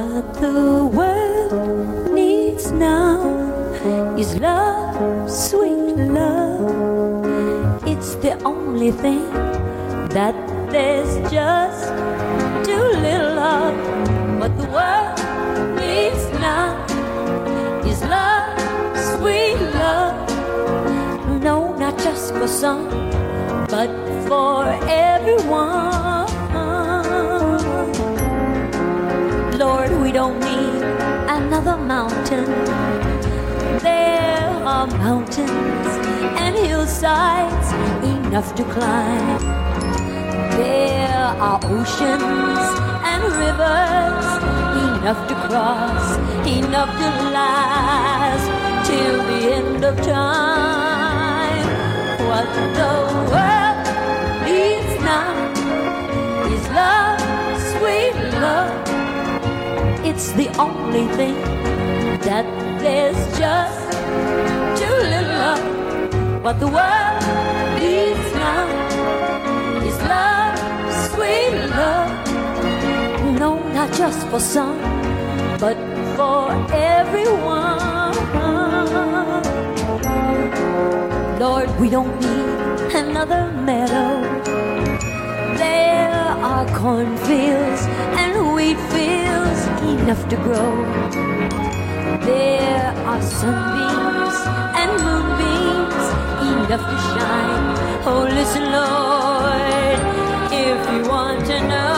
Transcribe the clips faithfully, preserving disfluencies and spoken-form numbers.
What the world needs now is love, sweet love. It's the only thing that there's just too little of. What the world needs now is love, sweet love. No, not just for some, but for everyone. Lord, we don't need another mountain. There are mountains and hillsides enough to climb. There are oceans and rivers enough to cross, enough to last till the end of time. What the world needs now is love, sweet love. It's the only thing that there's just too little of. What the world needs now is love, sweet love. No, not just for some, but for everyone. Lord, we don't need another meadow. There are cornfields and wheat fields enough to grow. There are sunbeams and moonbeams enough to shine. Oh, listen, Lord, if you want to know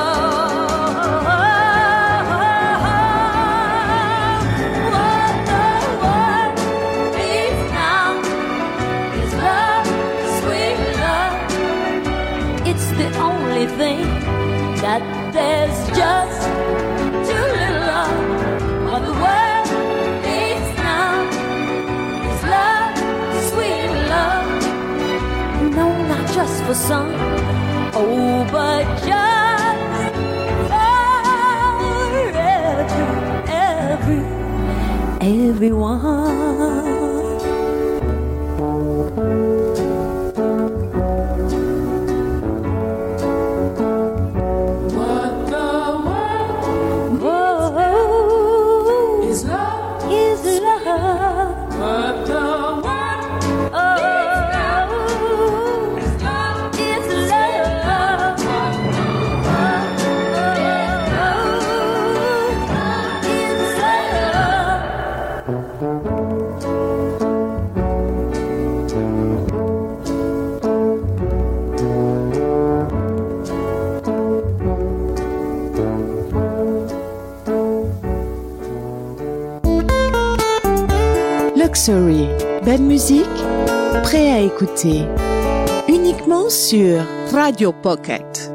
what the world needs now is love, sweet love. It's the only thing that there's just too little of. What the world needs now is love, sweet love. No, not just for some, oh, but just for every, every, everyone. Luxury, belle musique, prêt à écouter, uniquement sur Radio Pocket.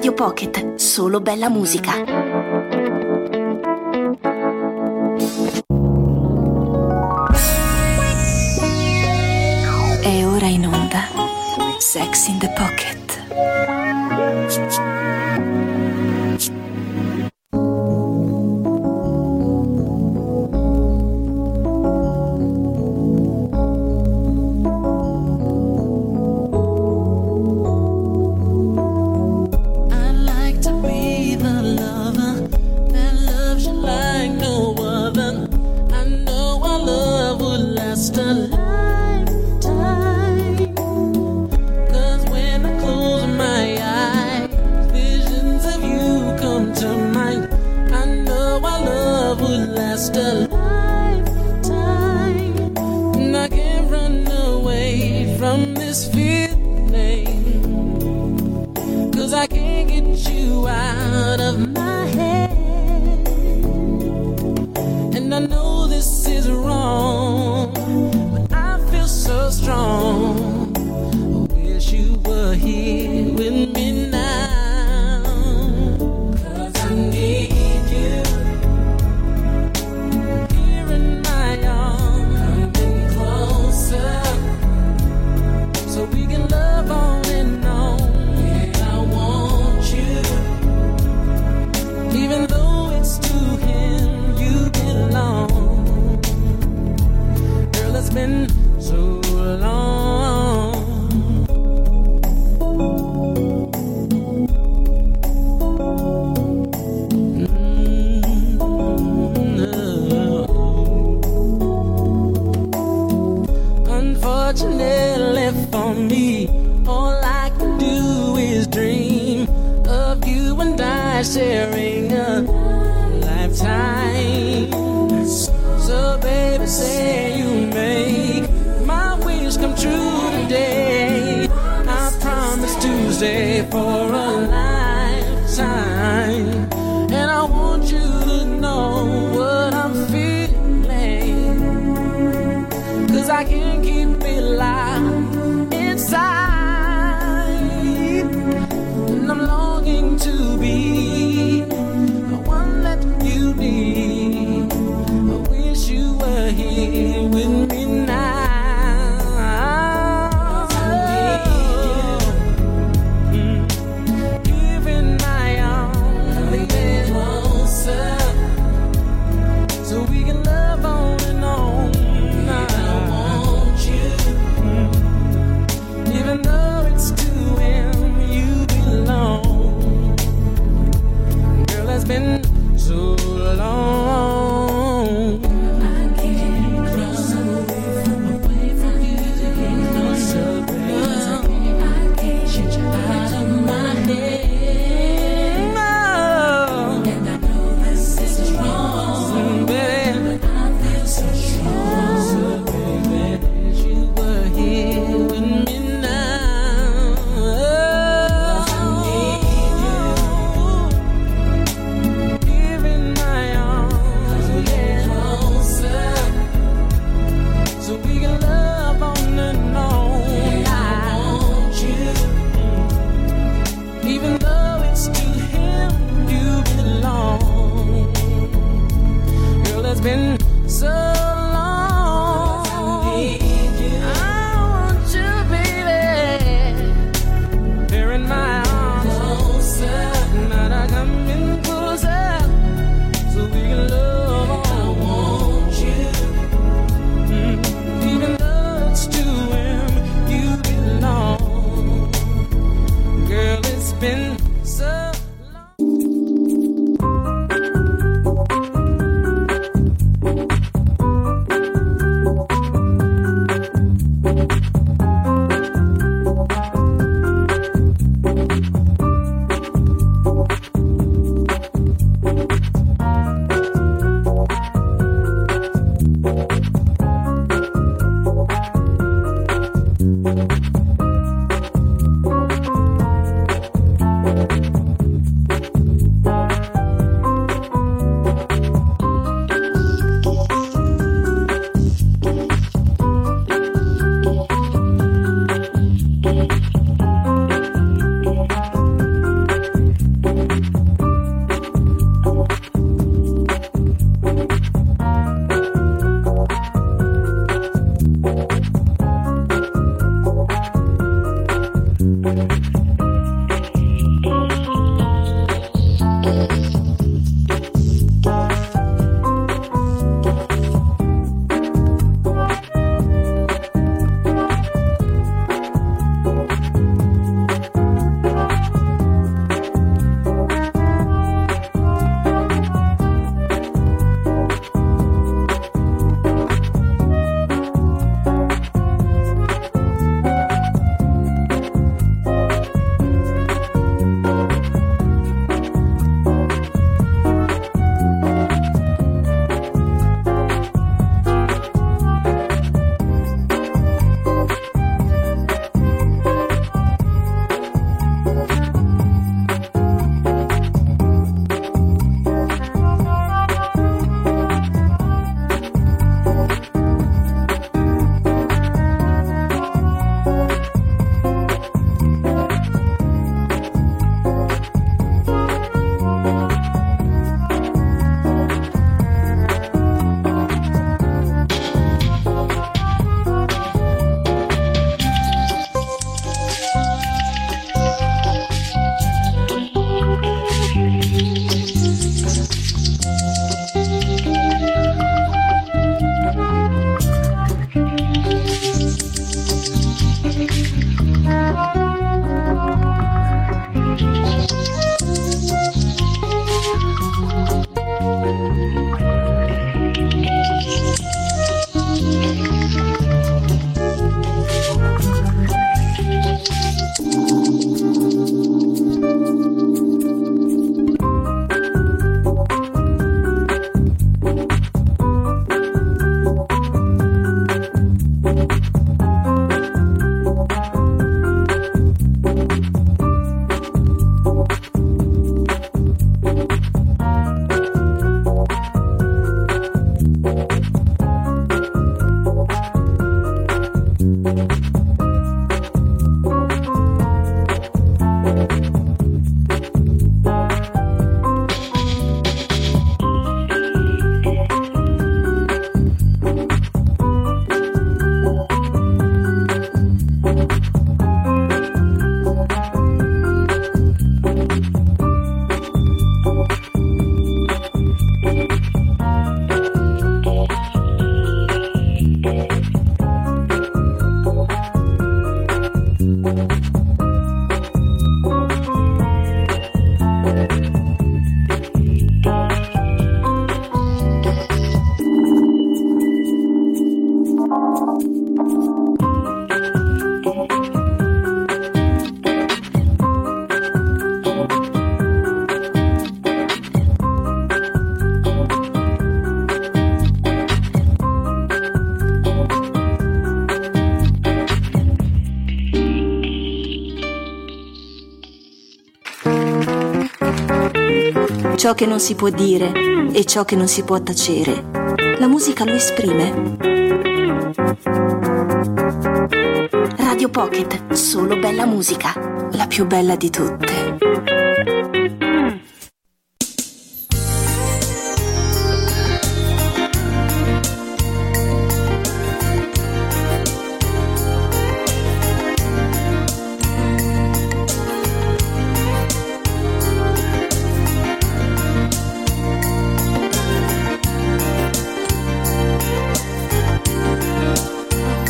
Radio Pocket, solo bella musica. È ora in onda Sex in the Pocket. You ciò che non si può dire e ciò che non si può tacere. La musica lo esprime. Radio Pocket, solo bella musica, la più bella di tutte.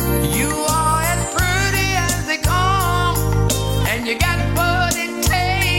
You are as pretty as they come, and you got what it takes.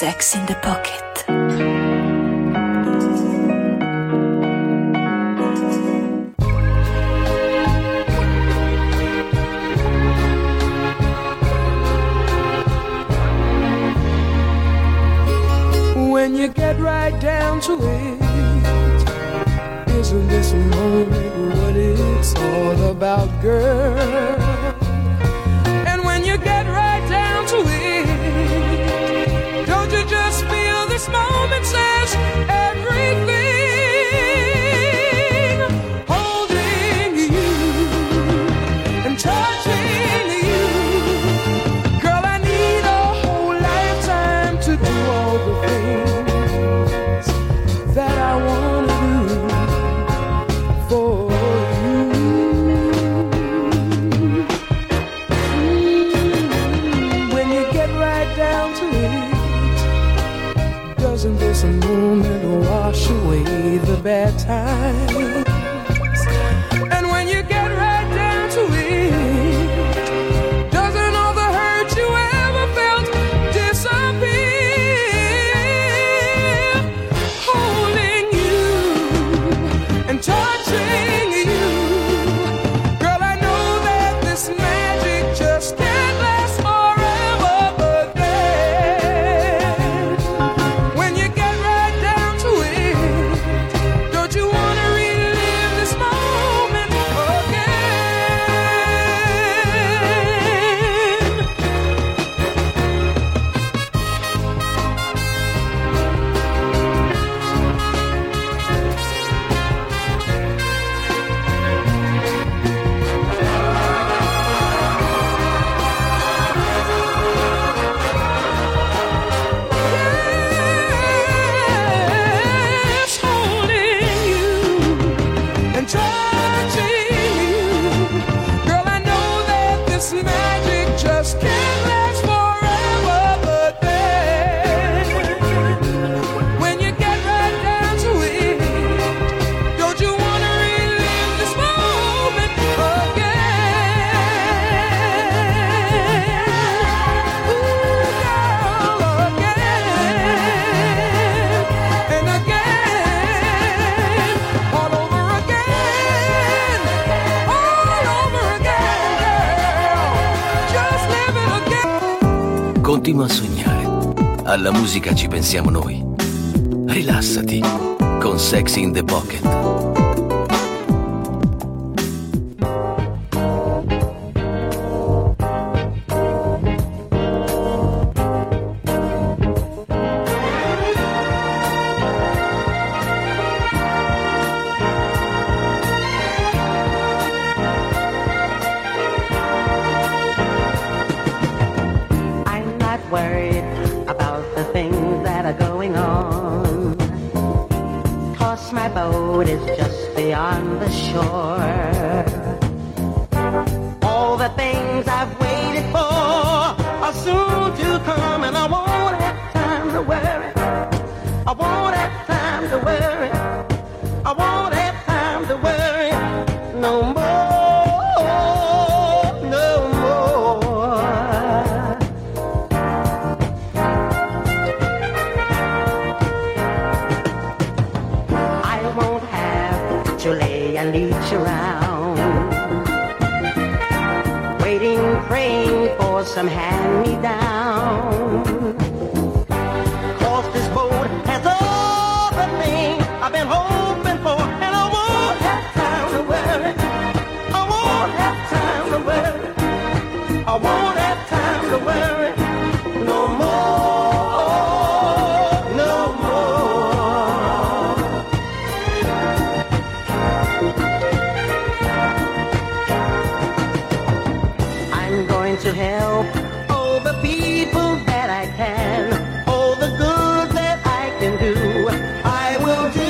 Sex in the Pocket. When you get right down to it, isn't this a moment what it's all about, girl? And when you get right down to it, don't you just feel this moment says everything? Holding you and touching you, girl, I need a whole lifetime to do all the things that I want to do for you. Mm, when you get right down to it, doesn't this moment wash away the bad times? And when you get right down to it, doesn't all the hurt you ever felt disappear? Holding you and touching you, girl, I know that this magic just can't last forever, but then when you get right down to it, don't you want to relive this moment yes, holding you and touching you, girl, I know that this magic just can't last forever, but then when you get right down to it, don't you want to relive this moment again? Ooh, girl, again and again, all over again, all over again, girl, just live it again. Continua a sognare. Alla musica ci pensiamo noi. Rilassati con Sex in the Pocket. I'm not worried about the things that are going on, 'cause my boat is just beyond the shore. All the things I've waited for are soon to come, and I won't have time to worry. I won't have time to worry. I won't have time to worry no more, no more. I won't have to lay and leech around, waiting, praying for some hand-me-down. 'Cause this boat has all the things I've been hoping for, and I won't have time to worry. I won't have time to worry. I won't have time to worry no more, no more. I'm going to help all the people that I can, all the good that I can do, I will do.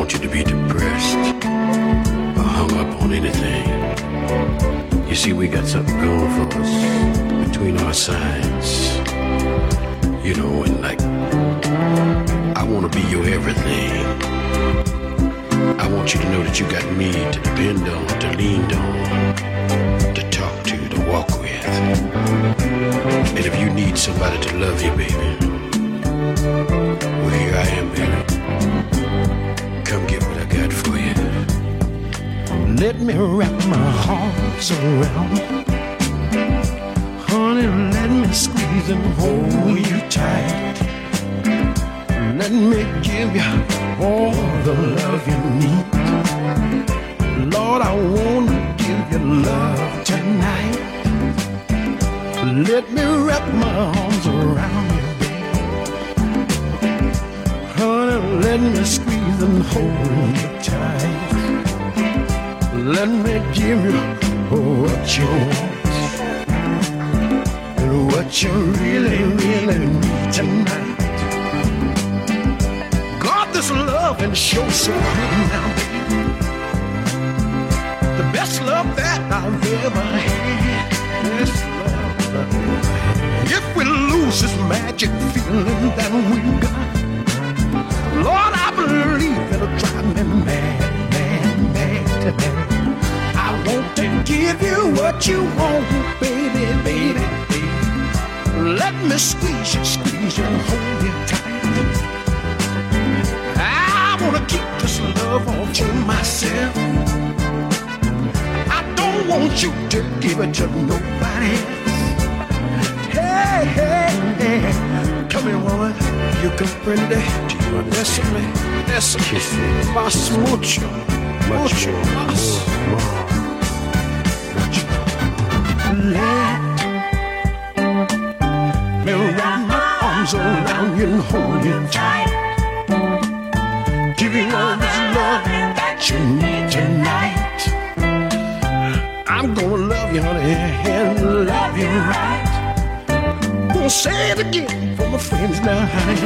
want you to be depressed or hung up on anything. You see, we got something going for us between our sides. You know, and like, I want to be your everything. I want you to know that you got me to depend on, to lean on, to talk to, to walk with. And if you need somebody to love you, baby, well, here I am, baby. Come get what I got for you. Let me wrap my arms around you. Honey, let me squeeze and hold you tight. Let me give you all the love you need. Lord, I want to give you love tonight. Let me wrap my arms around you, baby. Honey, let me squeeze and hold you tight. Let me give you what you want and what you really, really need tonight. This love and show so good now, baby. The best love that I've ever had. Best love that I've ever had. If we lose this magic feeling that we got, Lord, I believe it'll drive me mad, mad, mad, mad. I want to give you what you want, baby, baby, baby. Let me squeeze you, squeeze you, and hold you tight. I wanna keep this love all to myself. I don't want you to give it to nobody else. Hey, hey, hey, come here, woman. You comprende? Bésame, bésame, más mucho, mucho más. Let me wrap my arms around you and hold you tight. Give you all this love that you need tonight. I'm gonna love you, honey, and love you right. Gonna say it again for my friends now, honey.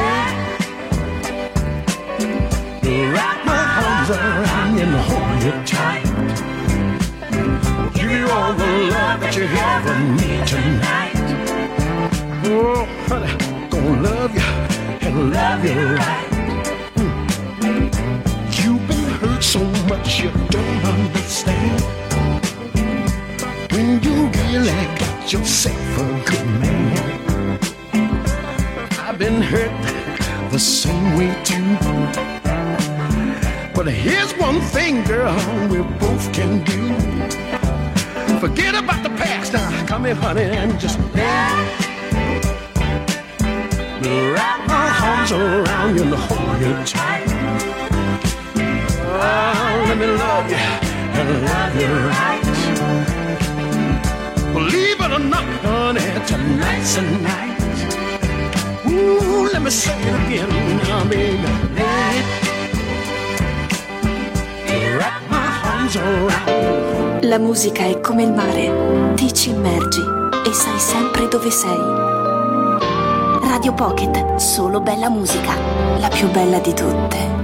Wrap my arms around you and hold you tight. Give you all the love that you ever need tonight. Oh, honey, gonna love you and love you right. So much you don't understand. When you really got yourself a good man. I've been hurt the same way too. But here's one thing, girl, we both can do. Forget about the past now. Come here, honey, and just let me wrap my arms around you and hold you tight. Oh, let me love you and love you right. Believe it or not, honey, tonight's the night. Ooh, let me say it again now, baby. Wrap my arms around. La musica è come il mare, ti ci immergi e sai sempre dove sei. Radio Pocket, solo bella musica, la più bella di tutte.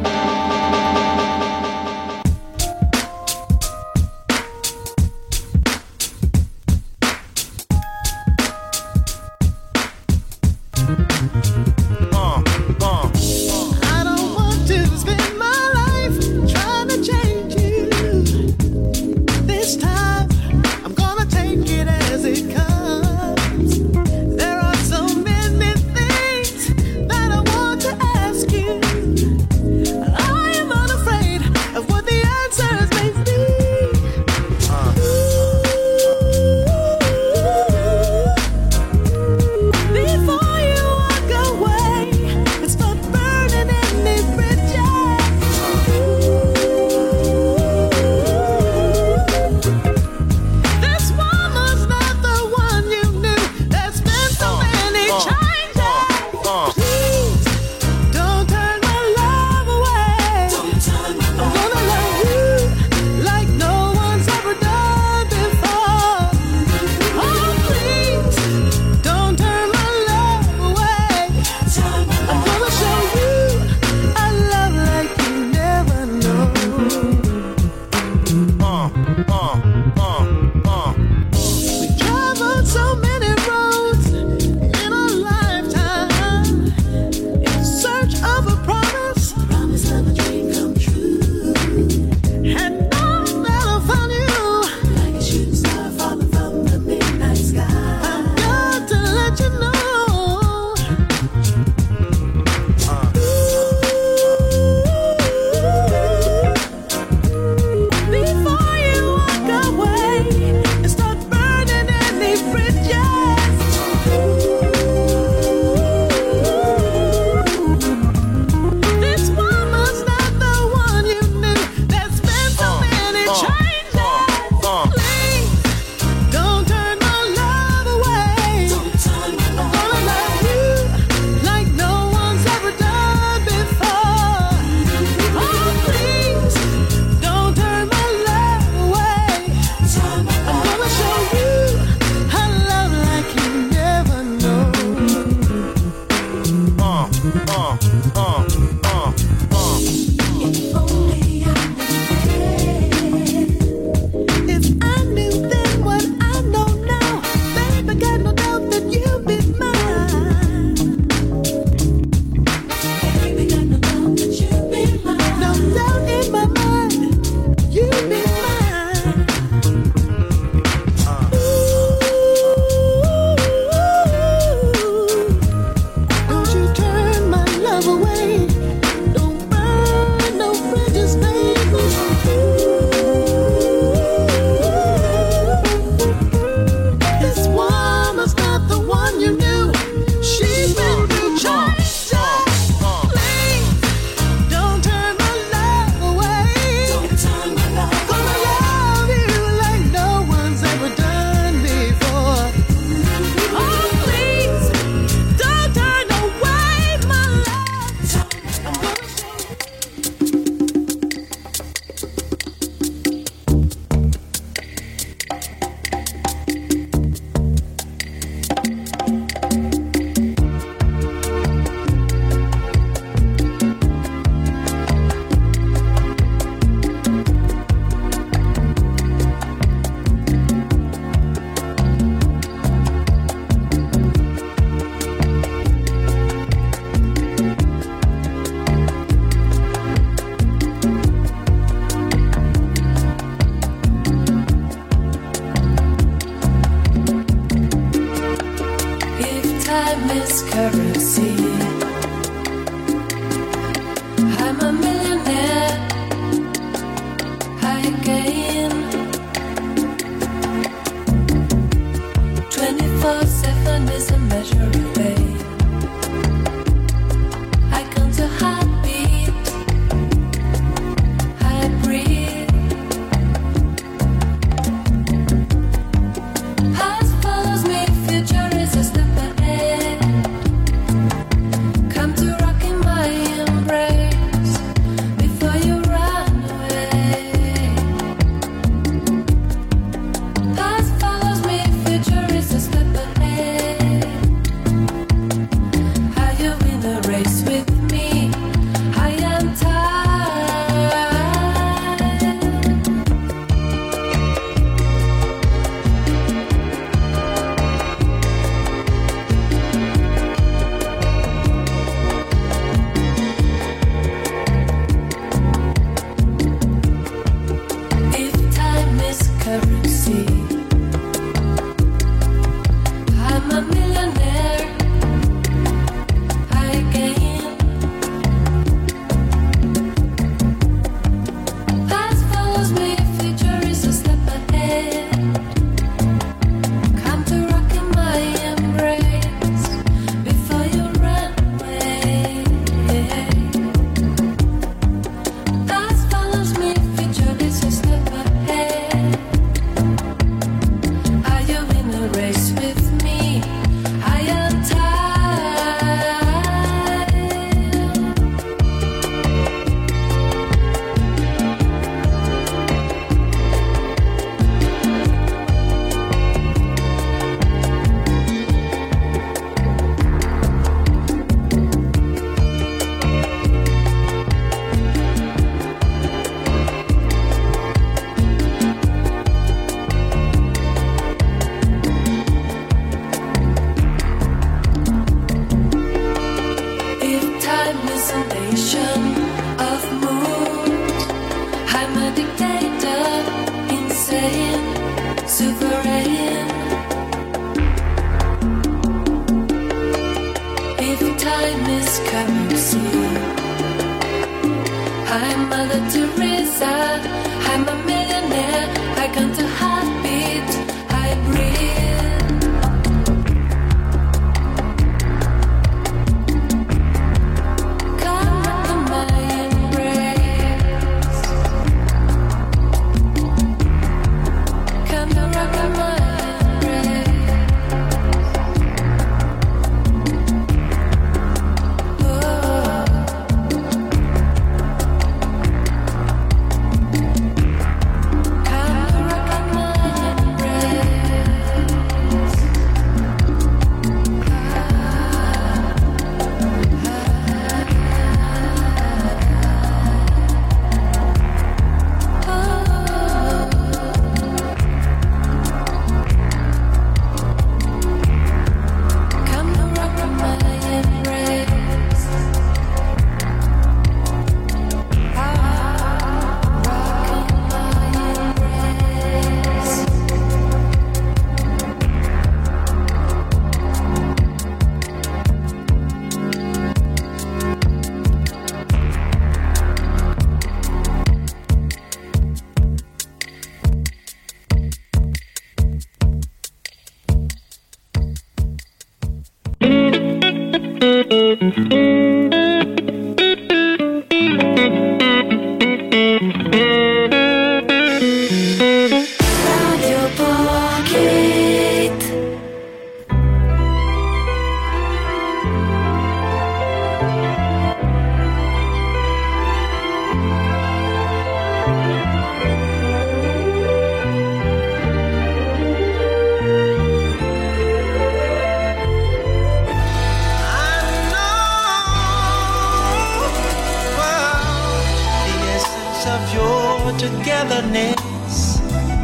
togetherness,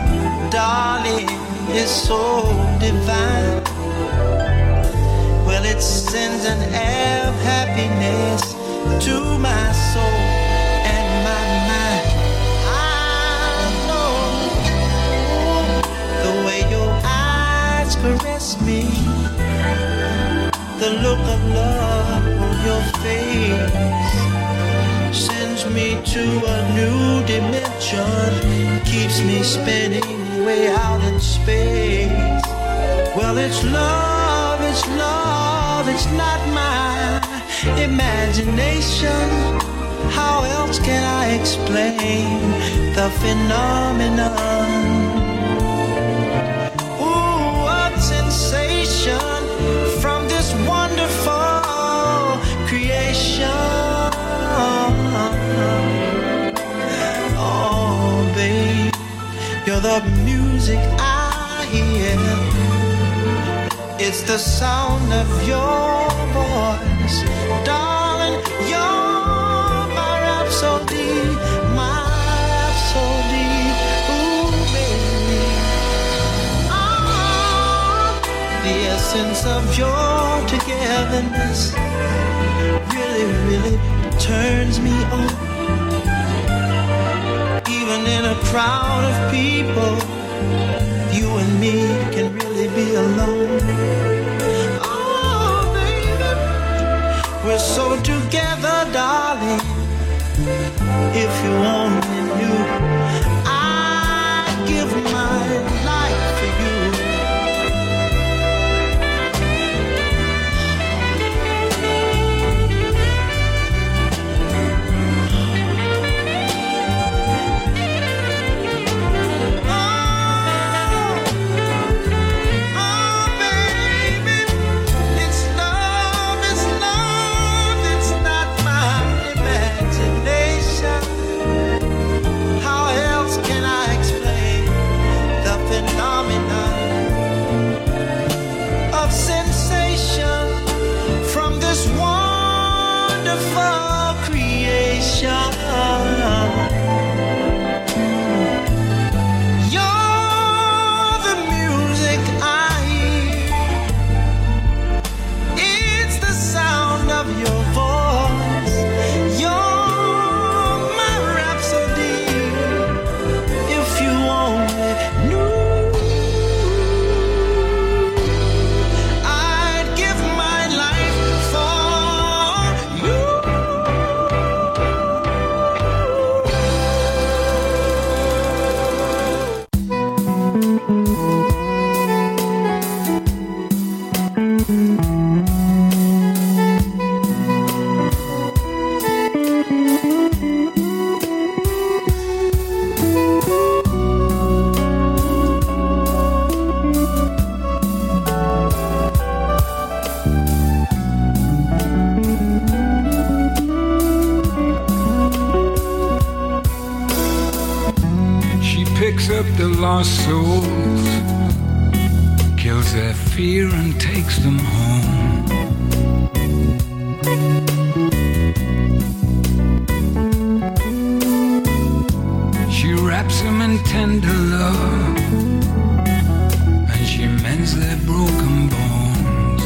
darling, is so divine. Well, it sends an air of happiness to my soul and my mind. I know the way your eyes caress me, the The look of love on your face sends me to a new dimension, keeps me spinning way out in space. Well, it's love, it's love, it's not my imagination. How else can I explain the phenomenon? Ooh, what sensation from this wonderful creation. Oh, babe, you're the music I hear. It's the sound of your voice, darling. You're my rhapsody, my rhapsody. Ooh, baby. Oh, the essence of your togetherness really, really turns me on. Even in a crowd of people, you and me can really be alone. Oh, baby, we're so together, darling. If you only knew, I'd give my life for you. Lost souls, kills their fear and takes them home. She wraps them in tender love, and she mends their broken bones.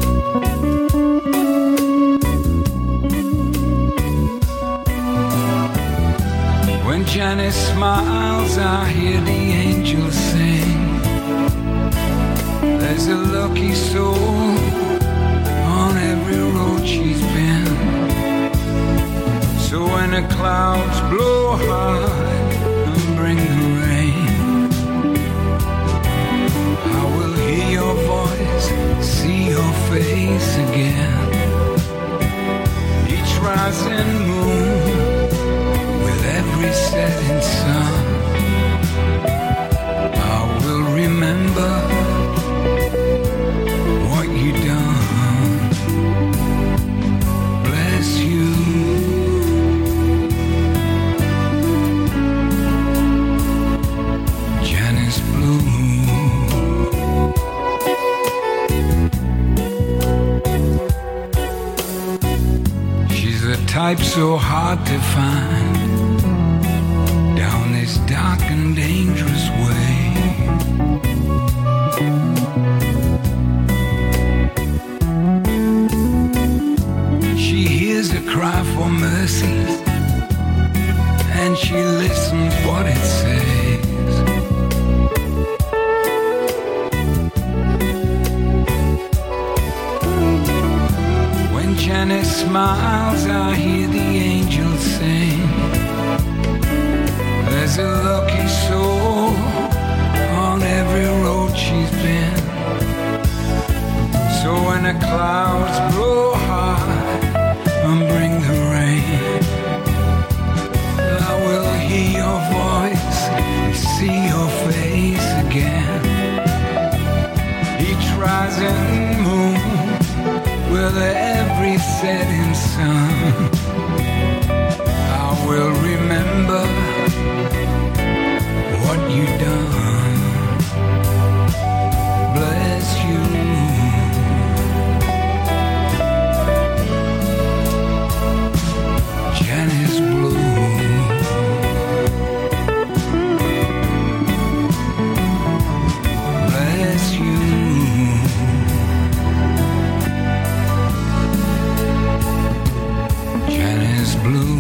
When Janice smiles, I hear the angels sing. There's a lucky soul on every road she's been. So when the clouds blow high and bring the rain, I will hear your voice, see your face again. Each rising moon, every setting sun, I will remember what you done. Bless you. Janice Blue. She's the type so hard to find this dark and dangerous way. She hears a cry for mercy, and she listens what it says. smiles, I hear the angels sing. There's a lucky soul on every road she's been. So when the clouds blow high and bring the rain, I will hear your voice and see your face again. Each rising moon with every setting sun, I will remember what you done. Bless you. Janice Blue. Bless you. Janice Blue.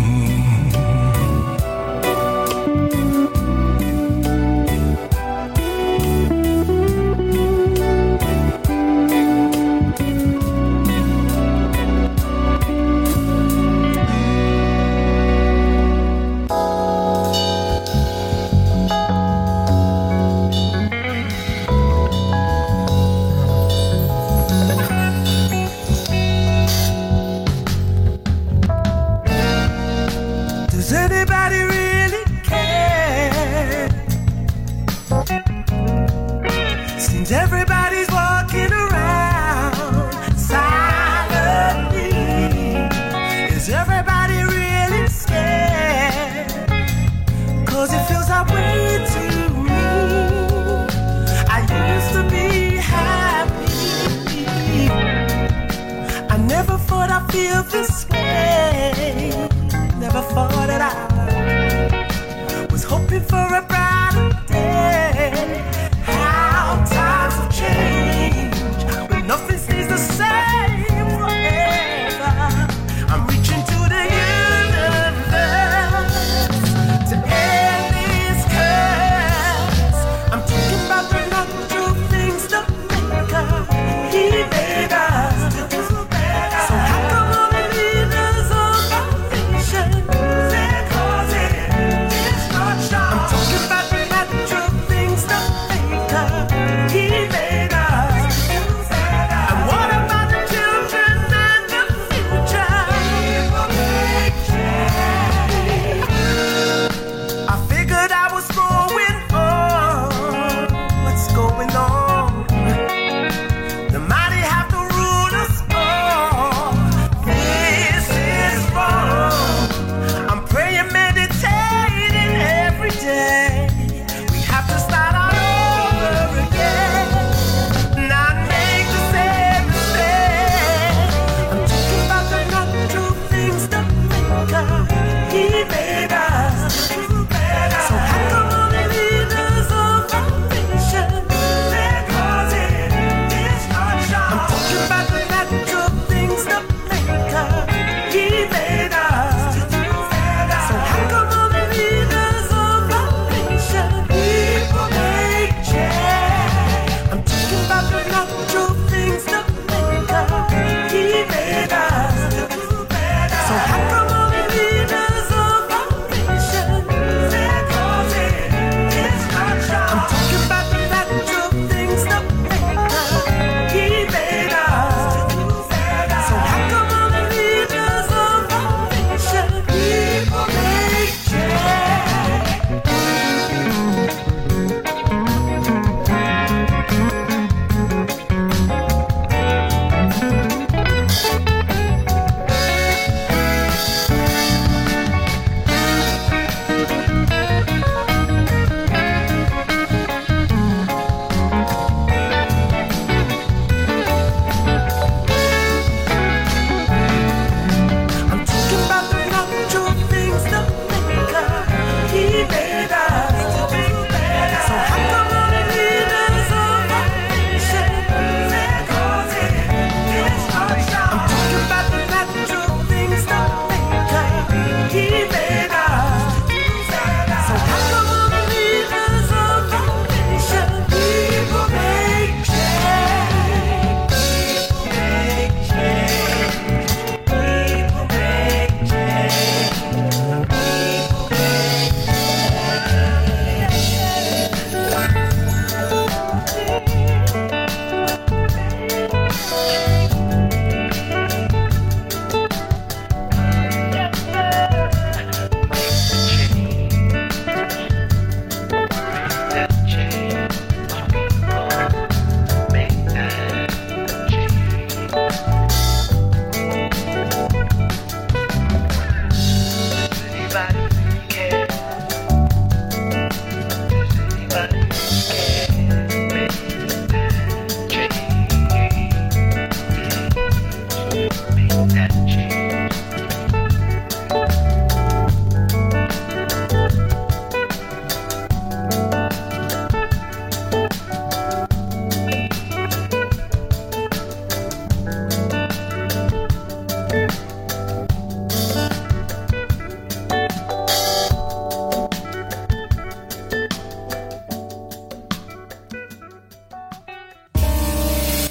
Talking about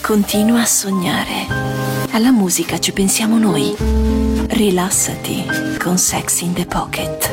Continua a sognare. Alla musica ci pensiamo noi. Rilassati con Sex in the Pocket.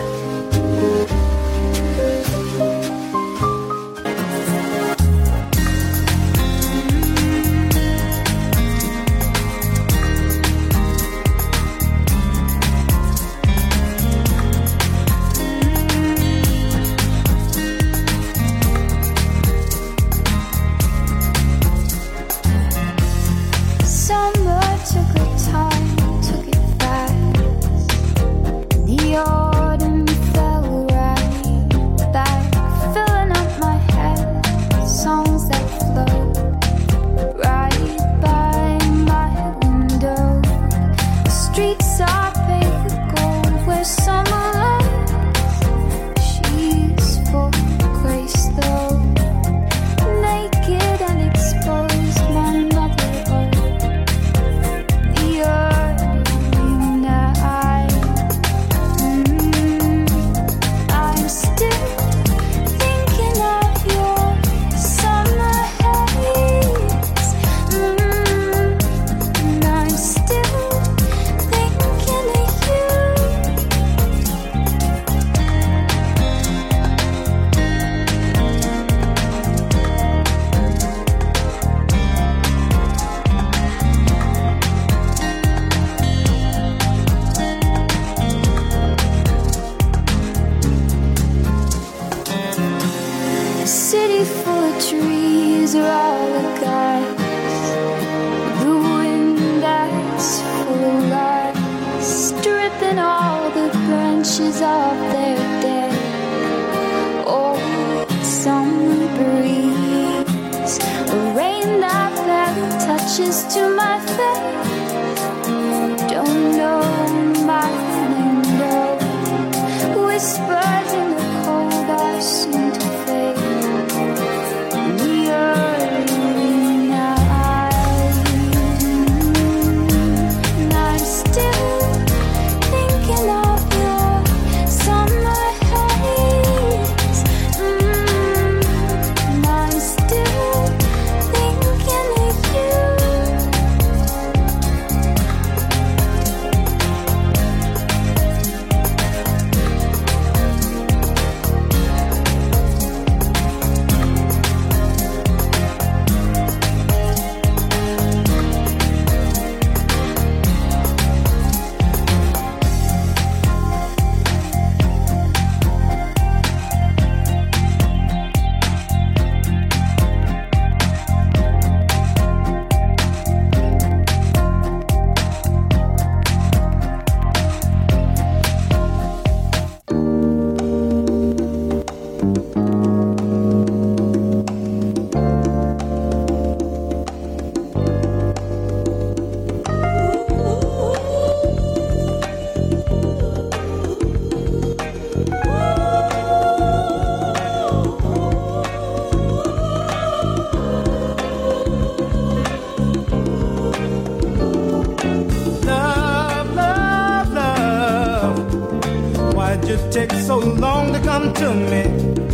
Take so long to come to me,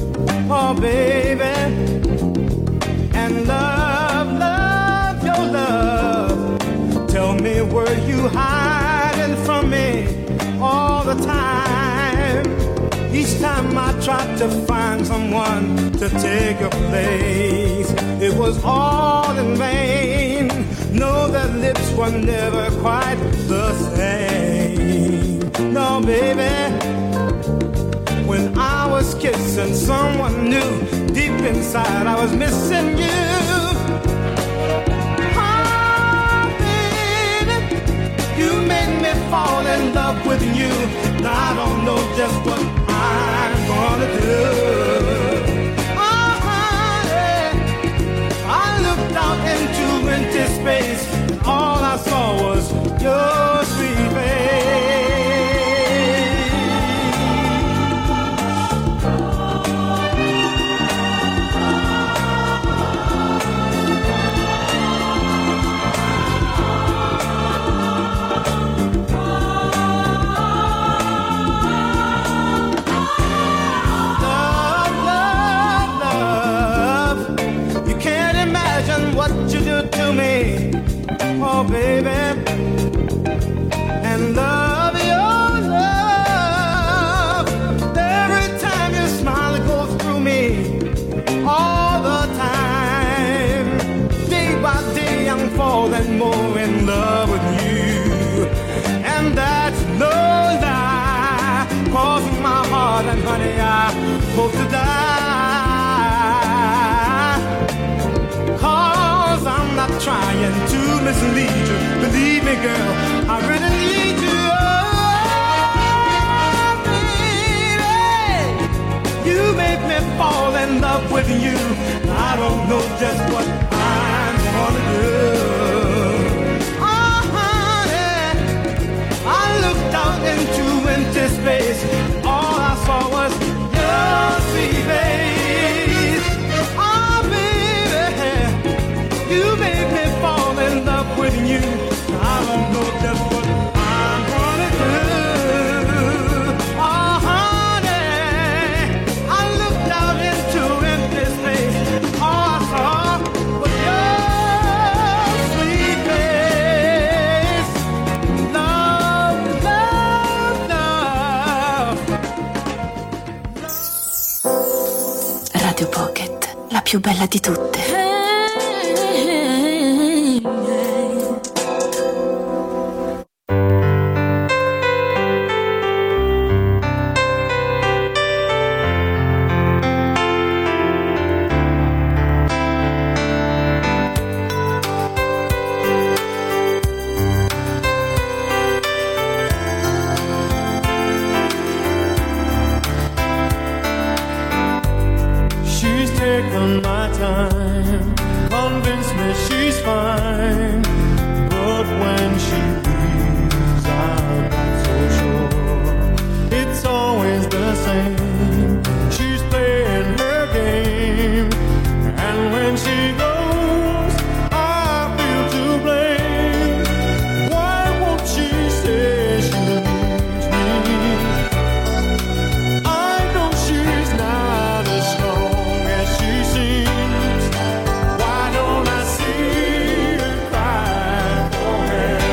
oh baby. And love, love, your love. Tell me, were you hiding from me all the time? Each time I tried to find someone to take your place, it was all in vain. No, their lips were never quite the same. No, baby. When I was kissing someone new, deep inside I was missing you. Oh, baby, you made me fall in love with you. Now I don't know just what I'm gonna do. Oh, honey, I looked out into empty space, and all I saw was your sweet face. Love falling more in love with you. And that's no lie, 'cause my heart and honey, I hope to die. 'Cause I'm not trying to mislead you. Believe me, girl, I really need you. Oh, baby, you make me fall in love with you. I don't know just what I'm gonna do. Oh, honey, I looked out into empty space. All I saw was your sweet face. Oh, baby, you made me fall in love with you. I don't know just what I'm gonna do. Oh, honey, I looked out into empty space. All I saw was your sweet face. Love, love, love. Radio Pocket, la più bella di tutte. She's taken my time, convince me she's fine, but when she leaves I'm not so sure. It's always the same, she's playing her game, and when she goes I feel to blame. Why won't she say she needs me? I know she's not as strong as she seems. Why don't I see her cry for help?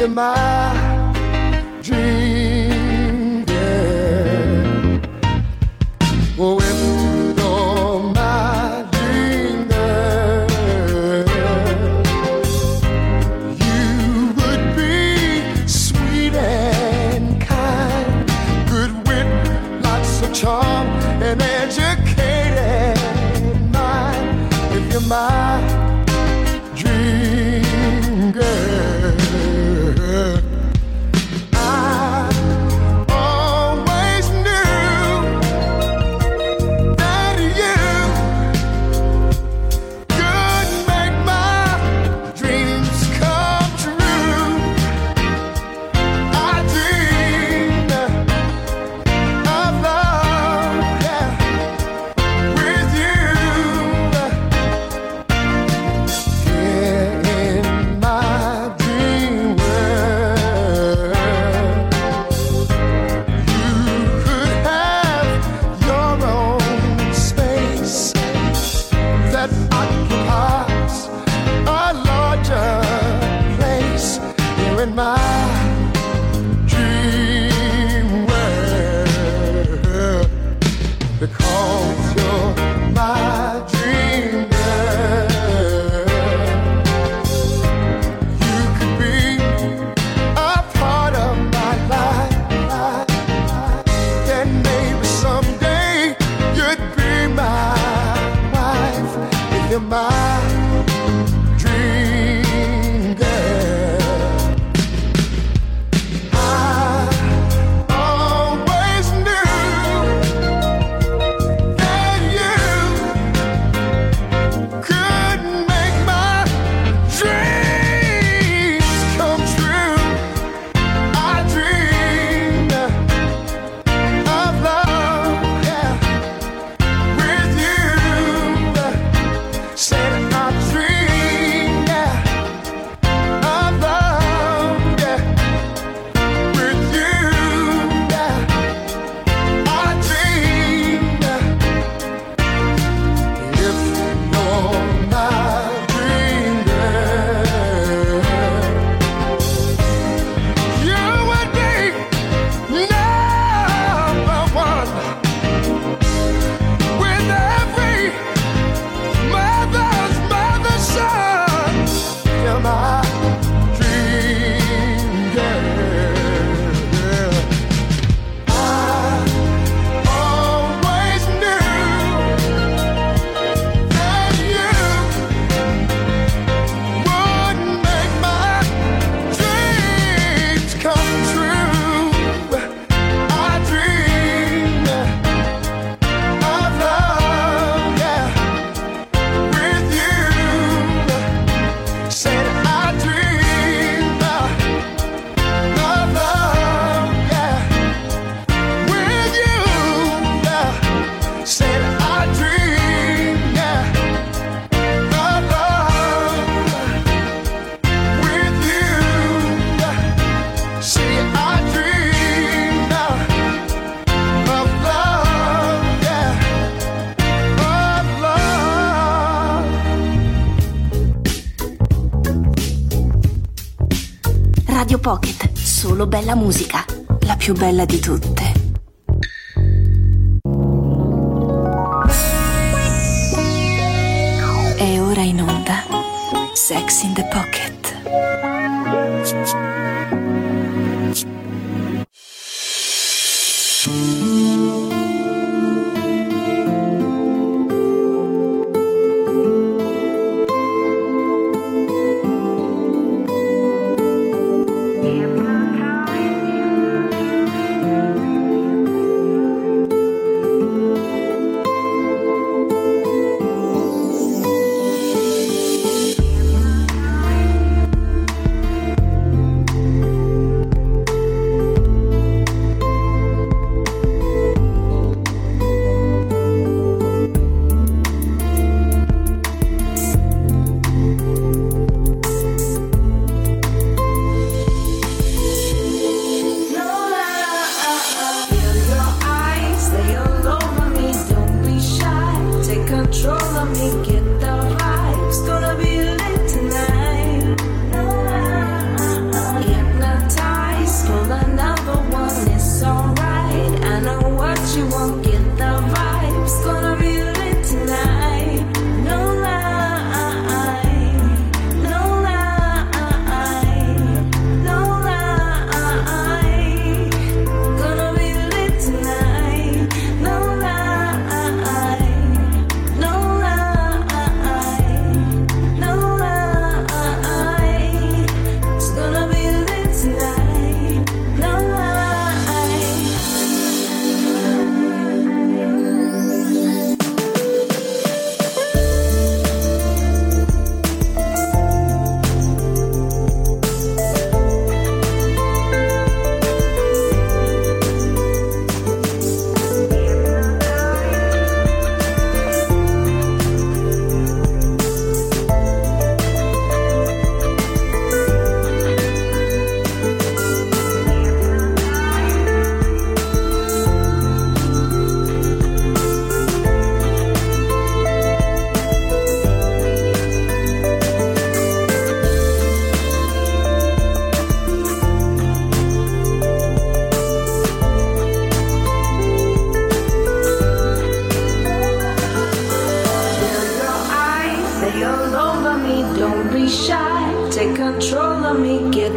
you're my dream girl. Oh, if you're my dream girl, you would be sweet and kind, good wit, lots of charm, and educated mind. If you're my dream girl, I always knew that you could make my dreams come true. I dreamed of love, yeah, with you. Yeah, in my dream world, you could have your own space that occupies a larger place here in my dream world, because you're my dream girl. You could be a part of my life, then maybe someday you'd be my wife. If you're my dream girl, I always knew that you could make my dreams come true. I dreamed of love, yeah, with you. Said I dreamed, yeah, of love, yeah, with you. Yeah, I dreamed. If you're my dream girl, you would be number one with every mother's mother's son. You're my dream girl. I always knew that you would make my dreams come true. I dreamed of love, yeah, with you. Said I dreamed of love, yeah, with you. Yeah. Said I dreamed, yeah, of love with you. See, I dreamed of love, yeah, of love. Radio Pocket, solo bella musica, la più bella di tutte. È ora in onda Sex in the Pocket.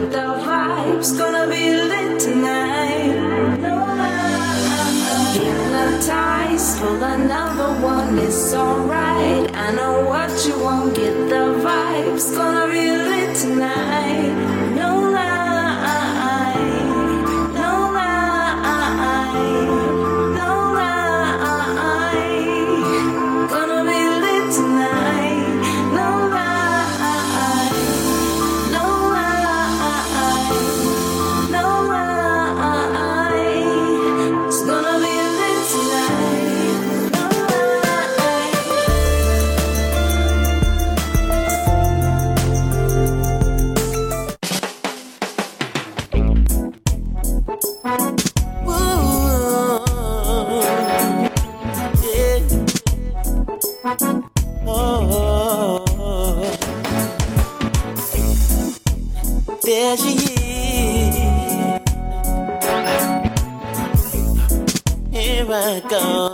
get the vibes, gonna be lit tonight. Hypnotized for another one, it's alright. I know what you want, get the vibes, gonna be lit tonight. No lie, no lie, no lie. Gonna be lit tonight. No lie, no lie, no lie. It's gonna be lit tonight. No There she is. Here I go.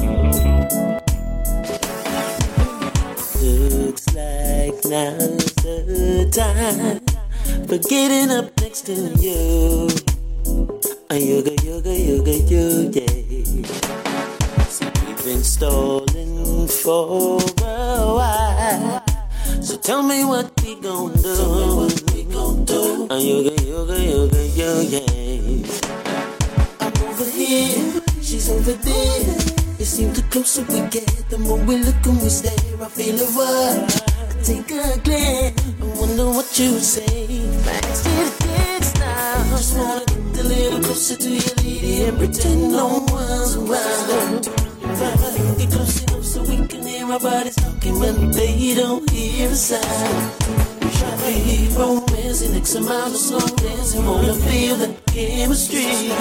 Looks like now's the time for getting up next to you. A yoga, yoga, yoga, yoga. So we've been stalling for a while. So tell me what we gon' do. Tell me what we gon' do. A yoga, yoga, yoga, yoga. I'm over here, she's over there. It seems the closer we get, the more we look and we stare. I feel a rush, I take a glance. I wonder what you would say. Back to the dance now. Just wanna get a little closer to your lady and pretend no one's around. Get close enough so we can hear our bodies talking, but they don't hear a sound. We try to hear romance and X amount of slow dancing. Wanna feel the chemistry.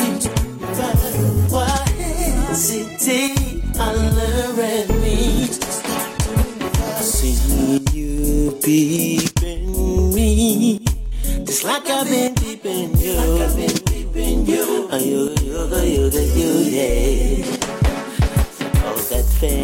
Why hesitate? I learn at me. I see you peeping me, just like I've been peeping you. Like I've been peeping you. Oh, yoga, yoga, yoga, yoga. Oh, that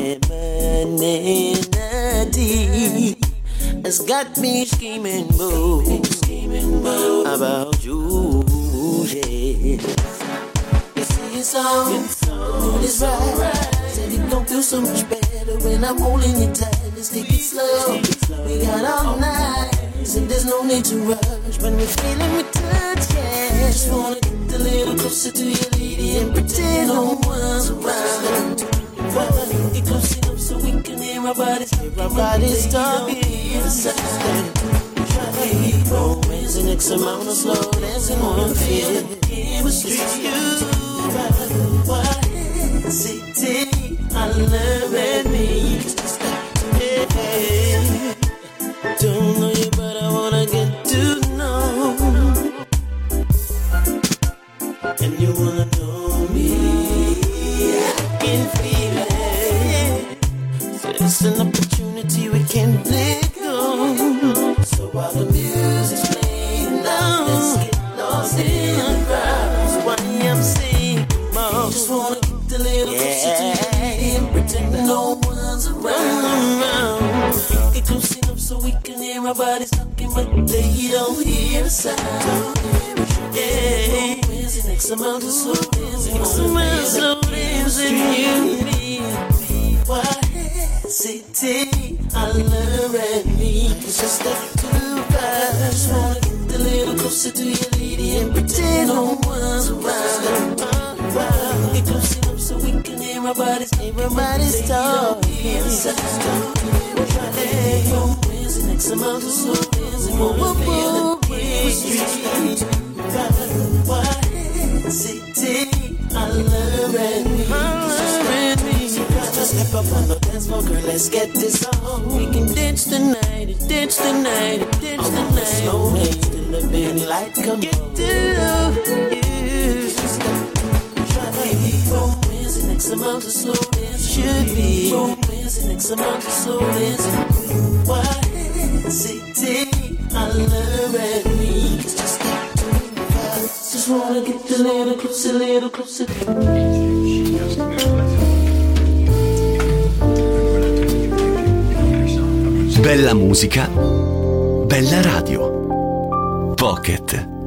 femininity has got me scheming, boo, scheming, boo, about you, yeah. You see it's on, it's on, it's right. Said it don't feel so much better when I'm holding you tight. Let's take it slow, we got all night. Said there's no need to rush when we're feeling we touch, yeah. Just wanna get a little closer to your lady and pretend no one's around. Get close enough so we can hear our bodies, hear our bodies talking. Try to hear romance and X amount of slow dancing. Wanna feel the chemistry. Why hesitate? I love at me. Hey, don't know you, but I wanna get to know. And you wanna know me. I can feel it. So it's an opportunity we can't let go. So while the music's playing loud, let's get lost in the crowd. So why I'm singing more. Just wanna get a little closer to you and pretend no one's around. Get close enough so we can hear our bodies talking, but they don't hear a sound. Yeah, X amount of slow dancing, X amount of slow dancing, you need. Why hesitate? I learn at me. It's just that too fast. Just wanna get a little closer to your lady and pretend no one's around. Get close enough so we can hear our bodies, everybody's talking. X amount of slow dancing, wanna feel the chemistry. Why hesitate? I learn at me. Just step up on the dance floor, girl, let's get this on. We can dance tonight, dance tonight, dance tonight. Slow dance till the big light come on. Get to love you. Try to be romance and X amount of slow dance. Should be romance and X amount of slow dance. Why hesitate? I learn at me. Just wanna get a little closer, little closer. Bella musica, bella radio. Pocket.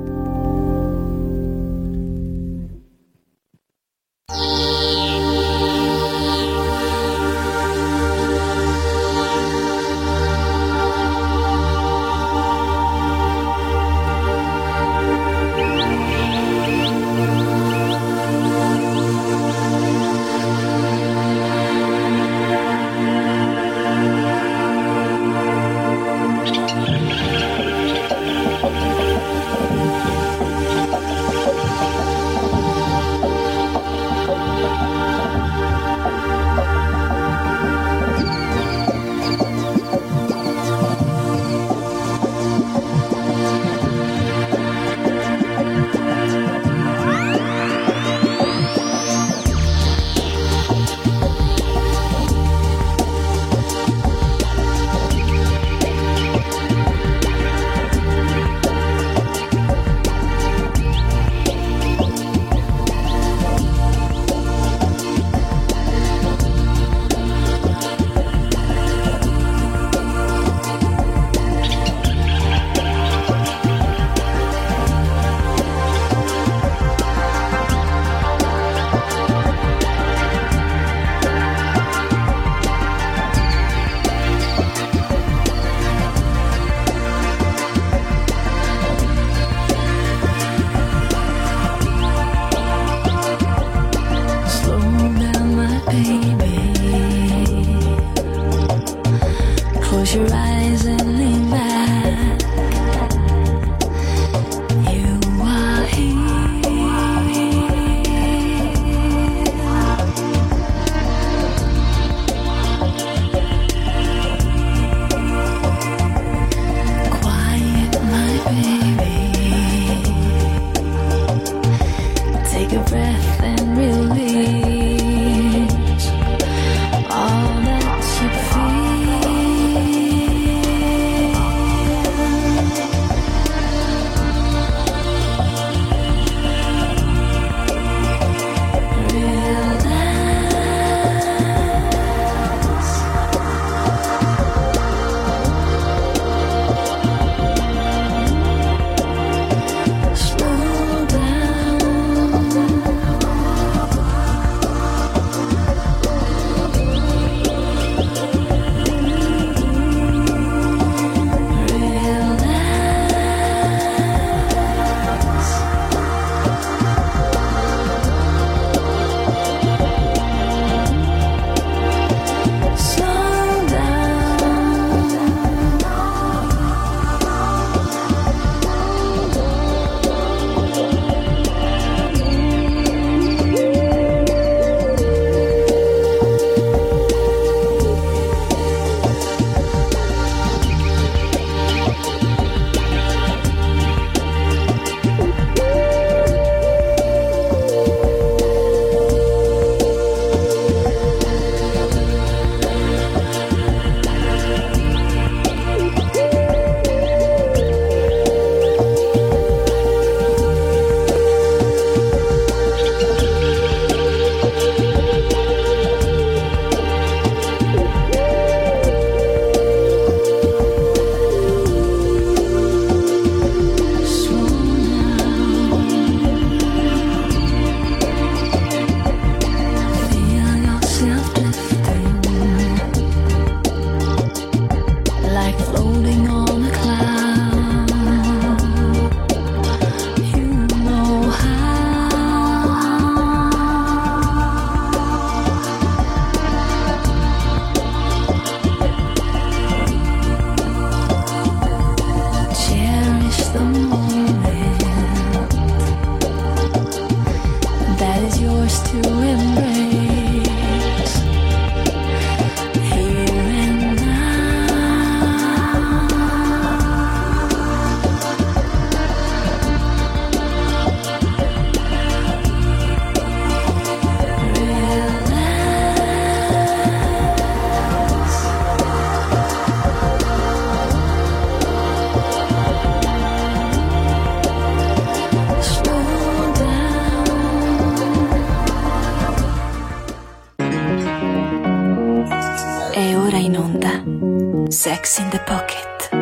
Sex in the Pocket.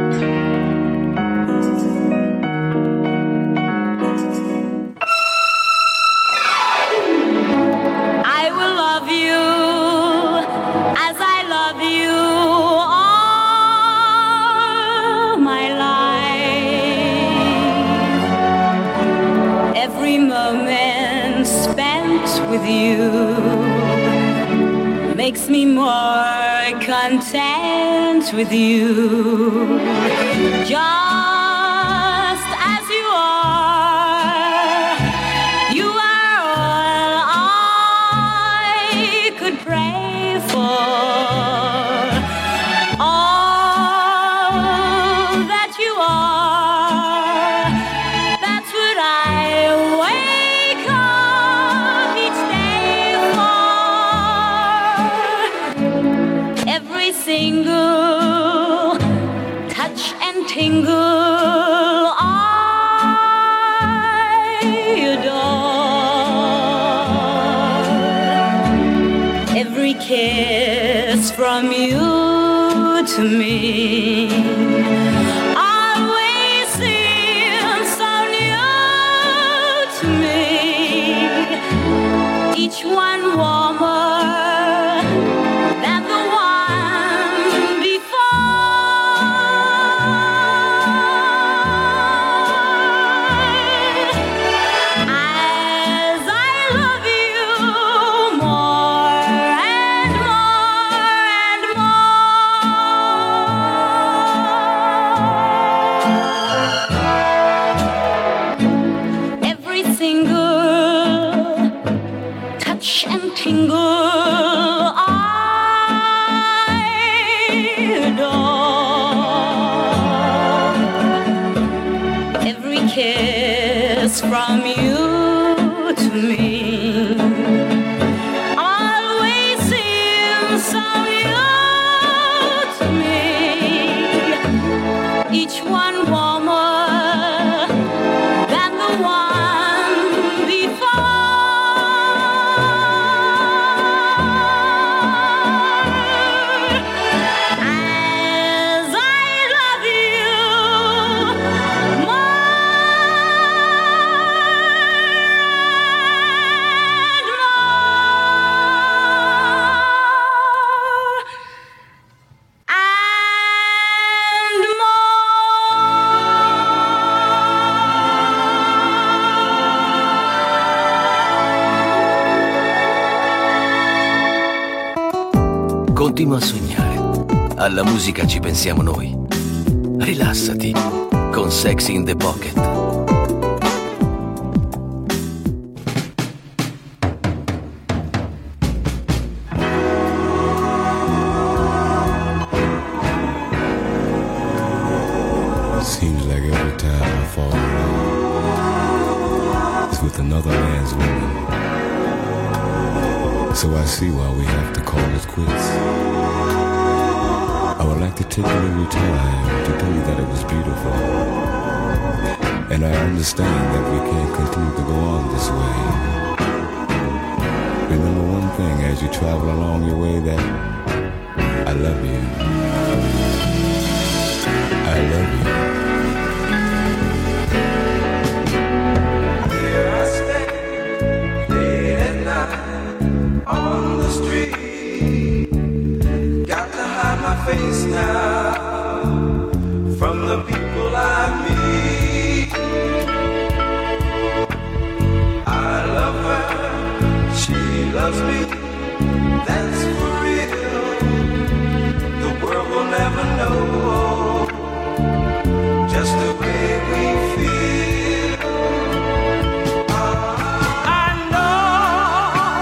I will love you as I love you all my life. Every moment spent with you makes me more content with you, just as you are. You are all I could pray for, all that you are. That's what I wake up each day for. Every single touch and tingle I adore. Every kiss from you to me always seems so new to me. Each one warmer than the one before. As I love you more and more and more. Every single touch and tingle I adore. Every kiss from you to me always seems so new to me. Each one warmer than the one before. As I love you more and Continua a sognare. Alla musica ci pensiamo noi. Rilassati con Sex in the Pocket. Seems like every time I fall in love, it's with another man's woman. So I see why we have to call it quits. I would like to take a little time to tell you that it was beautiful. And I understand that we can't continue to go on this way. Remember one thing as you travel along your way, that I love you. I love you. Here I stay, late at night, on the street. Got to hide my face now from the people I meet. I love her, she loves me, that's for real. The world will never know just the way we feel. I know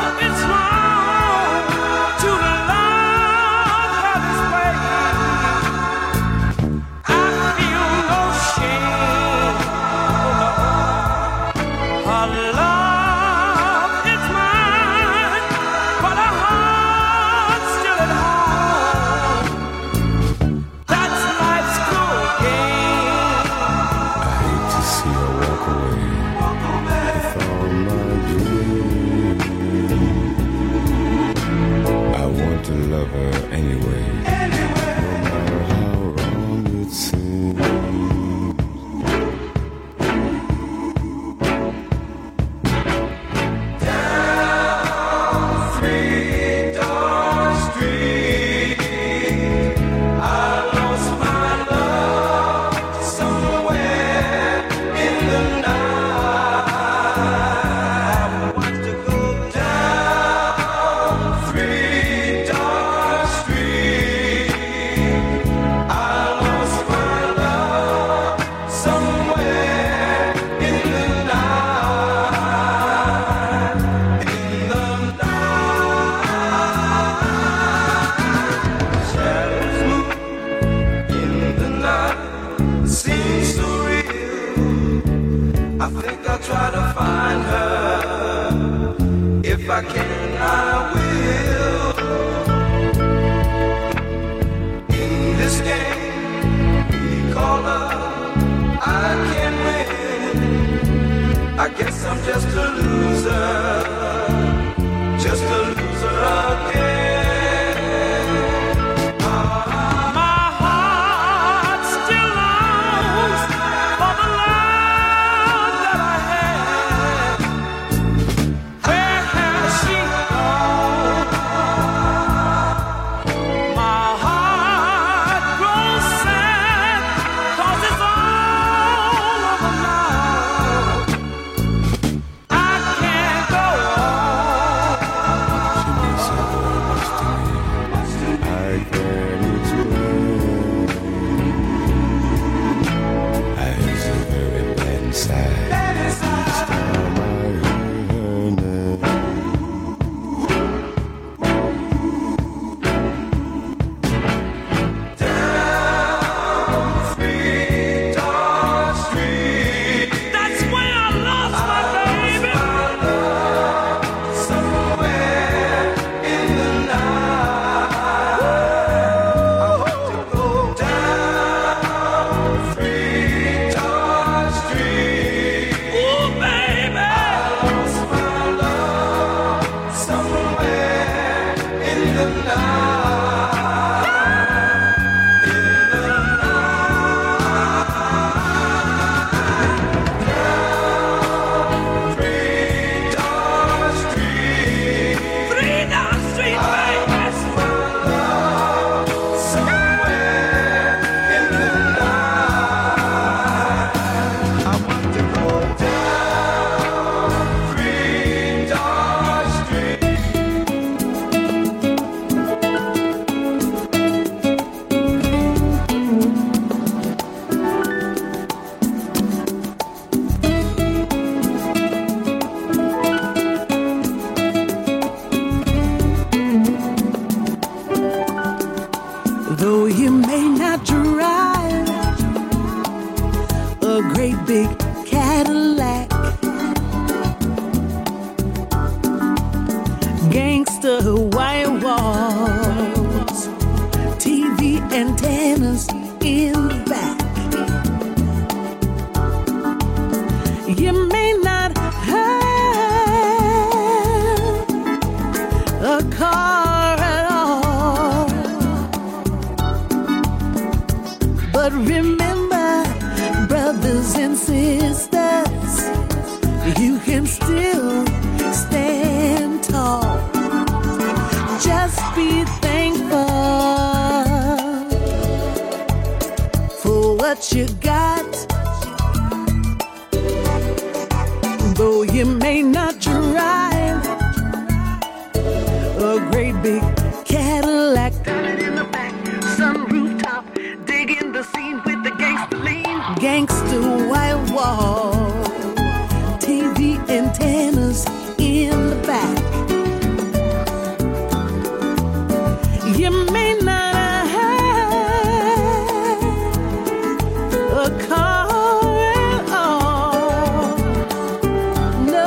No,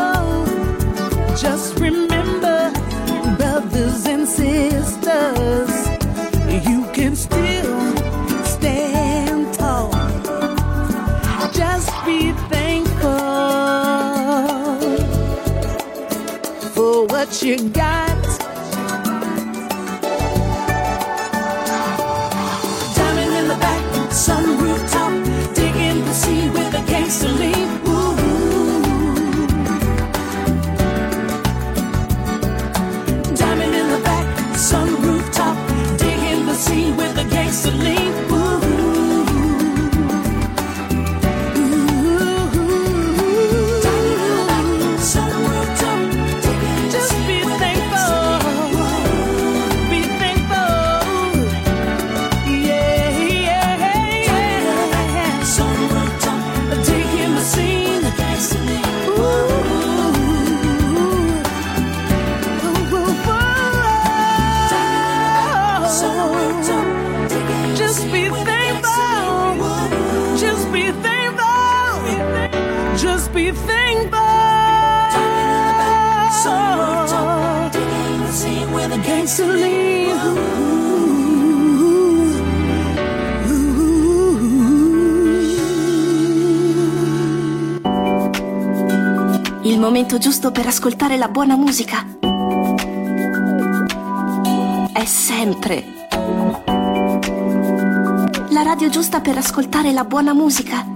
can still stand tall. Just be thankful for what you got. Diamond in the back, sun rooftop, digging the sea with a gangster lean. Ooh. Diamond in the back, sun rooftop, digging the sea with a gangster lean. Il momento giusto per ascoltare la buona musica è sempre la radio giusta per ascoltare la buona musica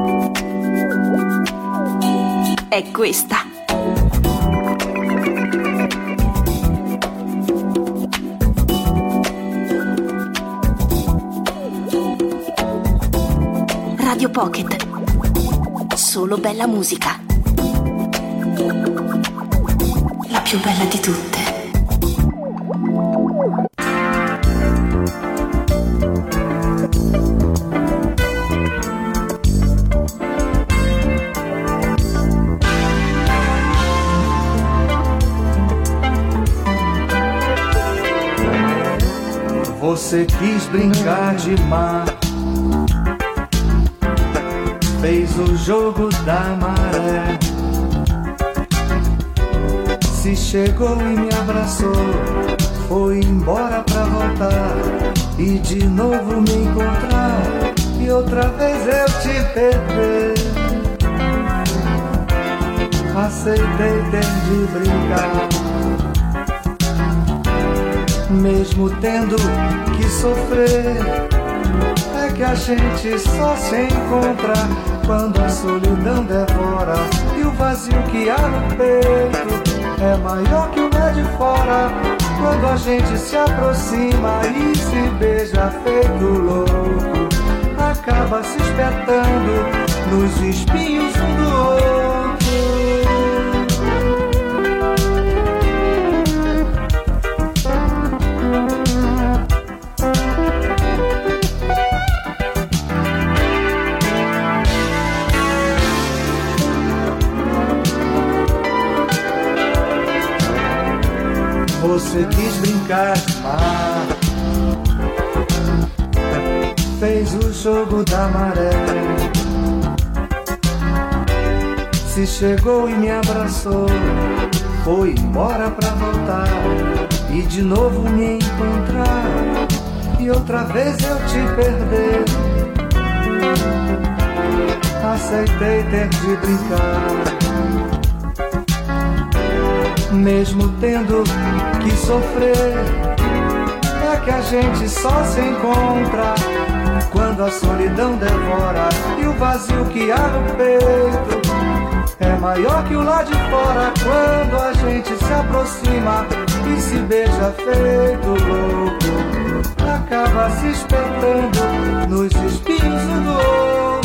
è questa. Radio Pocket. Solo bella musica. La più bella di tutte. Você quis brincar de mar, fez o jogo da maré. Se chegou e me abraçou, foi embora pra voltar e de novo me encontrar e outra vez eu te perder. Aceitei ter de brincar, mesmo tendo que sofrer. É que a gente só se encontra quando a solidão devora e o vazio que há no peito é maior que o lá de fora. Quando a gente se aproxima e se beija feito louco, acaba se espetando nos espinhos um do outro. Você quis brincar de mar, fez o jogo da maré. Se chegou e me abraçou, foi embora pra voltar e de novo me encontrar e outra vez eu te perder. Aceitei ter de brincar, mesmo tendo que sofrer. É que a gente só se encontra quando a solidão devora e o vazio que há no peito é maior que o lá de fora. Quando a gente se aproxima e se beija feito louco, acaba se espetando nos espinhos um do outro.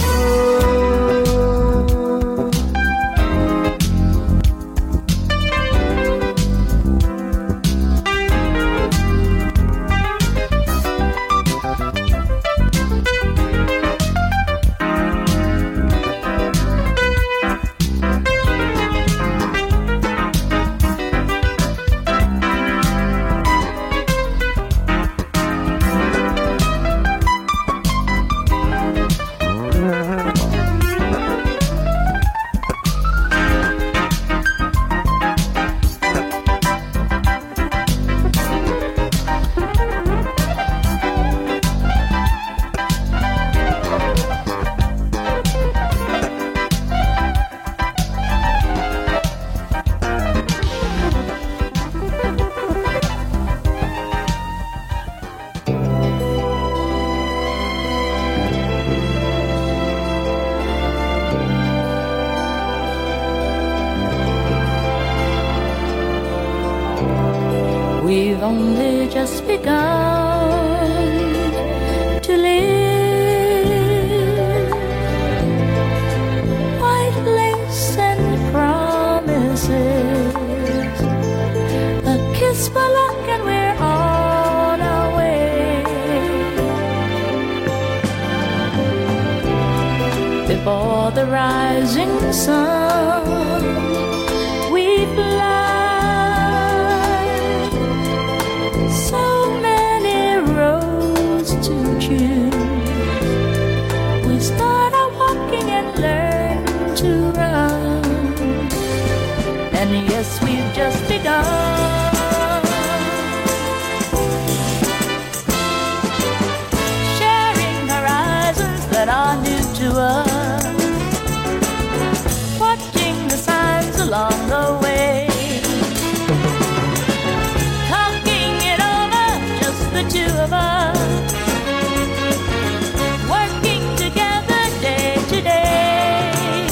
We've only just begun to live. White lace and promises, a kiss for luck and we're on our way. Before the rising sun, we fly. So many roads to choose. We start our walking and learn to run. And yes, we've just begun. Sharing horizons that are new to us. Watching the signs along the way. The two of us, working together day to day,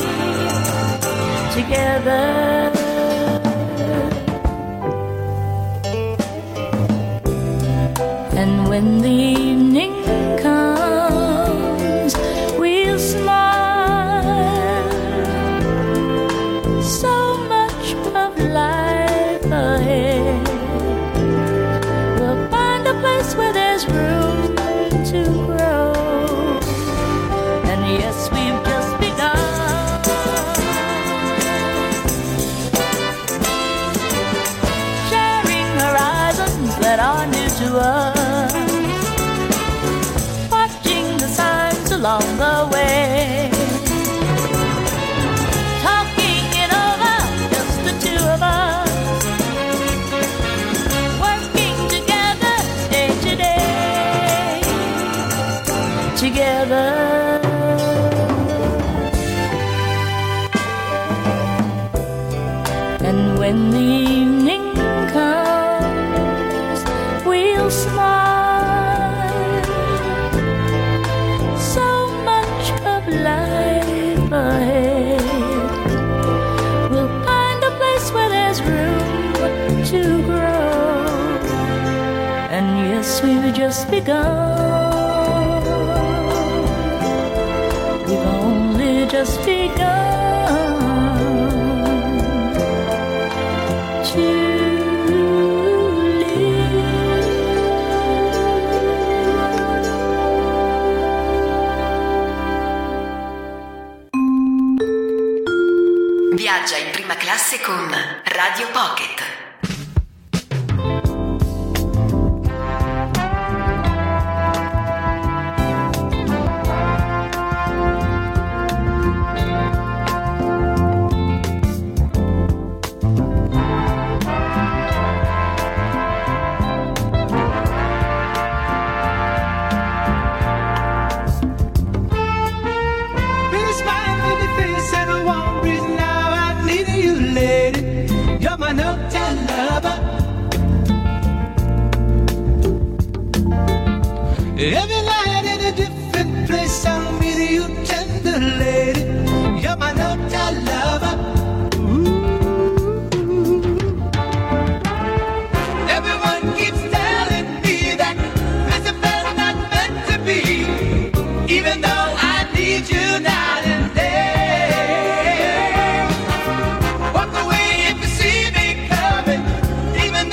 together. And when the evening comes, we'll smile. So much of life ahead. Where there's room to grow. And yes, we've just begun. Sharing horizons that are new to us. Watching the signs along the way. Talking it over, just the two of us. Together. And when the evening comes, we'll smile. So much of life ahead. We'll find a place where there's room to grow. And yes, we've just begun. Just begun to live. Viaggia in prima classe con Radio Pocket. Every night in a different place, I'll meet you, tender lady. You're my no-time lover. Ooh. Everyone keeps telling me that this affair's not meant to be, even though I need you night and day. Walk away if you see me coming, even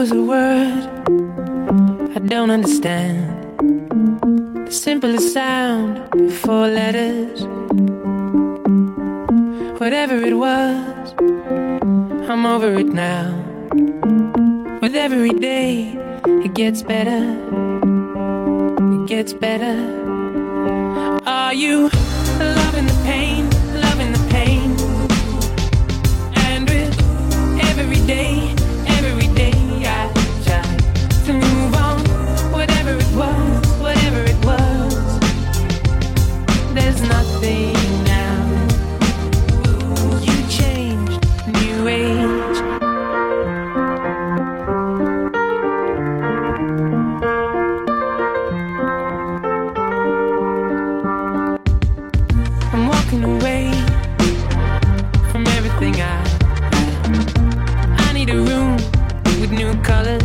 was a word I don't understand. The simplest sound before letters. Whatever it was, I'm over it now. With every day, it gets better. It gets better. Are you loving the pain, loving the pain? And with every day, every day I try to move on. Whatever it was, whatever it was, there's nothing now. You changed, new age. I'm walking away from everything I I need a room with new colors.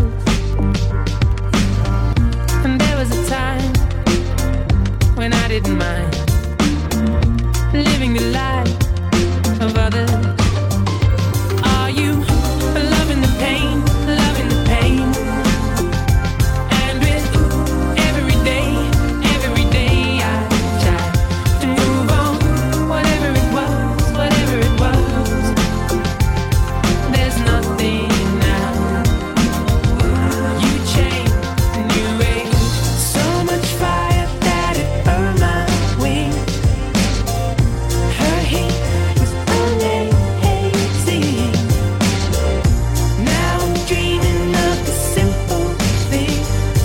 And there was a time when I didn't mind living the life of others. Are you loving the pain, loving the pain? And with every day, every day I try to move on. Whatever it was, whatever it was, there's nothing now. You changed, new age. So much fire that it burned my wings. Her heat was amazing. Now I'm dreaming of the simple thing.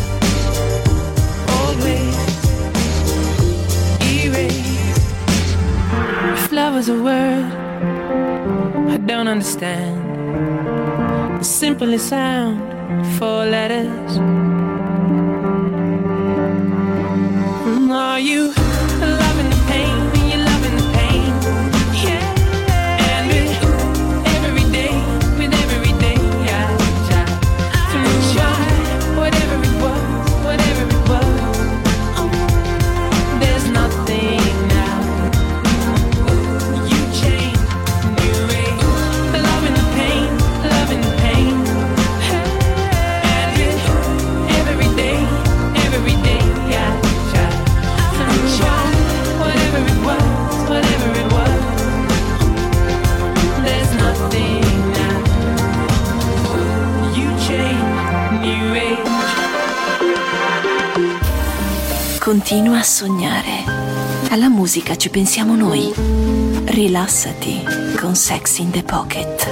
Old ways erased. If love was a word I don't understand, the simplest sound, four letters. Mm, Are you loving the pain? You loving the pain? Yeah. And with every day, with every day I try to move on. Whatever it was, whatever it was, there's nothing now. You changed, new age. Loving the pain, loving the pain. And with every day, every day I try to move on. Whatever it was, whatever it was, there's nothing now. You changed, new age. Continua a sognare. Alla musica ci pensiamo noi. Rilassati con Sex in the Pocket.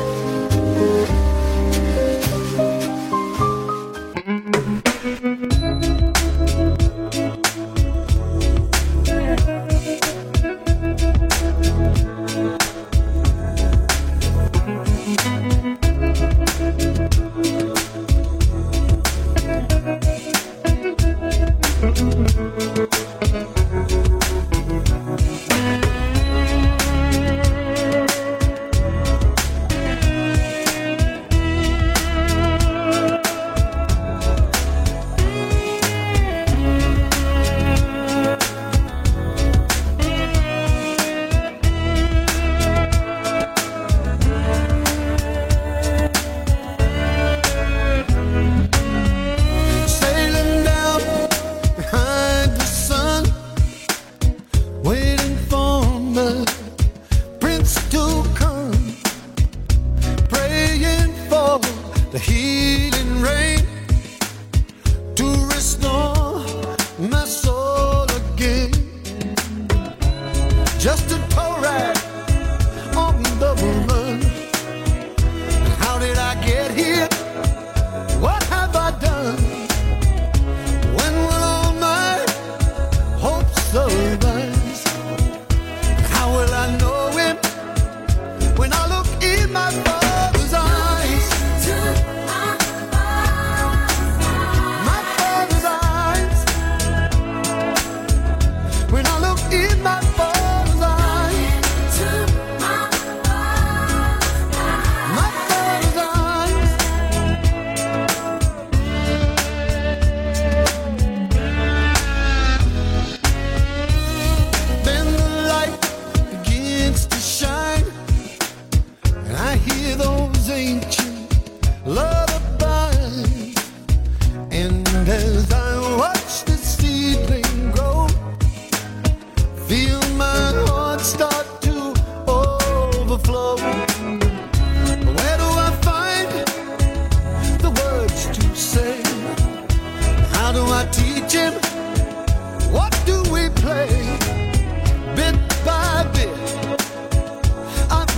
Sailing down behind the sun, waiting for the prince to come, praying for the healing rain to restore my soul again. Just a tow ride on the run. How did I get here? What have I done? When will all my hopes arise? How will I know him when I look in my father's eyes?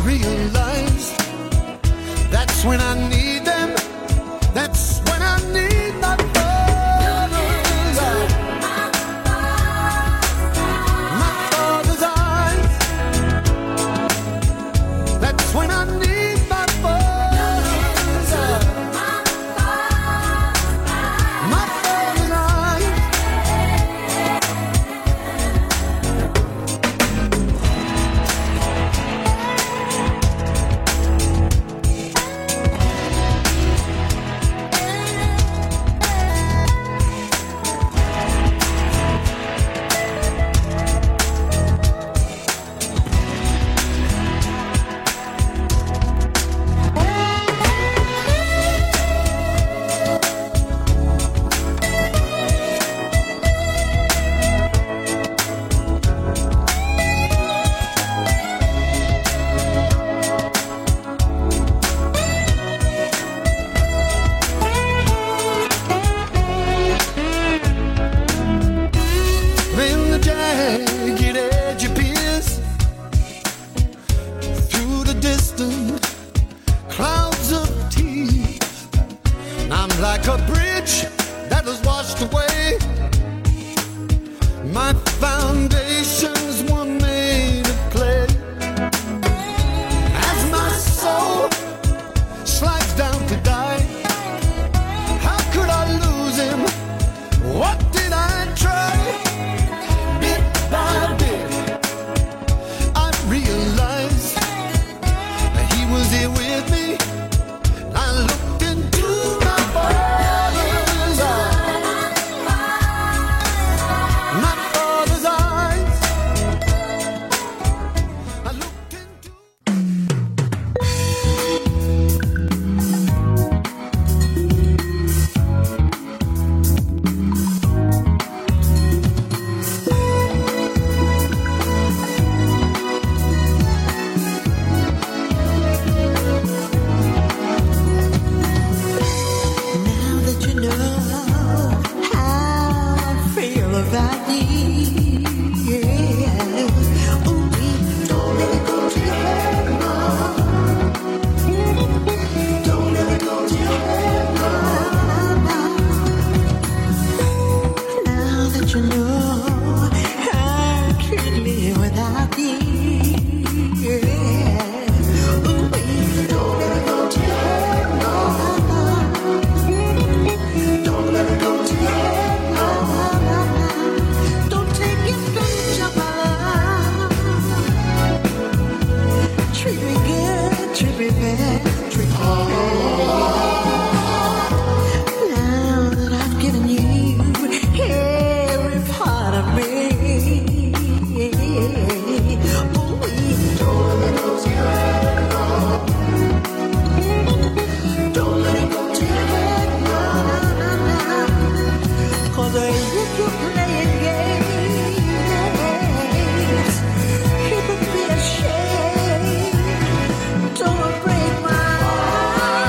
realize that's when I need them. That's when I need my father's eyes. My father's eyes. That's when I need my father's eyes. My father's eyes. Like a bridge that was washed away, my foundations were made of clay. As my soul slides down to die, how could I lose him? What did I try? Bit by bit, I realized that he was here with me. I looked into my father's eyes, my father's eyes. I looked into. Don't break my heart.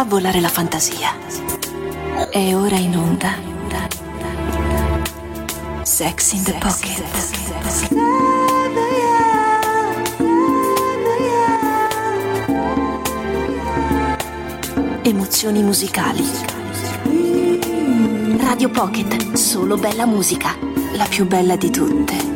Fa volare la fantasia. È ora in onda Sex in the Pocket. Emozioni musicali. Radio Pocket, solo bella musica, la più bella di tutte.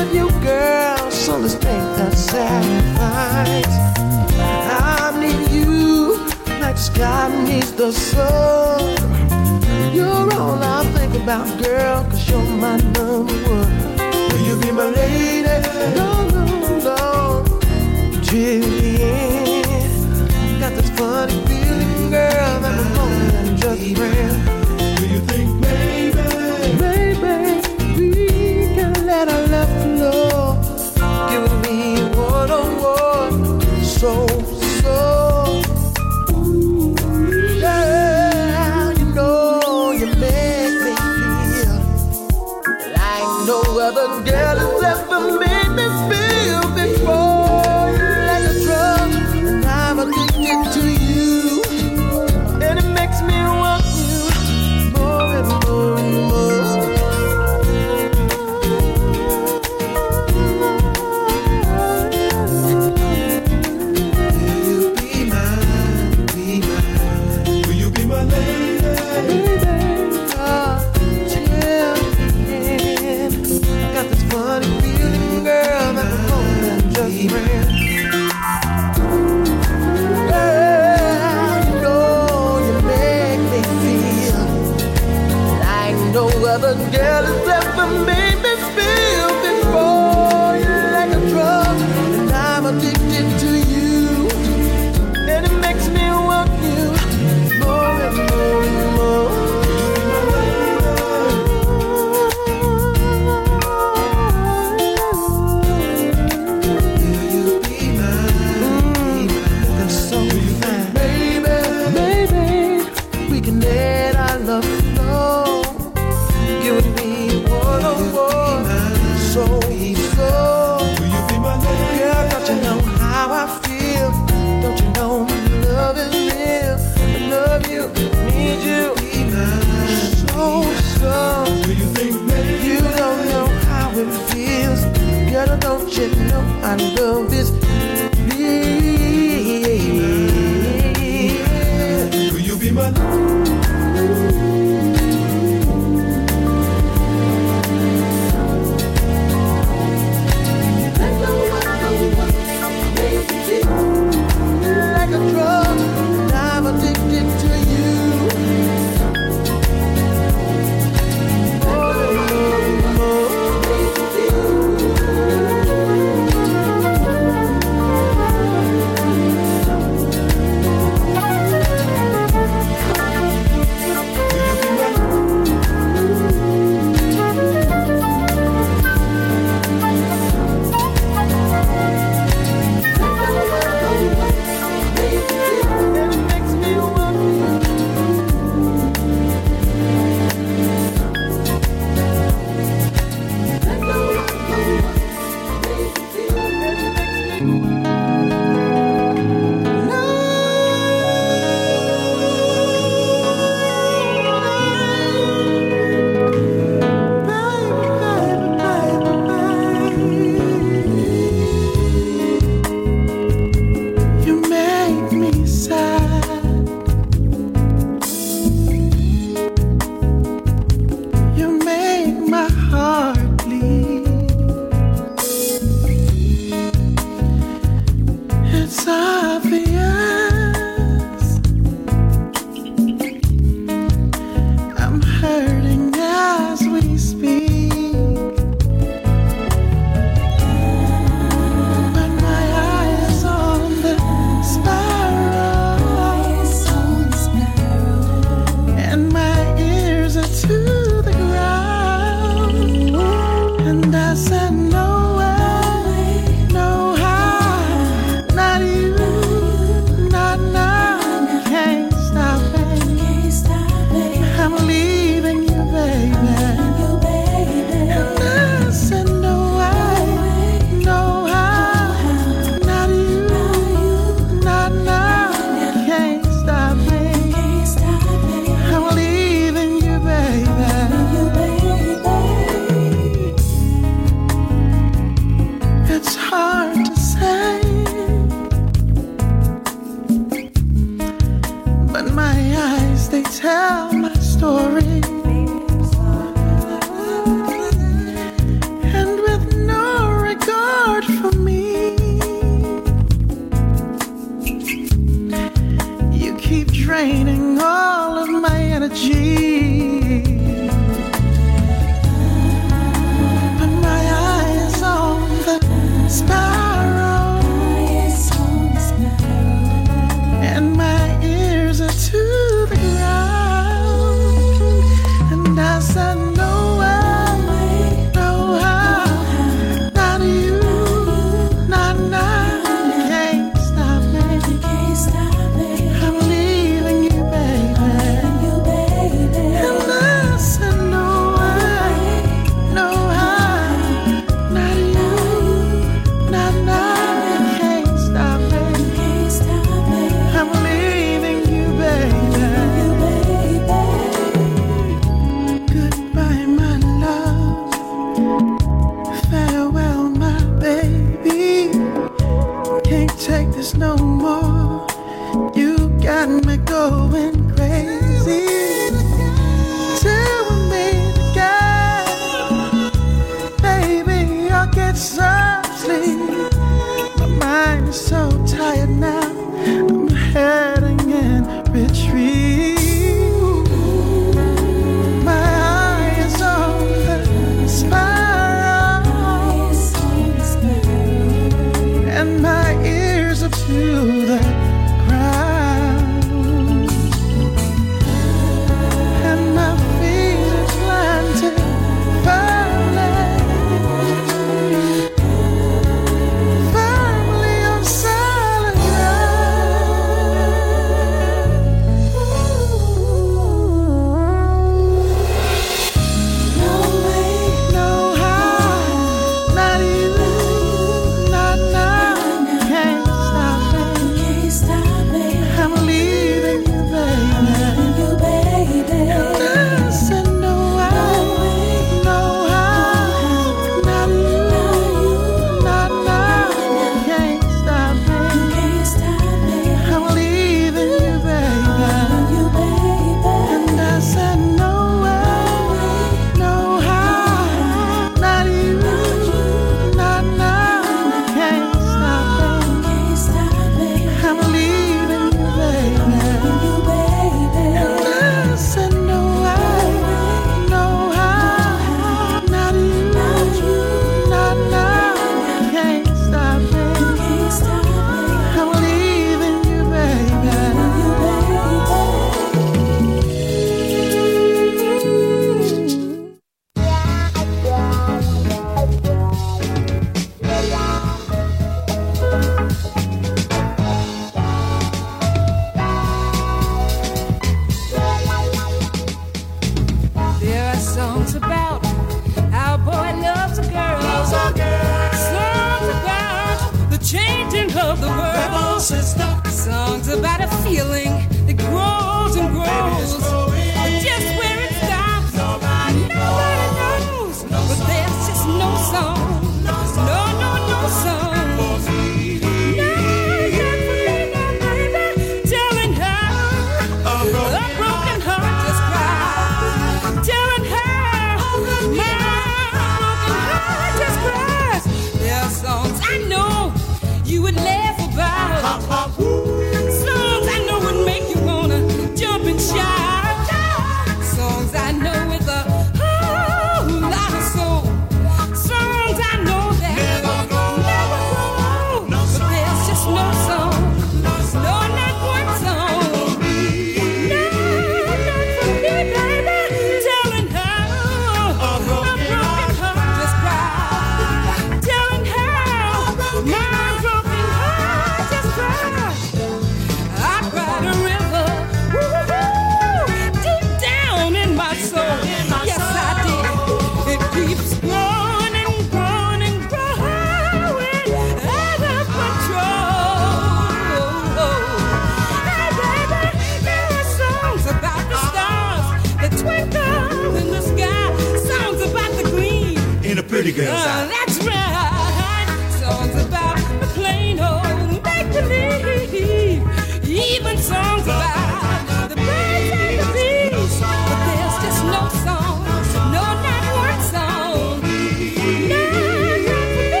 Pretty girls uh, that's right. Songs about the plain old make-believe. Even songs about the birds and the bees. But there's just no song, no, not one song. No, not for me,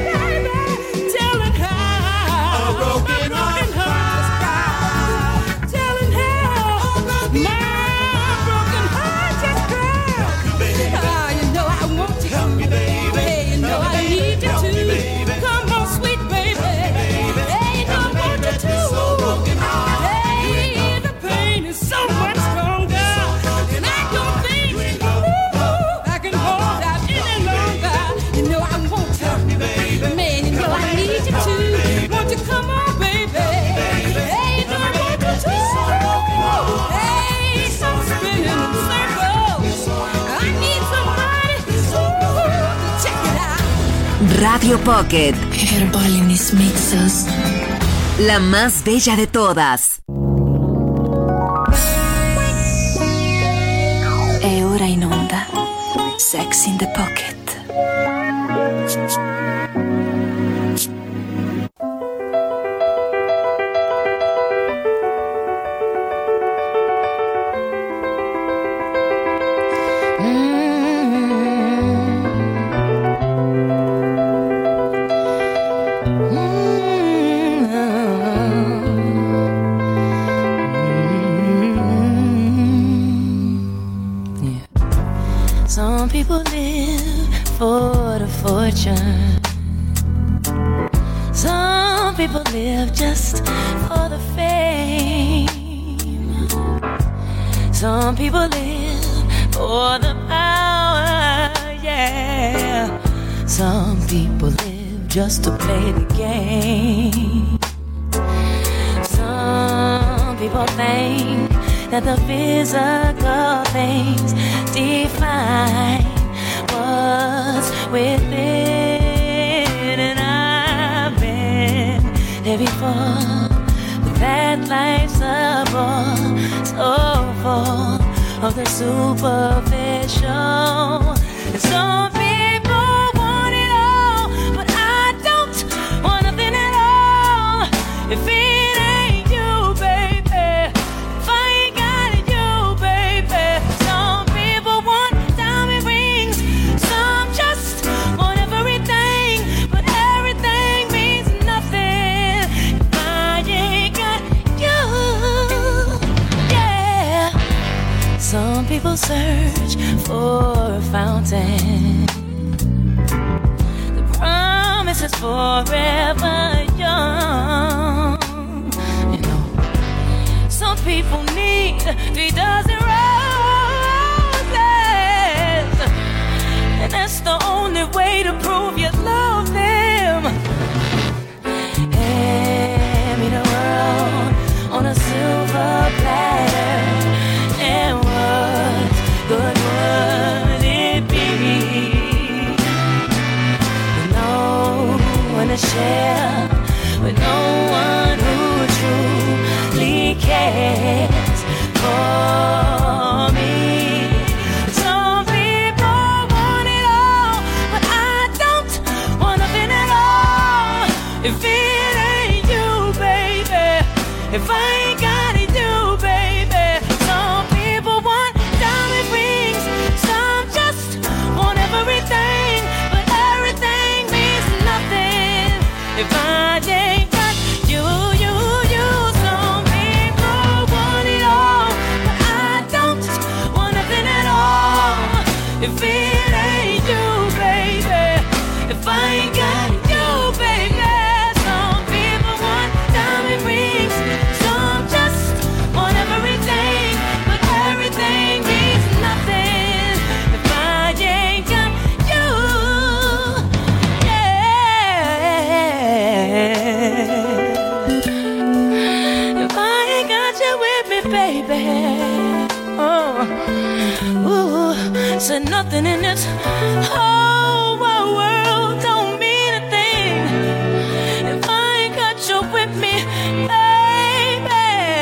baby. Telling how a broken heart has cried. Telling how my broken heart just cried. Ah, you know I want you. Help me, baby. Hey, you know I need you Help to. me, baby. Come on, sweet baby. Hey, you know I want you to. So broken heart. Hey, the pain is so much stronger. And I don't think ooh, I can hold out any longer. You know I want you. Help me, baby. Man, you know I need you to. Won't you come on, baby? Hey, you know I want you to. Hey, so spinning in circles. I need somebody ooh, to check it out. Radio Pocket. Herbalinis Mixes. La más bella de todas. È ora in onda Sex in the Pocket. Mm-hmm. for the fortune. Some people live just for the fame. Some people live for the power, yeah. Some people live just to play the game. Some people think that the physical things define what's within. And I've been there before, but that life's a bore, so full of the superficial. And some people want it all, but I don't want nothing at all. If it ain't you, baby, if I ain't got it, you, baby. Some people want diamond rings, some just want everything, but everything means nothing if I ain't got you. Yeah. Some people search for a fountain. The promise is forever young. You know, some people need three dozen roses, and that's the only way to prove you love them. Hand me the world on a silver platter, and what good would it be? With no one to share, with no one who truly cares for me. Some people want it all, but I don't want nothing at all. If it ain't you, baby, if I ain't got it, you, baby. Some people want diamond rings, some just want everything, but everything means nothing if I ain't got you, you, you. Some people want it all, but I don't want nothing at all. If it ain't you, baby, if I ain't got it, you, baby. Some people want diamond rings, some just want everything, but everything means nothing if I ain't got you. Yeah. If I ain't got you with me, baby. Oh, ooh, said nothing in this whole wide world don't mean a thing if I ain't got you with me, baby.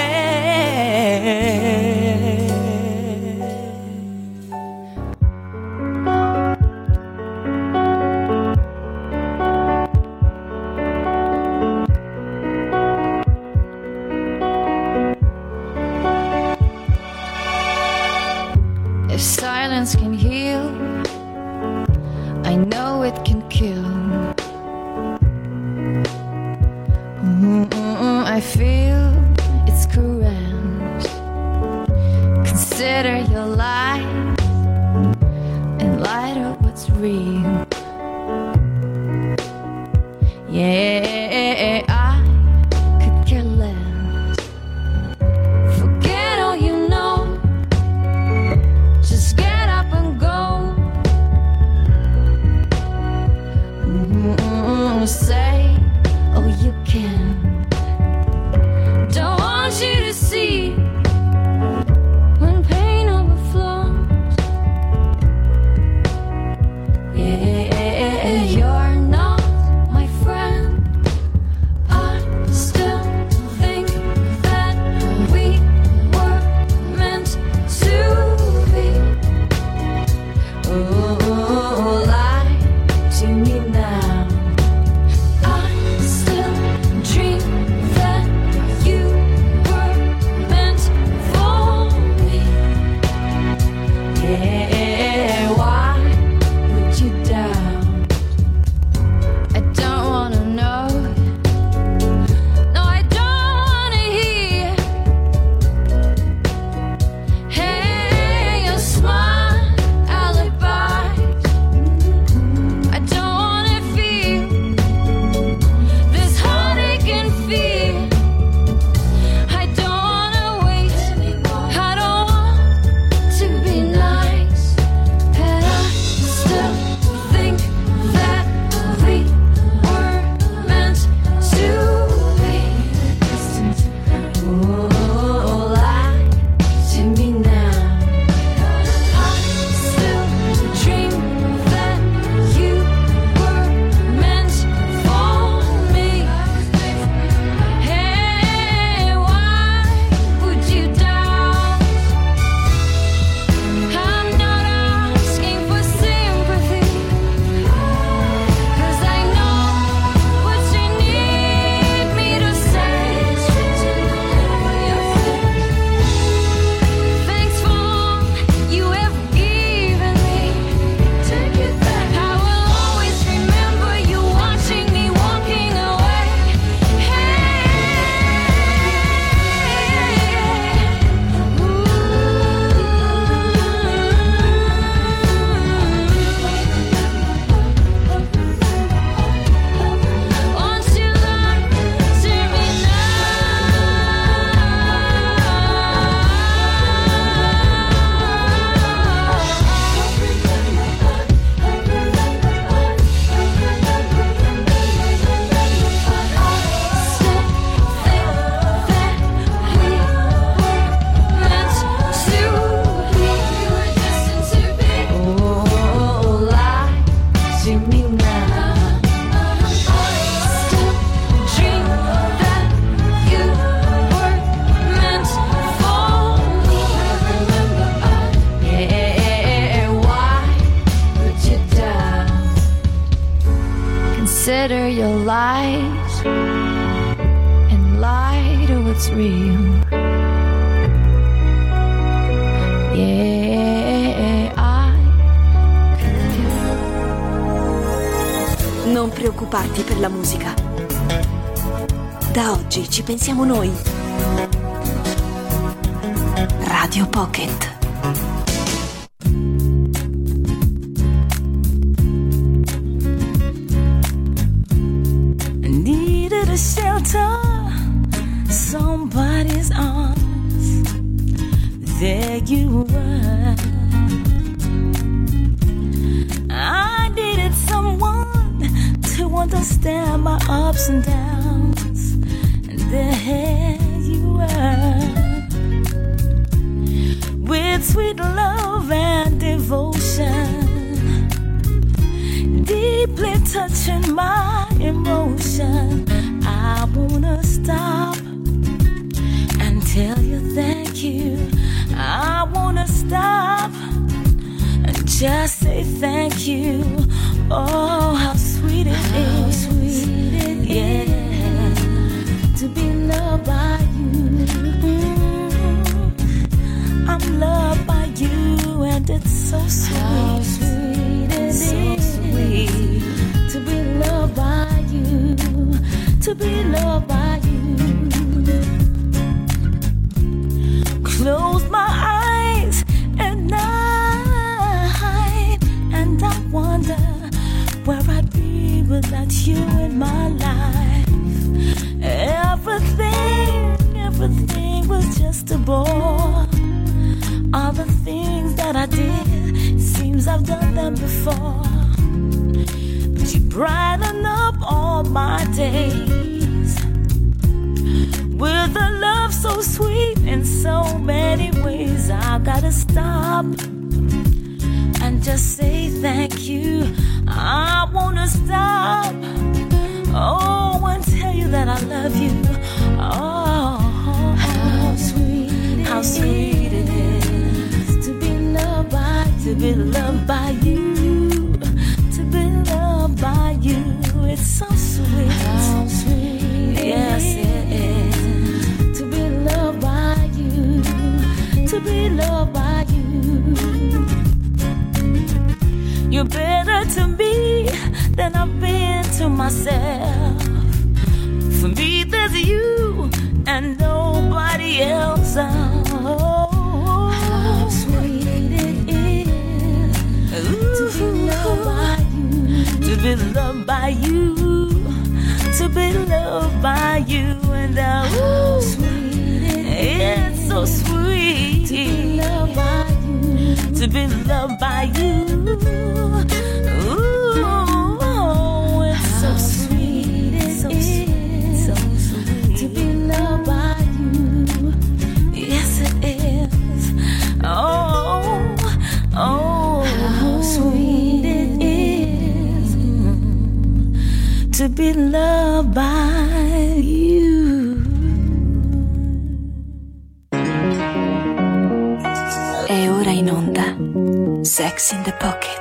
If silence can heal, I know it can kill. Mm-mm, I feel it's correct. Consider your life and light up what's real. Yeah, I could care less. Forget all you know. Just get up and go. Mm-mm, say, oh, you can. Don't want you to see when pain overflows. Yeah, you're not my friend. Consider your lies and lie to what's real. Yeah, I could do. Non preoccuparti per la musica. Da oggi ci pensiamo noi. Radio Pocket. Needed a shelter, somebody's arms. There you were. I needed someone to understand my ups and downs, and there you were, with sweet love and devotion, deeply touching my emotion. I wanna stop and tell you thank you. I wanna stop and just say thank you. Oh, how sweet it how is, sweet it yeah, is to be loved by you. Mm, I'm loved by you, and it's so sweet. How sweet it so is sweet to be loved by you, to be loved by you. Close my eyes at night, and I wonder where I'd be without you in my life. Everything, everything was just a bore. All the things that I did, seems I've done them before. But you brighten up all my days with a love so sweet in so many ways. I gotta stop and just say thank you. I wanna stop, oh, and tell you that I love you. Oh, how sweet, how sweet it is to be loved by you, to be loved by you, to be loved by you. It's so sweet, how sweet, yes it is to be loved by you, to be loved by you. You're better to me than I've been to myself. For me, there's you and nobody else. Oh, how sweet it is Ooh, to be loved by you, to be loved by you, to be loved by you. And uh, how sweet it is, it's so sweet to be loved by you, to be loved by you. Ooh, it's so sweet, it's so sweet, so sweet to be loved by you. Yes, it is. Oh, oh, how sweet it is to be loved by you. E ora in onda Sex in the Pocket.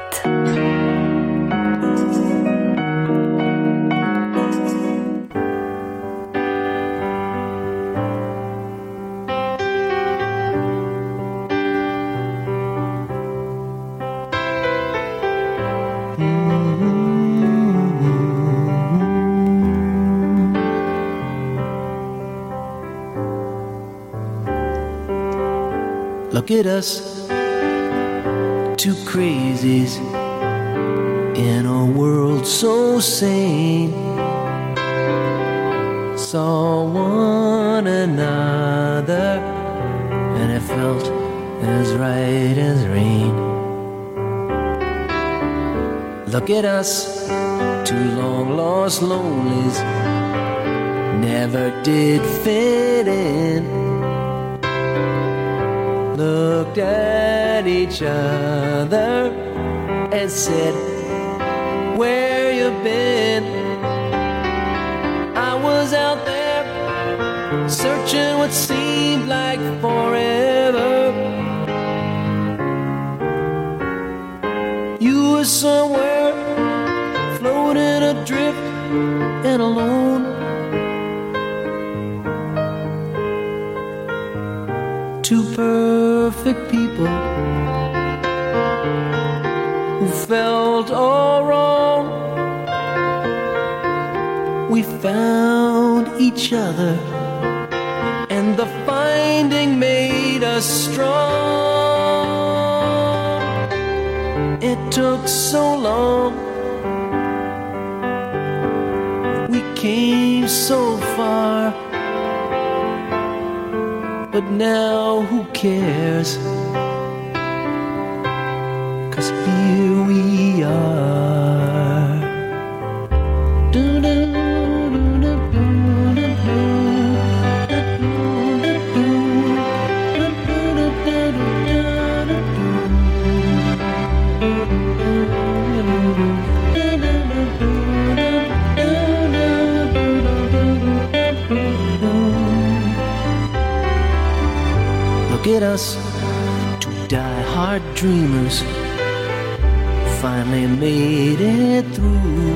Look at us, two crazies in a world so sane. Saw one another and it felt as right as rain. Look at us, two long lost lonelies, never did fit in. Looked at each other and said, where you been? I was out there searching what seemed like forever. You were somewhere floating adrift and alone. Two perfect people who felt all wrong. We found each other, and the finding made us strong. It took so long, we came so far, but now who cares? 'Cause here we are. Do-do. Look at us, two die-hard dreamers, finally made it through.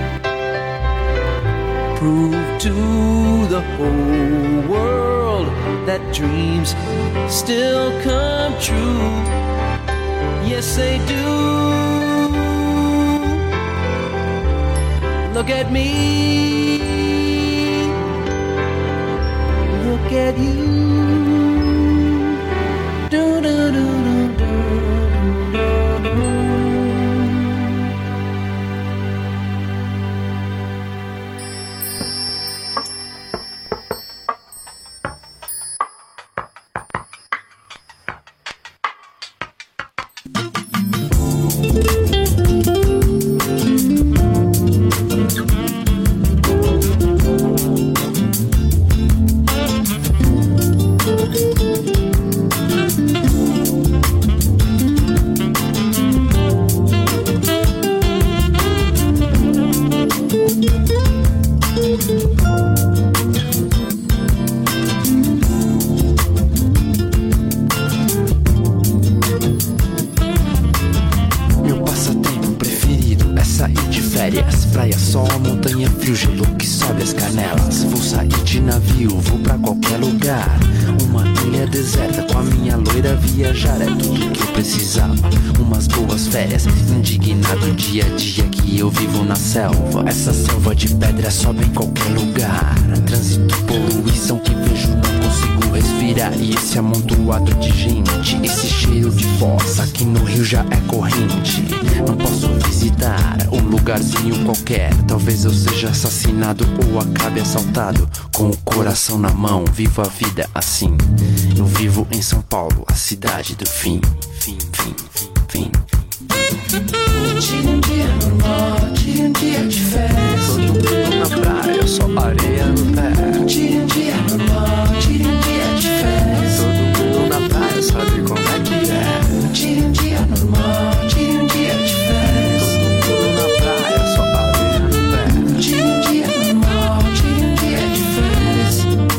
Prove to the whole world that dreams still come true. Yes, they do. Look at me, look at you. Do, do, do, do, do, do, do. Praia, sol, montanha, frio, gelo que sobe as canelas. Vou sair de navio, vou pra qualquer lugar. Uma ilha deserta com a minha loira viajar. É tudo que eu precisava, umas boas férias. Indignado dia a dia que eu vivo na selva. Essa selva de pedra sobe em qualquer lugar. Trânsito, poluição que vejo, não consigo respirar. E esse amontoado de gente, esse cheiro de fossa aqui no Rio já é corrente. Não posso visitar um lugarzinho qualquer. Talvez eu seja assassinado ou acabe assaltado. Com o coração na mão, vivo a vida assim. Eu vivo em São Paulo, a cidade do fim. Fim, fim, fim, fim. Tire um dia normal, tire um dia de férias. Todo mundo na praia, só areia no pé. Tire um dia normal, tire um dia de férias. Todo mundo na praia, sabe como é que é. Tire um dia normal, tire um dia de férias. Todo mundo na praia, só areia no pé. Tire um dia normal, tire um dia de férias.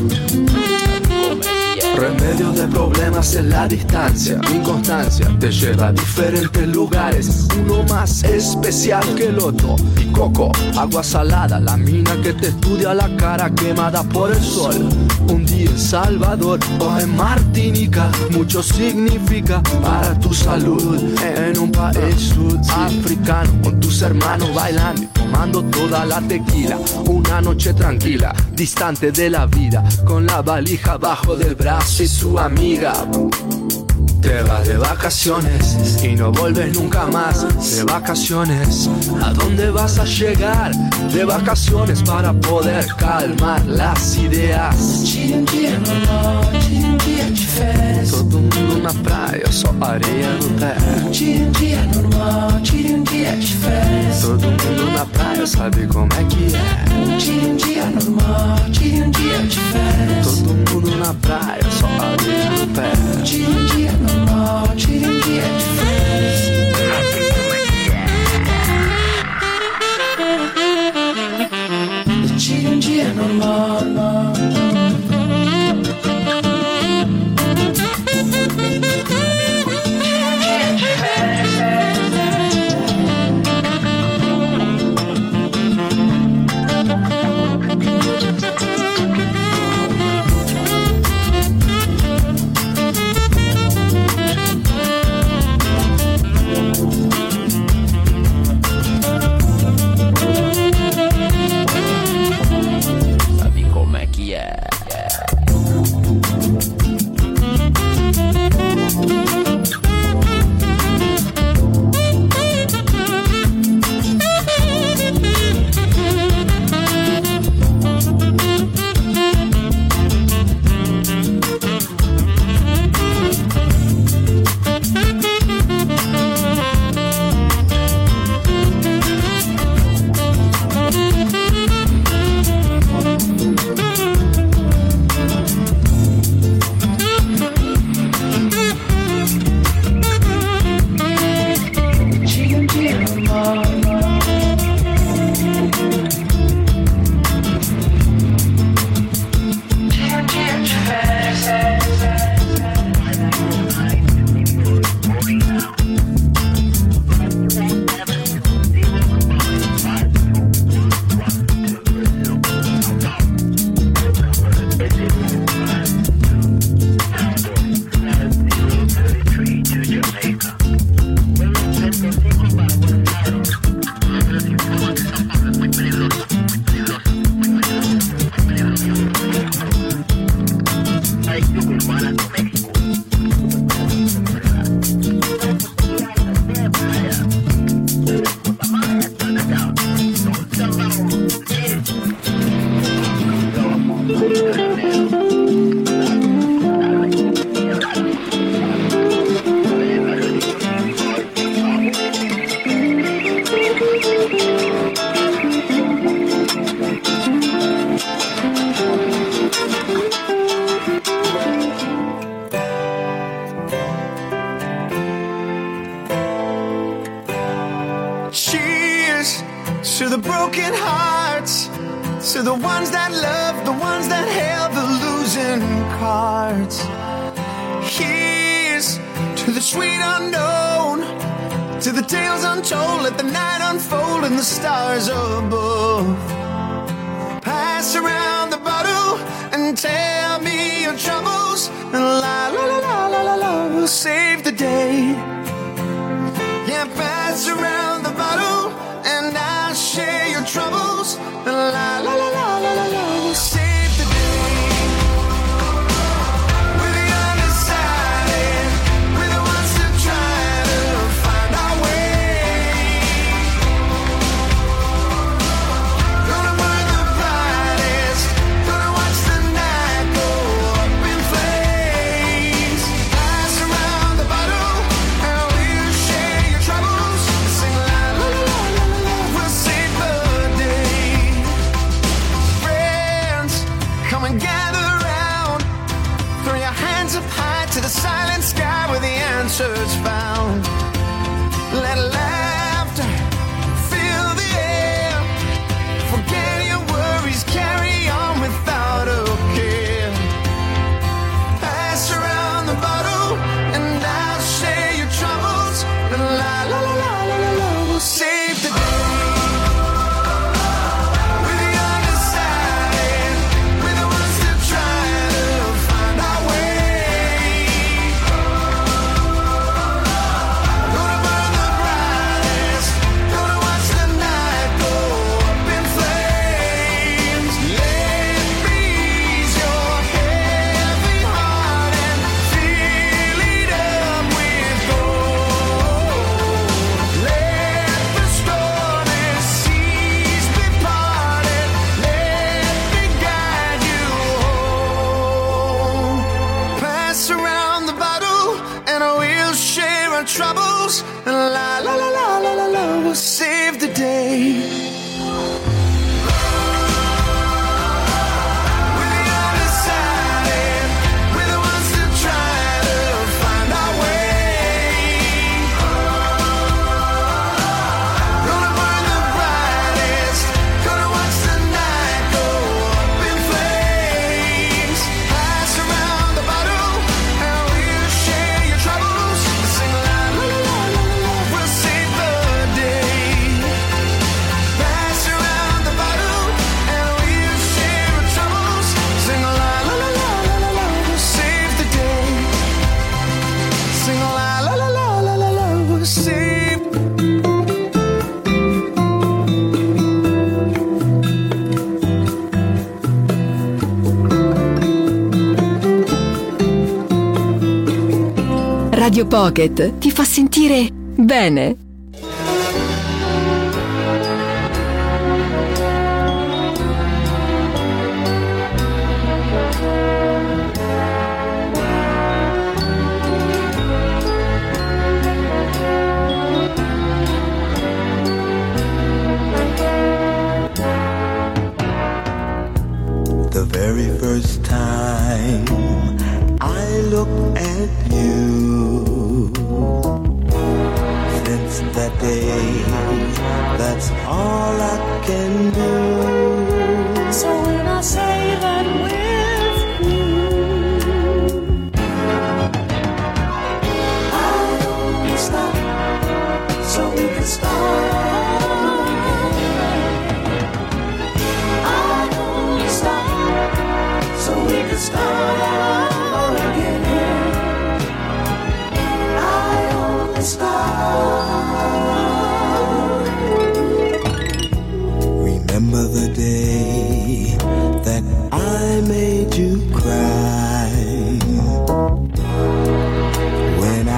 Remedio de problemas en la distancia. Mi constancia te lleva a diferentes lugares, uno más especial que el otro. Y coco, agua salada, la mina que te estudia la cara quemada por el sol. Un día en Salvador o en Martinica, mucho significa para tu salud. En un país sudafricano, con tus hermanos bailando y tomando toda la tequila. Una noche tranquila, distante de la vida, con la valija abajo del brazo y su amiga. Te vas de vacaciones y no vuelves nunca más. De vacaciones, ¿a dónde vas a llegar? De vacaciones para poder calmar las ideas. Tire um dia normal, tire um dia de férias. Todo mundo na praia, só areia no pé. Tire um dia normal, tire um dia de férias. Todo mundo na praia, sabe como é que é. Tire um dia normal, tire um dia de férias. Todo mundo na praia, só areia no pé. Tire um dia normal, tire um dia de férias. Tire um dia normal, normal. To the broken hearts, to the ones that love, the ones that held the losing cards. Here's to the sweet unknown, to the tales untold, let the night unfold and the stars above. Pass around the bottle and tell me your troubles, and la la la la la la la will save the day. Yeah, pass around the bottle and I'll share your troubles, and la la la la la la la will save the day. We're the undecided, we're the ones that try to find our way. Gonna burn the brightest, gonna watch the night go up in flames. Pass around the bottle and we'll share your troubles, sing la la la la la la, we'll save the day. Friends, come and gather round, throw your hands up high to the silent sky where the answer's found. Let laughter fill the air, forget your worries, carry on without a care. Pass around the bottle and I'll share your troubles, and la la la la la la la will save the day. We're the undecided, we're the ones that try to find our way. Gonna burn the brightest, gonna watch the night go up in flames. Let me ease your heavy heart and fill it up with gold. Let the stormy seas be parted, let me guide you home. Pass around the bottle and we'll share our troubles, and la la la la la la la will save the day. We're the undecided, we're the ones that try to find our way. Gonna burn the brightest, gonna watch the night go up in flames. Pass around the bottle and we'll share your troubles, sing la la la la la la, we'll save the day. Pass around the bottle and we'll share our troubles, sing la la la la la la la, we'll save the day. Sing la la la la la la la, we'll save. Radio Pocket ti fa sentire bene. The very first time I looked at you, since that day, that's all I can do. So when I say that with you, I only stop so we can start. I only stop so we can start again. I only stop. Remember the day that I made you cry, when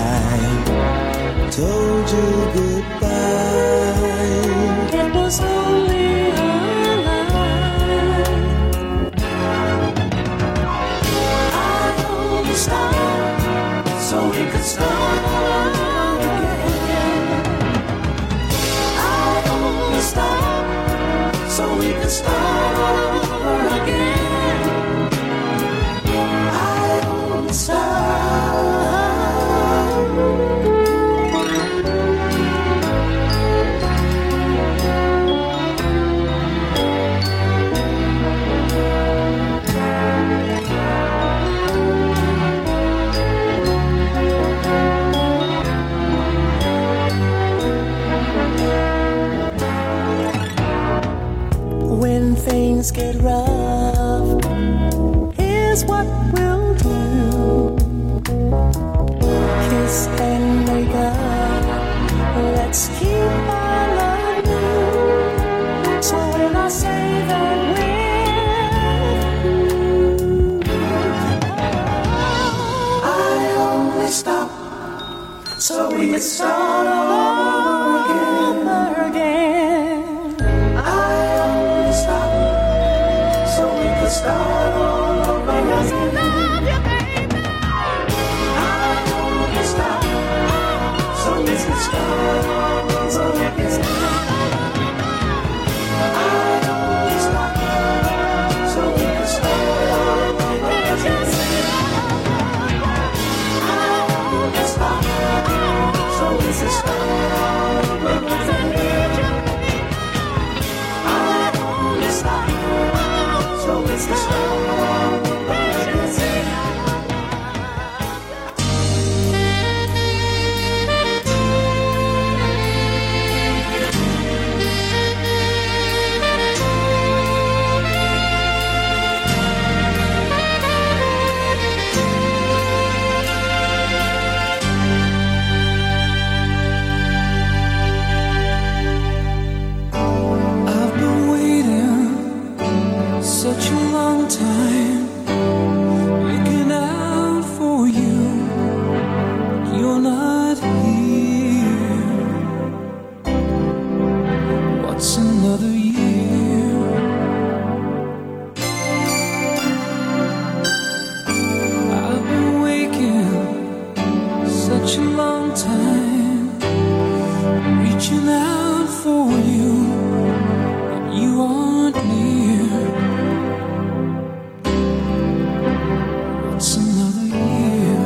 I told you goodbye. It was only a lie. I only stopped so we could start again. I only stopped so we could start again. I only stopped. things get rough, here's what we'll do. Kiss and make up, let's keep our love new. So when I say that we're I only stop so we can start all over again. I only stop so we can start all over again. Love you, baby. I only stop so we can start all over again. I only stop so we can start all over again. I only stop so we can start all over again. I only stop so we can start all over again. Such a long time looking out for you, you're not here. What's another year? I've been waking such a long time, reaching out for you, but you aren't near. What's another year?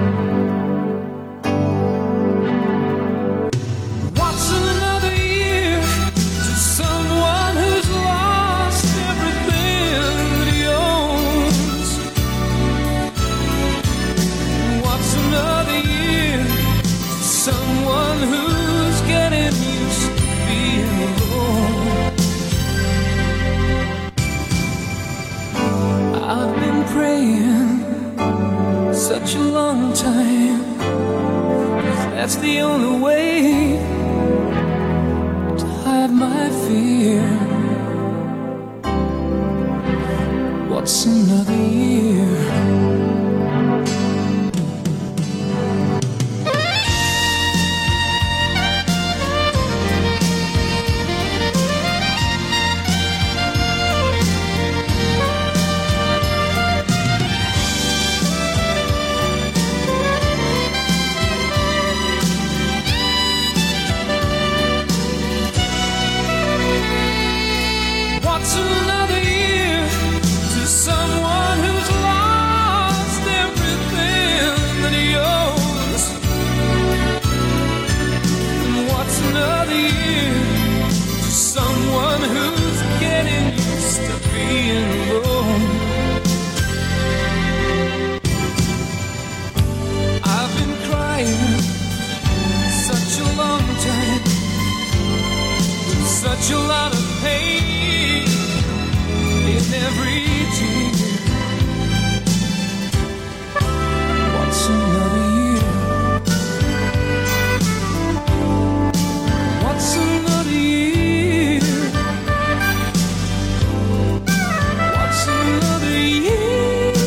What's another year to someone who's lost everything that he owns? What's another year to someone who's getting used to being alone? I've been praying such a long time, 'cause that's the only way to hide my fear. What's another year? What's another year to someone who's lost everything that he owns? And what's another year to someone who's getting used to being alone? I've been crying such a long time, such a lot of pain in every tear. What's another year? What's another year? What's another year?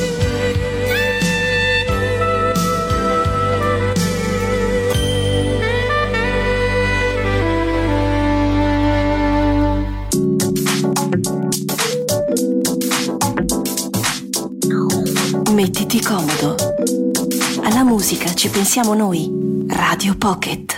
Mettiti comodo. Alla musica ci pensiamo noi. Radio Pocket.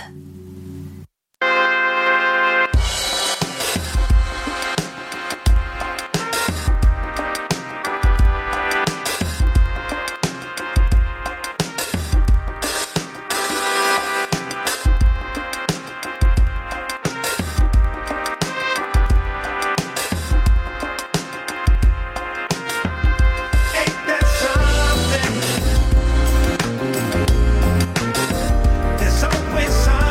There's always something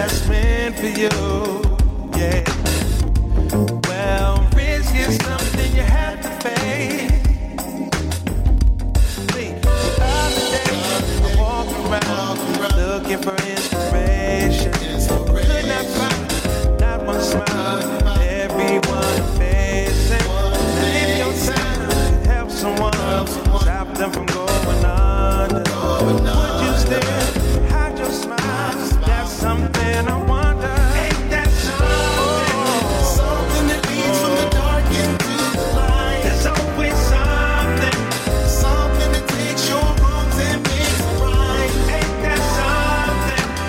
that's meant for you. Yeah. Well, risk is something you have to face. See, the other day I walked around looking for inspiration. Could not find not one smile. Everyone facing. If your time help someone, stop them from going under. Would you still hide your smile? That's something I wonder. Ain't that something? Something that leads from the dark into the light. There's always something. Something that takes your wrongs and makes them right. Ain't that something?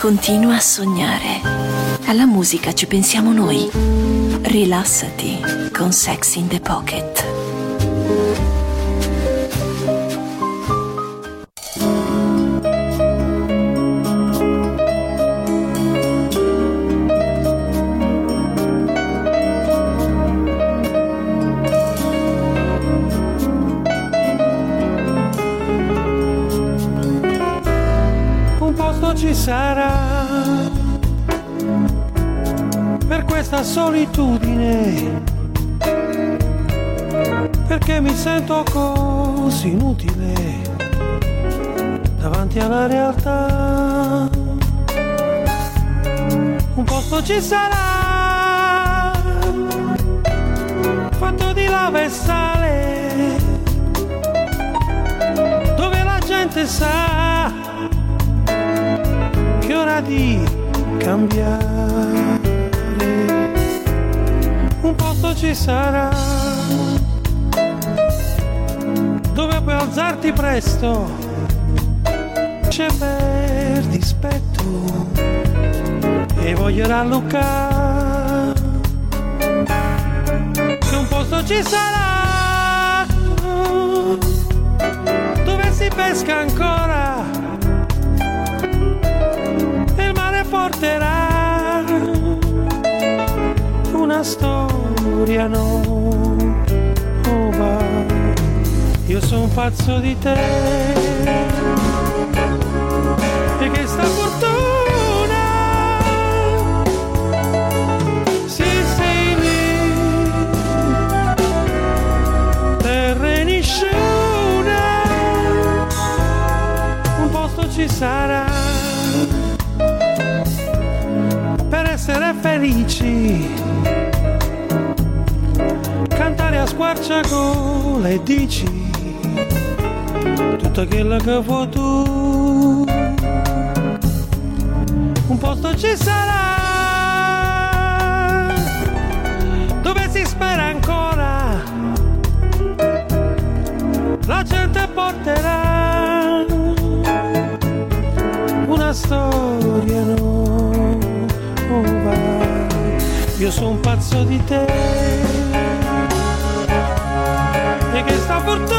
Continua a sognare. Alla musica ci pensiamo noi. Rilassati con Sex in the Pocket. Ci sarà per questa solitudine, perché mi sento così inutile davanti alla realtà. Un posto ci sarà fatto di lava e sale, dove la gente sa che è ora di cambiare. Un posto ci sarà dove puoi alzarti presto, c'è per dispetto e voglio rallucare. Che un posto ci sarà dove si pesca ancora, porterà una storia nuova. Io sono pazzo di te e che sta fortuna, sì sei lì, terra nessuno, un posto ci sarà per essere felici, cantare a squarciagola e dici tutto quello che vuoi tu. Un posto ci sarà dove si spera ancora, la gente porterà una storia nuova. Io sono un pazzo di te e che sta fortuna,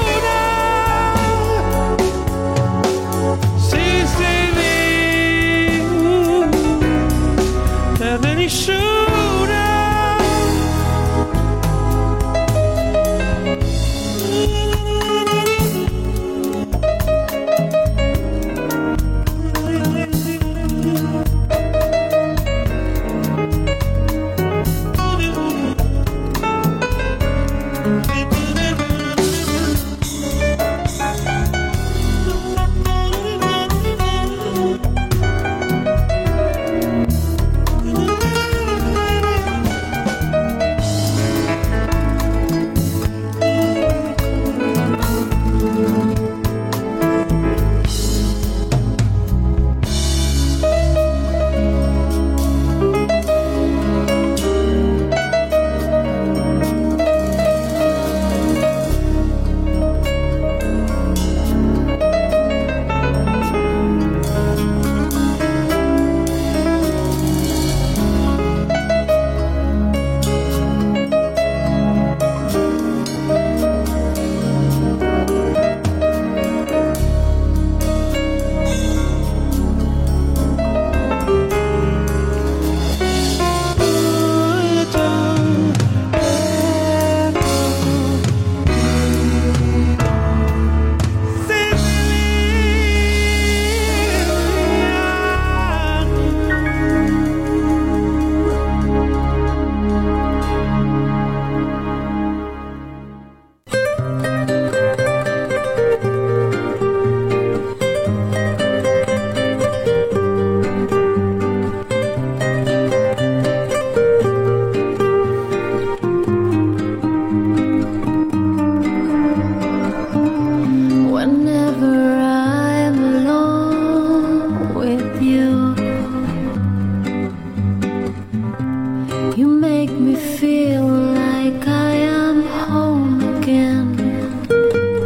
sì sei lì, terra nessuno.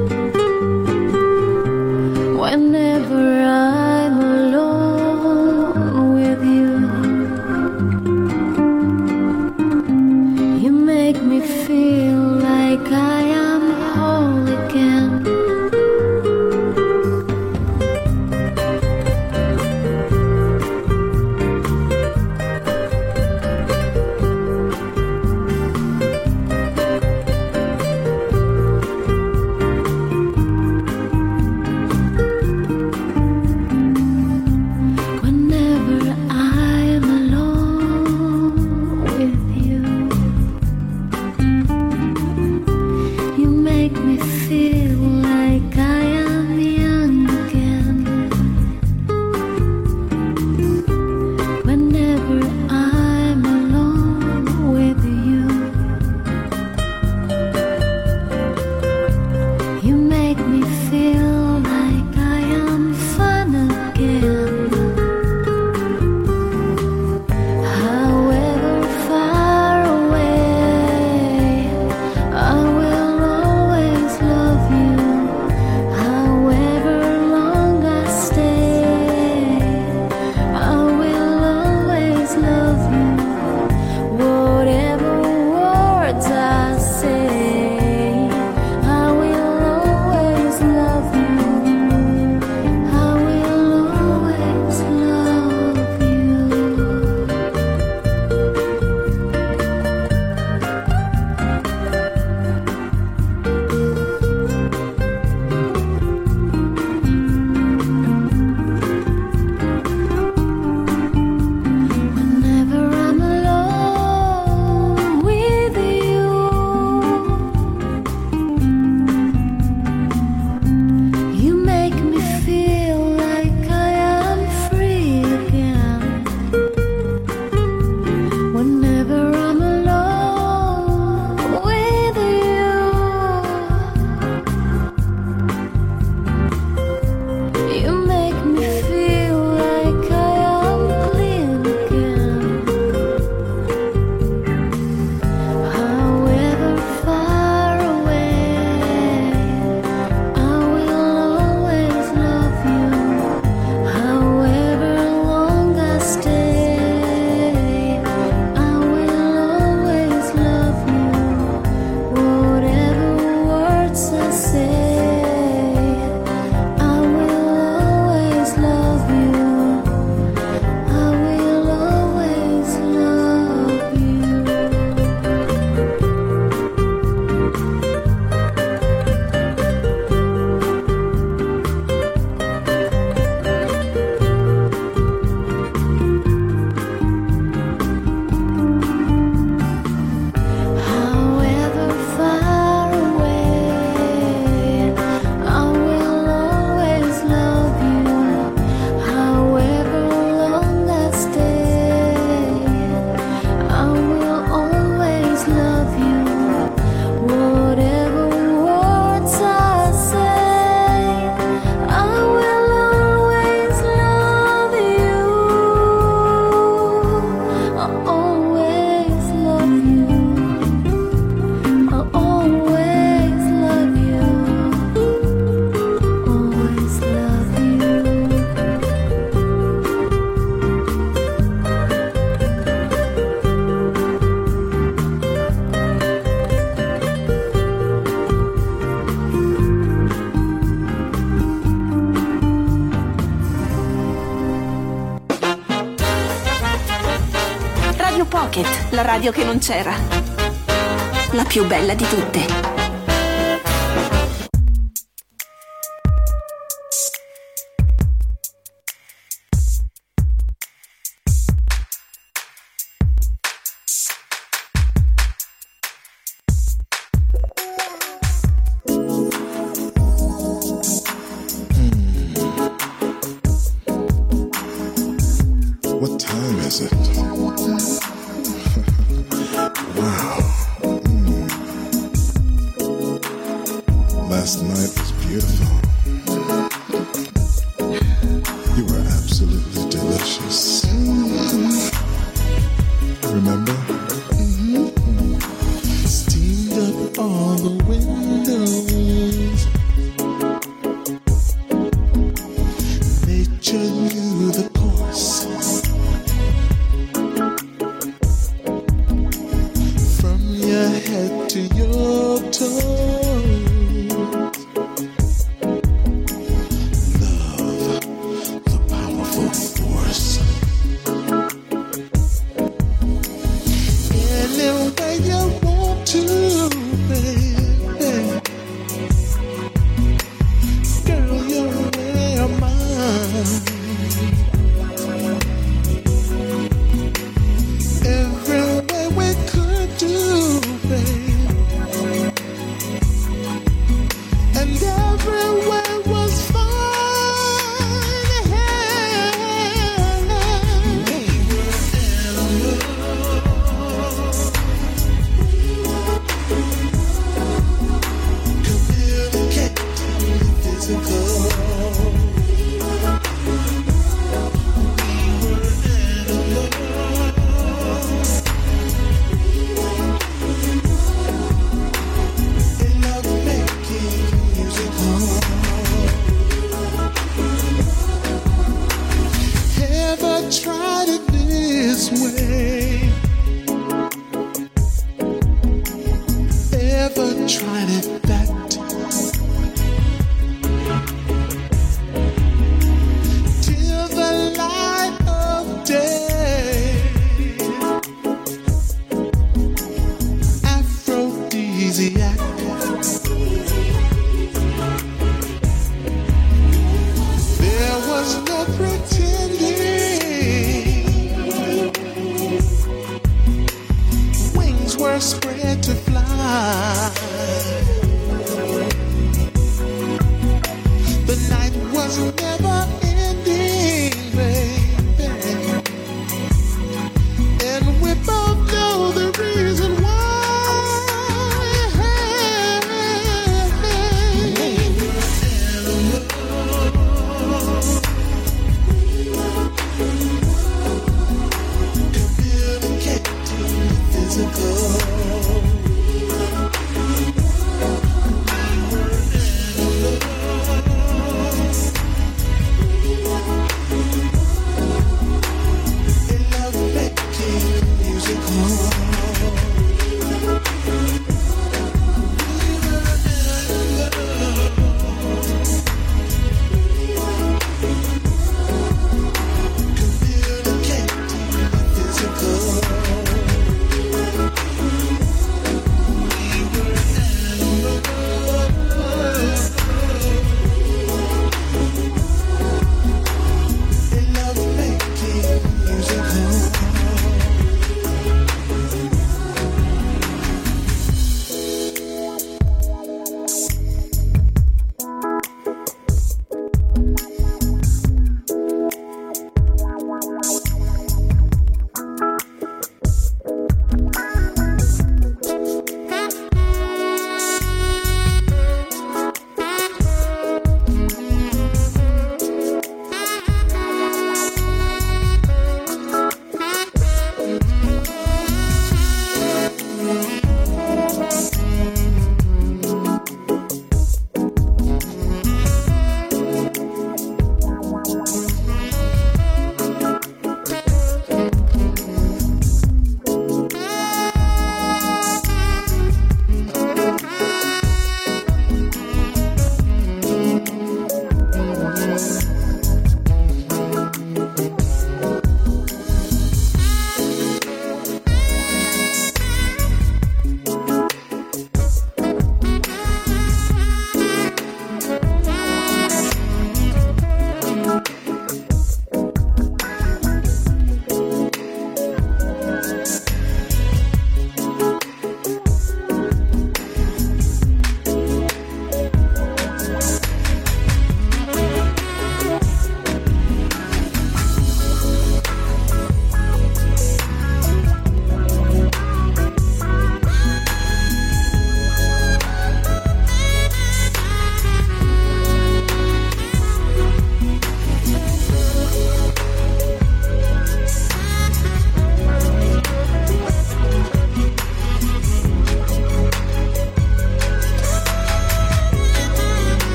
Whenever I'm alone la radio che non c'era. La più bella di tutte.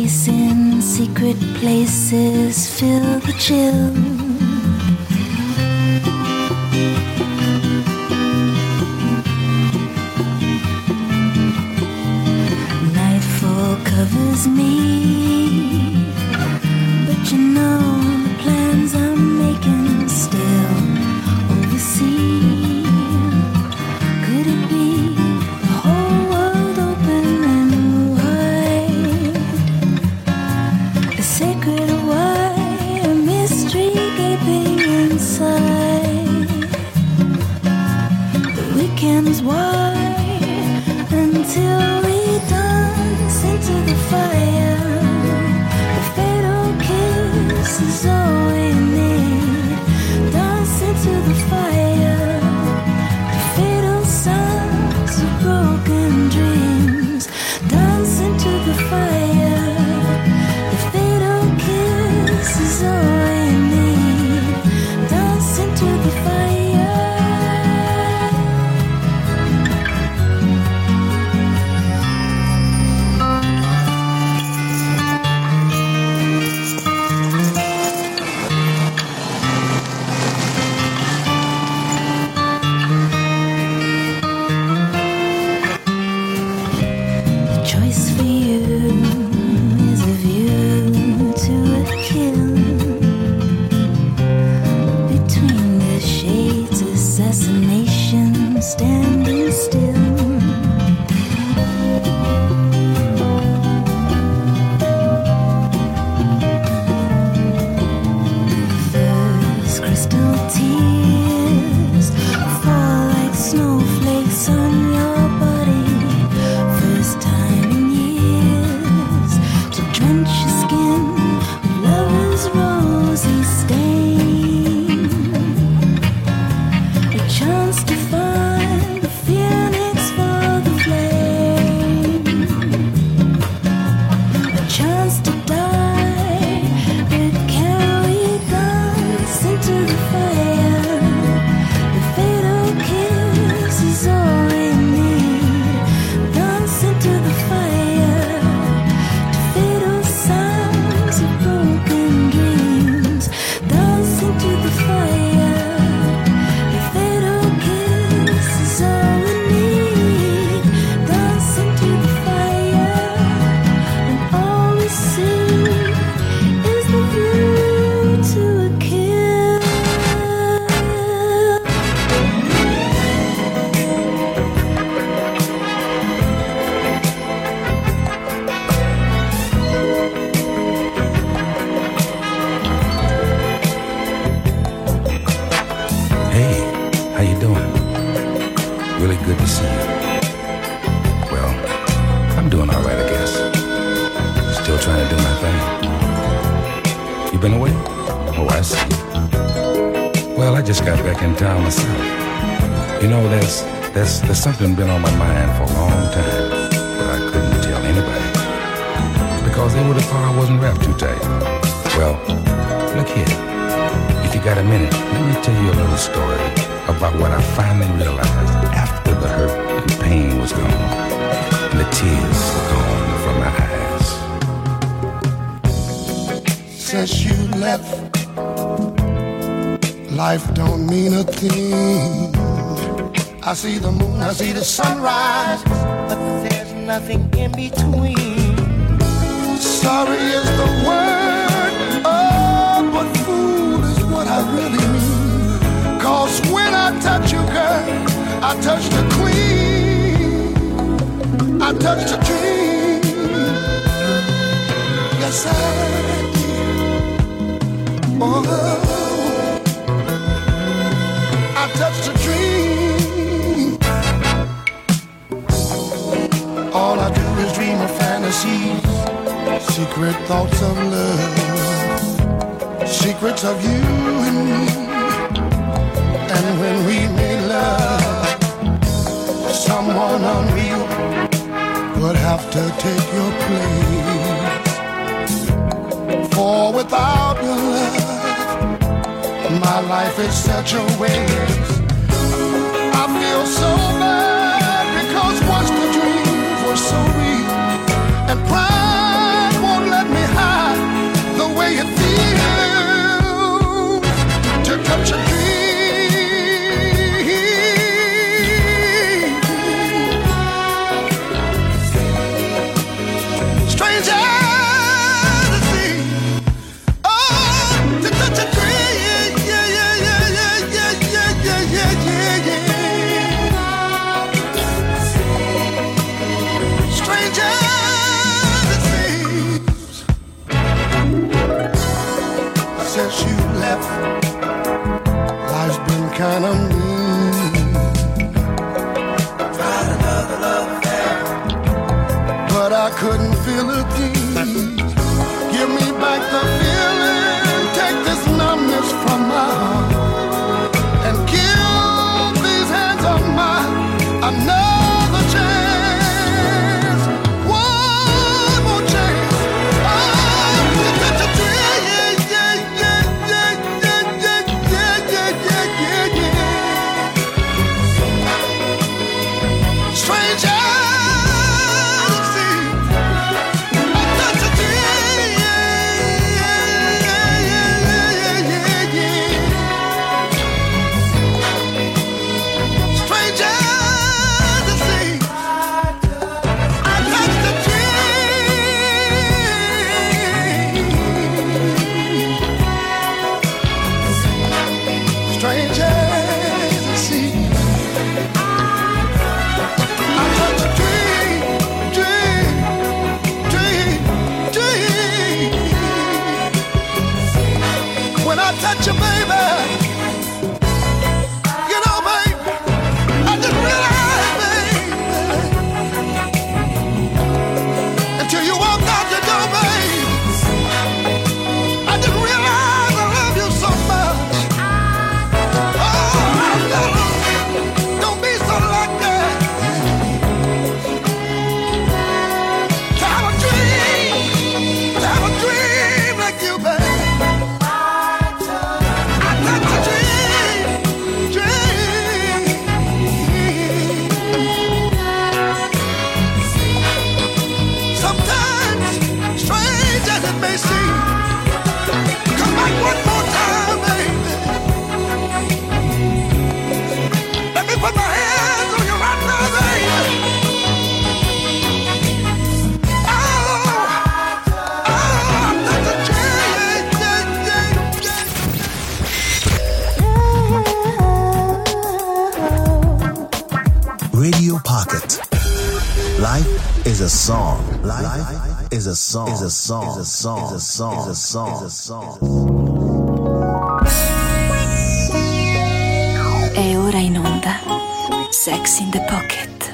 chasing secret places, feel the chill. Nightfall covers me, but you know the plans I'm making still oversee. Could it be the whole world open and wide? A sacred why, a mystery gaping inside. The weekend's wide until we dance into the fire. The fatal kiss is all we need. Dance into the fire. The fatal sounds of broken dreams. Dance into the fire. The fatal kiss is all we need. Dance into the fire. Choice for you is a view to a kill. Between the shades, assassination, standing still. First crystal tears fall like snowflakes on your body. First time in years to drench your skin with lover's rosy stain. A chance to find the phoenix for the flame. A chance to die, but can we dance into the fire? The fatal kiss is all we need. Dance into the fire. The fatal sounds of broken dreams. Dance into the fire. The fatal kiss is all we need. Dance into the fire. And all we see is the view to a kill. Hey, how you doing? Really good to see you. Well, I'm doing all right, I guess. Still trying to do my thing. You been away? Oh, I see. Well, I just got back in town myself. You know, there's there's there's something been on my mind for a long time, but I couldn't tell anybody because they would have thought I wasn't wrapped too tight. Well, look here. If you got a minute, let me tell you a little story about what I finally realized after the hurt and pain was gone and the tears were gone from my eyes. Since you left, life don't mean a thing. I see the moon, I see the sunrise, but there's nothing in between. Sorry is the word, oh, but fool is what I really mean. Cause when I touch you, girl, I touch the queen. I touch the dream. Yes, I did. Oh, I touch the dream. All I do is dream of fantasies, secret thoughts of love, secrets of you and me. And when we made love, someone unreal would have to take your place. For without your love, my life is such a waste. I feel so bad because once the dreams were so real, and pride won't let couldn't feel again. Give me back the feeling, take this numbness from my heart, and give these hands of mine another chance. One more chance. Oh, yeah, yeah, yeah, yeah, yeah, yeah, yeah, yeah, yeah, yeah. Stranger. Touch you, baby. You know, baby, I just realized, baby, until you walked out the door, baby, I just realized I love you so much. Oh, don't be so like that. To have a dream, to have a dream like you, baby. Radio Pocket. Life is a song. Life is a song. Is a song. Is a song. Is a song. Is a song. Is a song. E ora in onda Sex in the Pocket.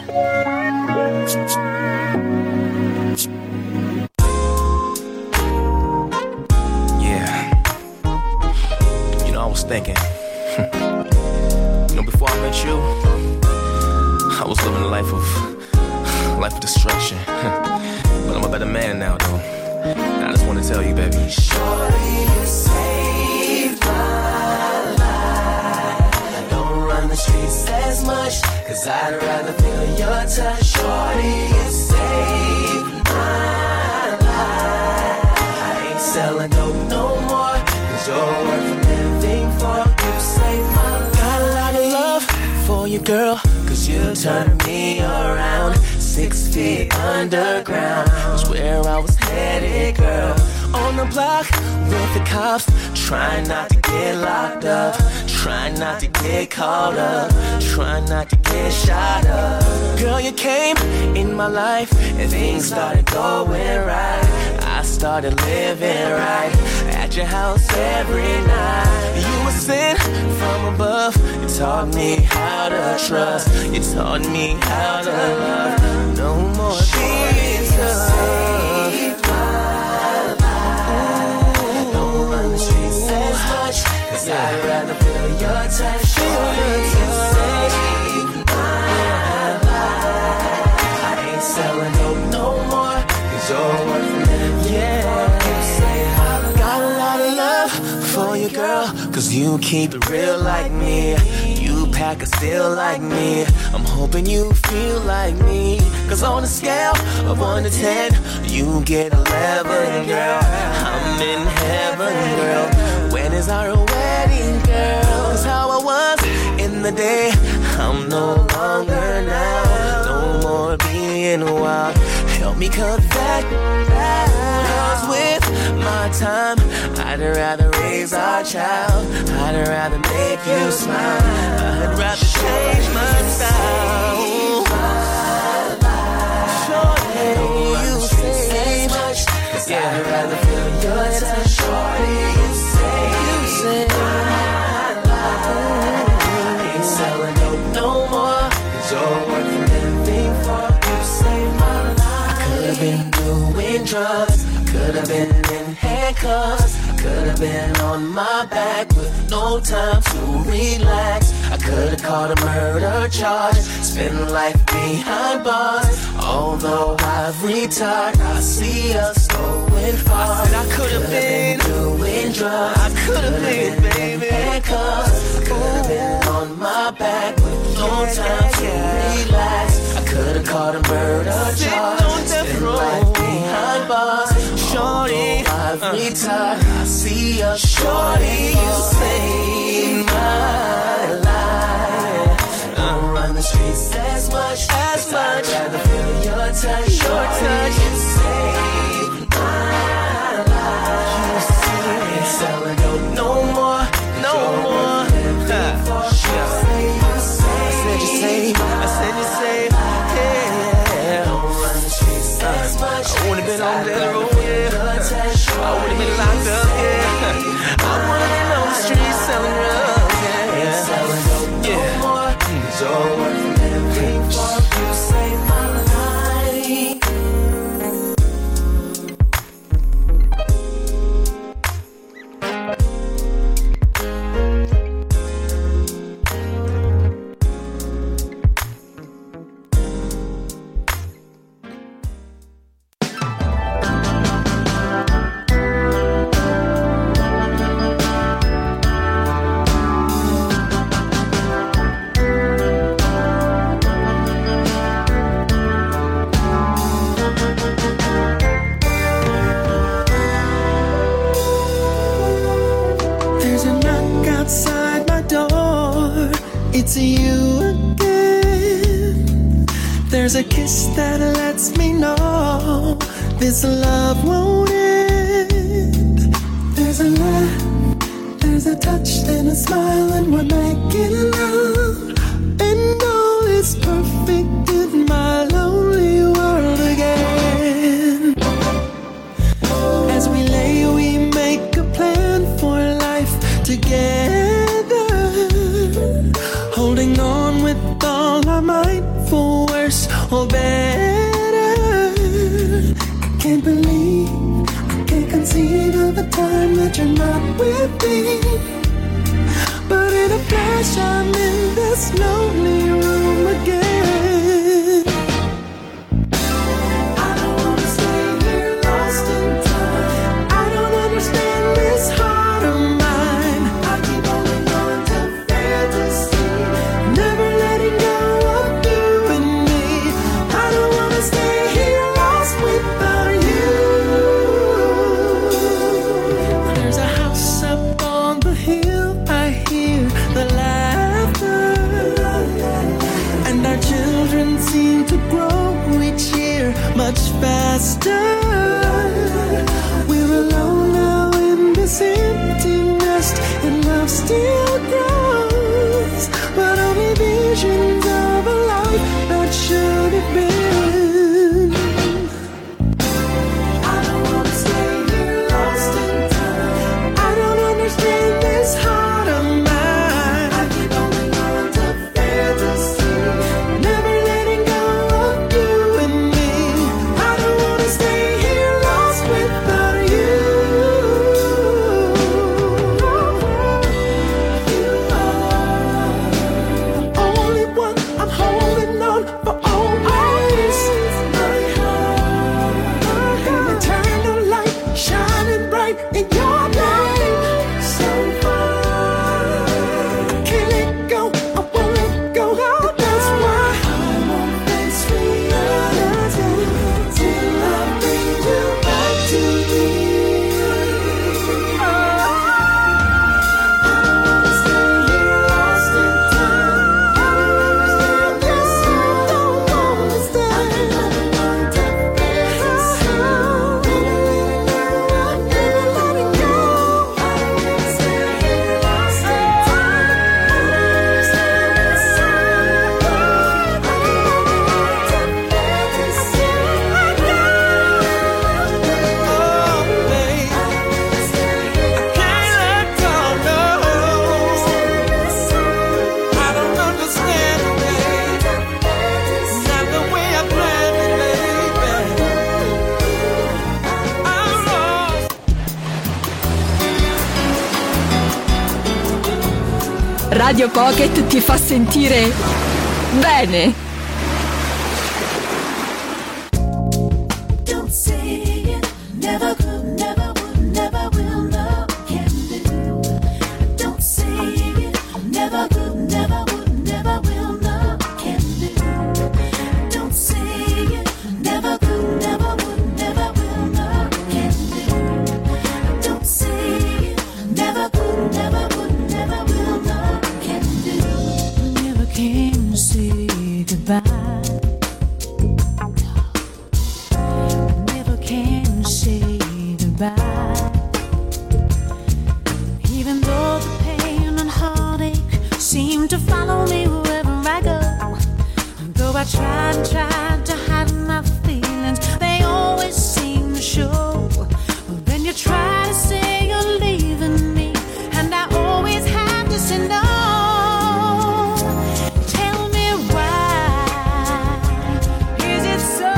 Yeah. You know, I was thinking, you know, before I met you, I was living a life of life of destruction. But I'm a better man now, though. And I just want to tell you, baby. Shorty, you saved my life. Don't run the streets as much, cause I'd rather feel your touch. Shorty, you saved my life. I ain't selling dope no more, cause you're worth living for. You saved my life. Got a lot of love for you, girl, cause you turned me around. Six feet underground is where I was headed, girl. On the block with the cops, trying not to get locked up, trying not to get caught up, trying not to get shot up. Girl, you came in my life and things started going right. I started living right at your house every night. You were sent from above. You taught me how to trust. You taught me how to love. No more being tough. Don't run the streets as much, cause I'd rather feel your touch. Feel your touch. My life. I ain't selling dope no more, cause you're worth living. Yeah. Got a lot of love for you, girl, cause you keep it real like me. You pack a steel like me. I'm hoping you feel like me, cause on a scale of one to ten, you get eleven, girl. I'm in heaven, girl. When is our wedding, girl? Cause how I was in the day, I'm no longer now. No more being wild. Help me cut that. Cause with my time, I'd rather raise our child. I'd rather make you smile. I'd rather change my style. Shorty, you say much, cause yeah. I'd rather feel your touch. Shorty, you say, you say my life. I ain't selling dope no more, cause you're worth living for. You say my life. I could've been doing drugs. Could have been in handcuffs. Could have been on my back with no time to relax. I could have caught a murder charge, spend life behind bars. Although I've retired, I see us going far. I said I could have been, been doing drugs. I could have been, been baby. Handcuffs. Could have been on my back with no time to relax. I could have caught a murder charge, spend life behind bars. Shorty, I've retired. I see a shorty. You saved my life. Don't run the streets as much as much. I'd rather feel your touch. Your touch. You saved my life. You saved. I ain't selling dope no more, no more. Huh. I said you saved. I said you saved. Yeah. Don't run the streets as much. I would've been on that road. I would've been locked up, yeah. I would've been on the streets selling drugs, yeah, yeah. Selling dope no more. So worth living for. You saved my life. It's you again. There's a kiss that lets me know this love won't end. There's a laugh, there's a touch, then a smile, and we're making love. And all is perfect in my lonely world again. As we lay, we make a plan for life together. Holding on with all our might for worse or better. I can't believe, I can't conceive of a time that you're not with me. But in a flash I'm in this lonely room again. I don't wanna stay here lost in time. I don't understand this heart of mine. I keep holding on to fantasy. Seem to grow each year much faster. We're alone now in this empty nest, and love still grows, but only visions of a life that should have been. I don't wanna stay here lost in time. I don't understand this heart of mine. I keep holding on to fantasy. Radio Pocket ti fa sentire bene. Don't say it, never could, never would, never will, no, can do. Don't say it, never could, never would, never will, no, can do. Don't say it, never could, never would, never will, no, can do. Don't say it, never could, never would, never will, no, can do. Never came to say goodbye. Even though the pain and heartache seem to follow me wherever I go, though I tried and tried to hide my feelings, they always seem to show. Well, then you try to say you're leaving me, and I always have to say no. Tell me why is it so?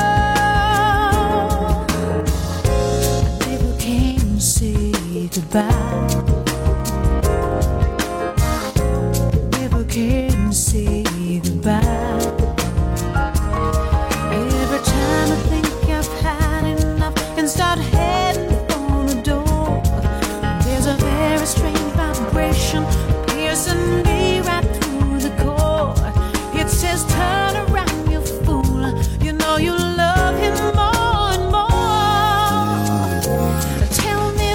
Goodbye. Never can say goodbye. Every time I think I've had enough and start heading for the door, there's a very strange vibration piercing me right through the core. It says, turn around, you fool. You know you love him more and more. Tell me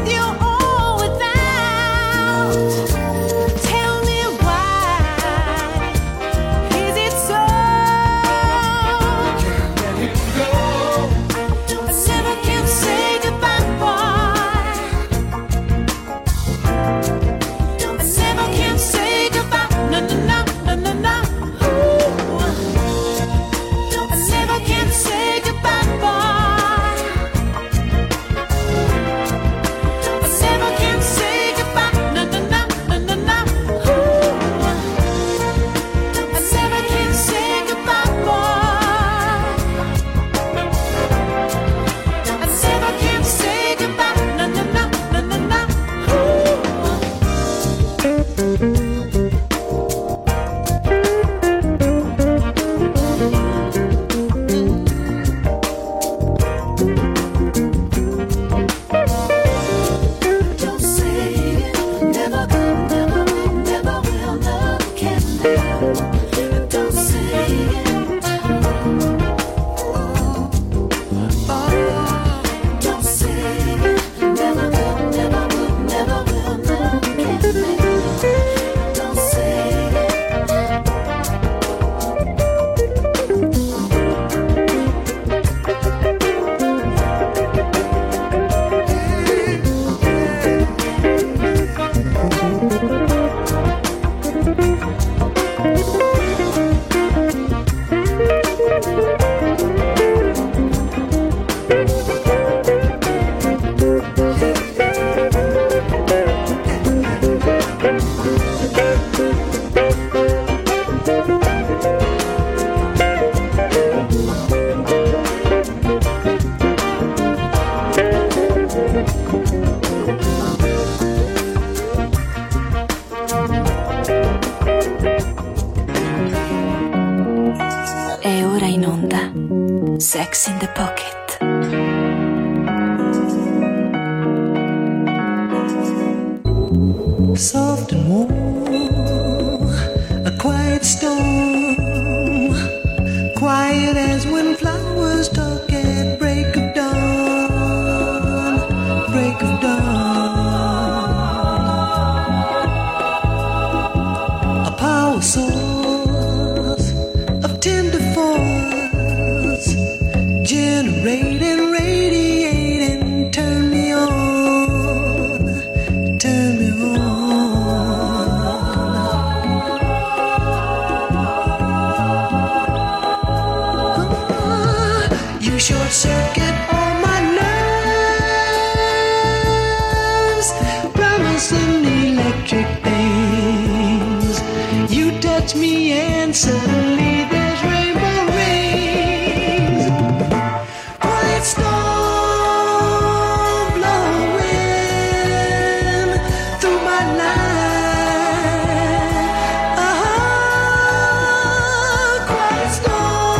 why onda Sex in the Pocket. Soft and warm, a quiet storm, quiet as when flowers talk at break of dawn, break of dawn. A power source of tender force, generating, radiating, turn me on, turn me on. Short circuit all my nerves, promising electric things. You touch me and suddenly there's rainbow rings. Quiet storm blowing through my life. Uh-huh. Quiet storm.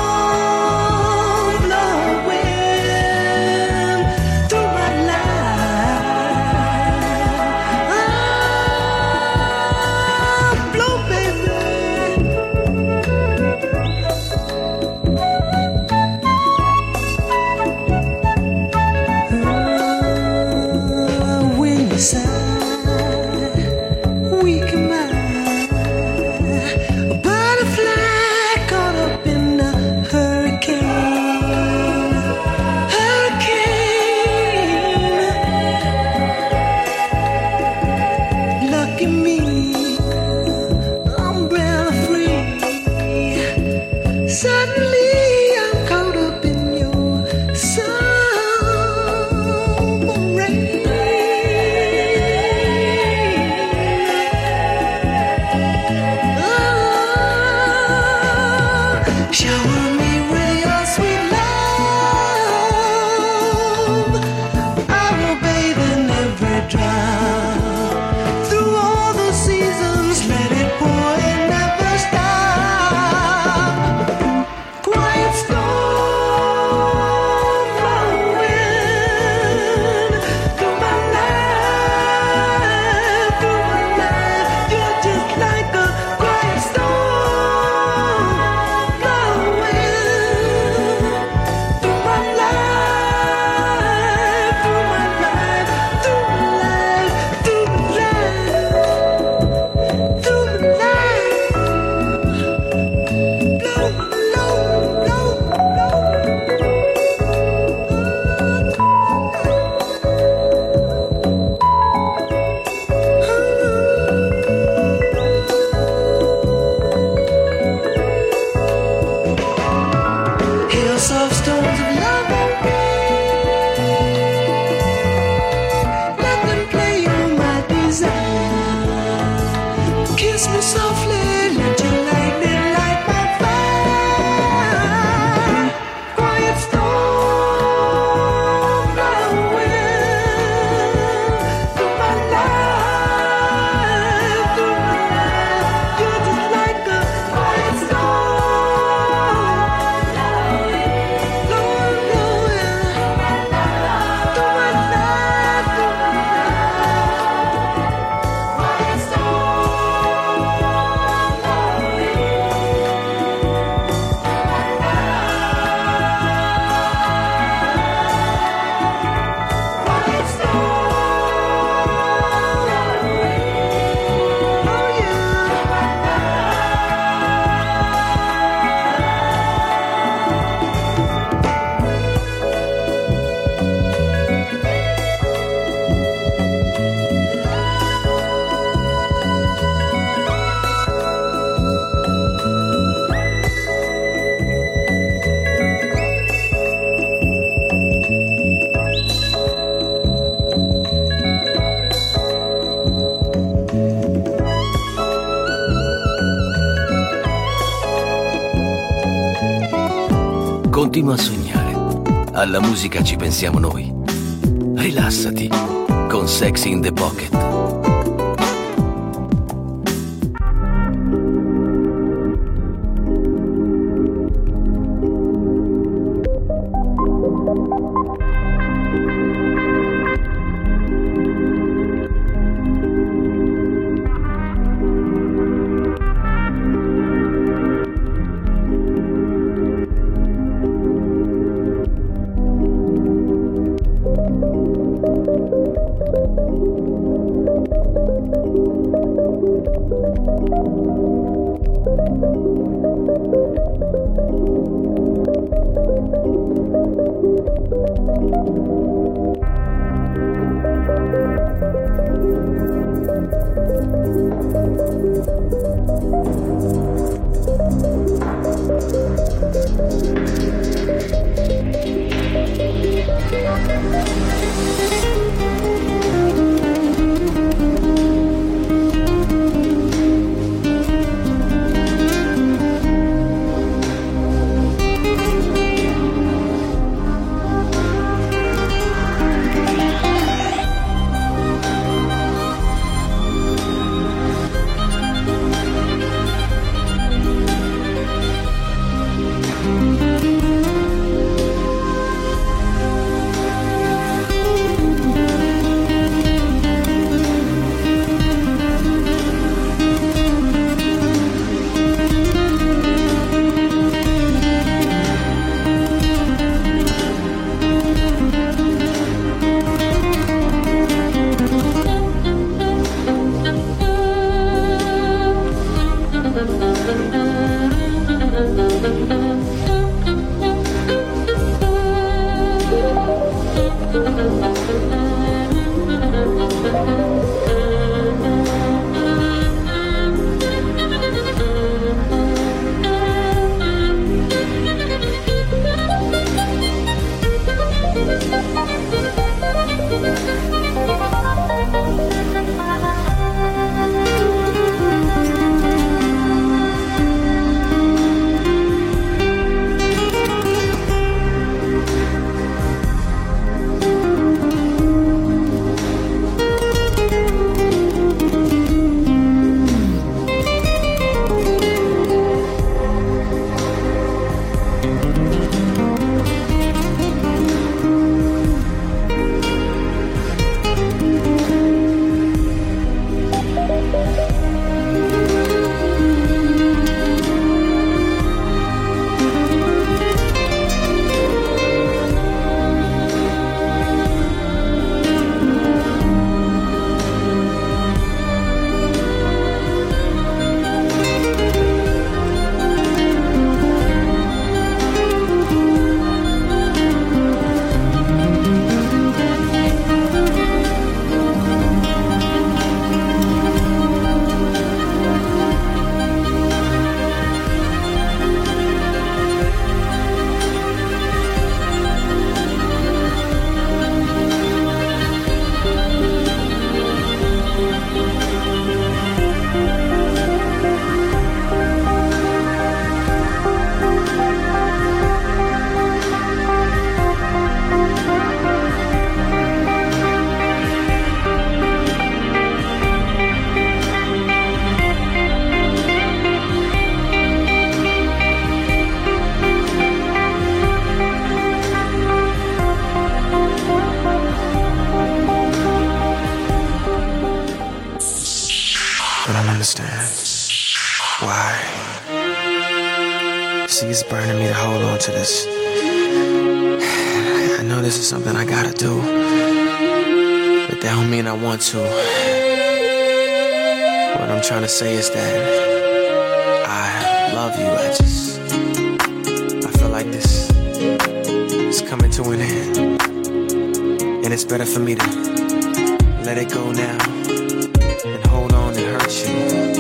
Continua a sognare. Alla musica ci pensiamo noi. Rilassati con Sex in the Pocket. understand why. See, it's burning me to hold on to this. I know this is something I gotta do, but that don't mean I want to. What I'm trying to say is that I love you. I just, I feel like this is coming to an end, and it's better for me to let it go now and hold on and hurt you.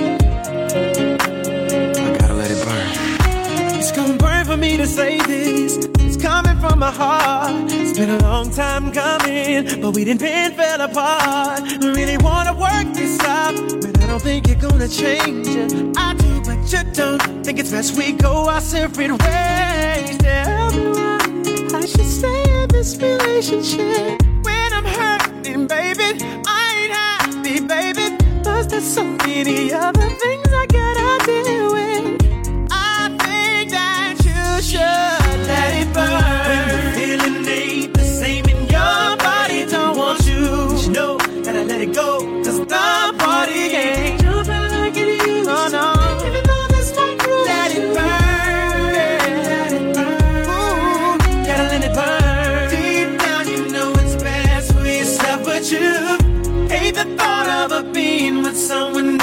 I gotta let it burn. It's gonna burn for me to say this. It's coming from my heart. It's been a long time coming, but we didn't been fell apart. I really wanna work this out, but I don't think you're gonna change it. I do, but you don't. Think it's best we go our separate ways. Tell me why I should stay in this relationship when I'm hurting, baby. I ain't happy, baby. Plus there's so many other things I gotta deal with. I think that you should let it burn. When the feeling ain't the same in your body, don't want you. But you know that I let it go, cause the party ain't jumping like it used to. Oh no, even though this might cruel, let it burn, let it burn. Ooh, gotta let it burn. Deep down you know it's best for yourself, but you hate the thought of a being with someone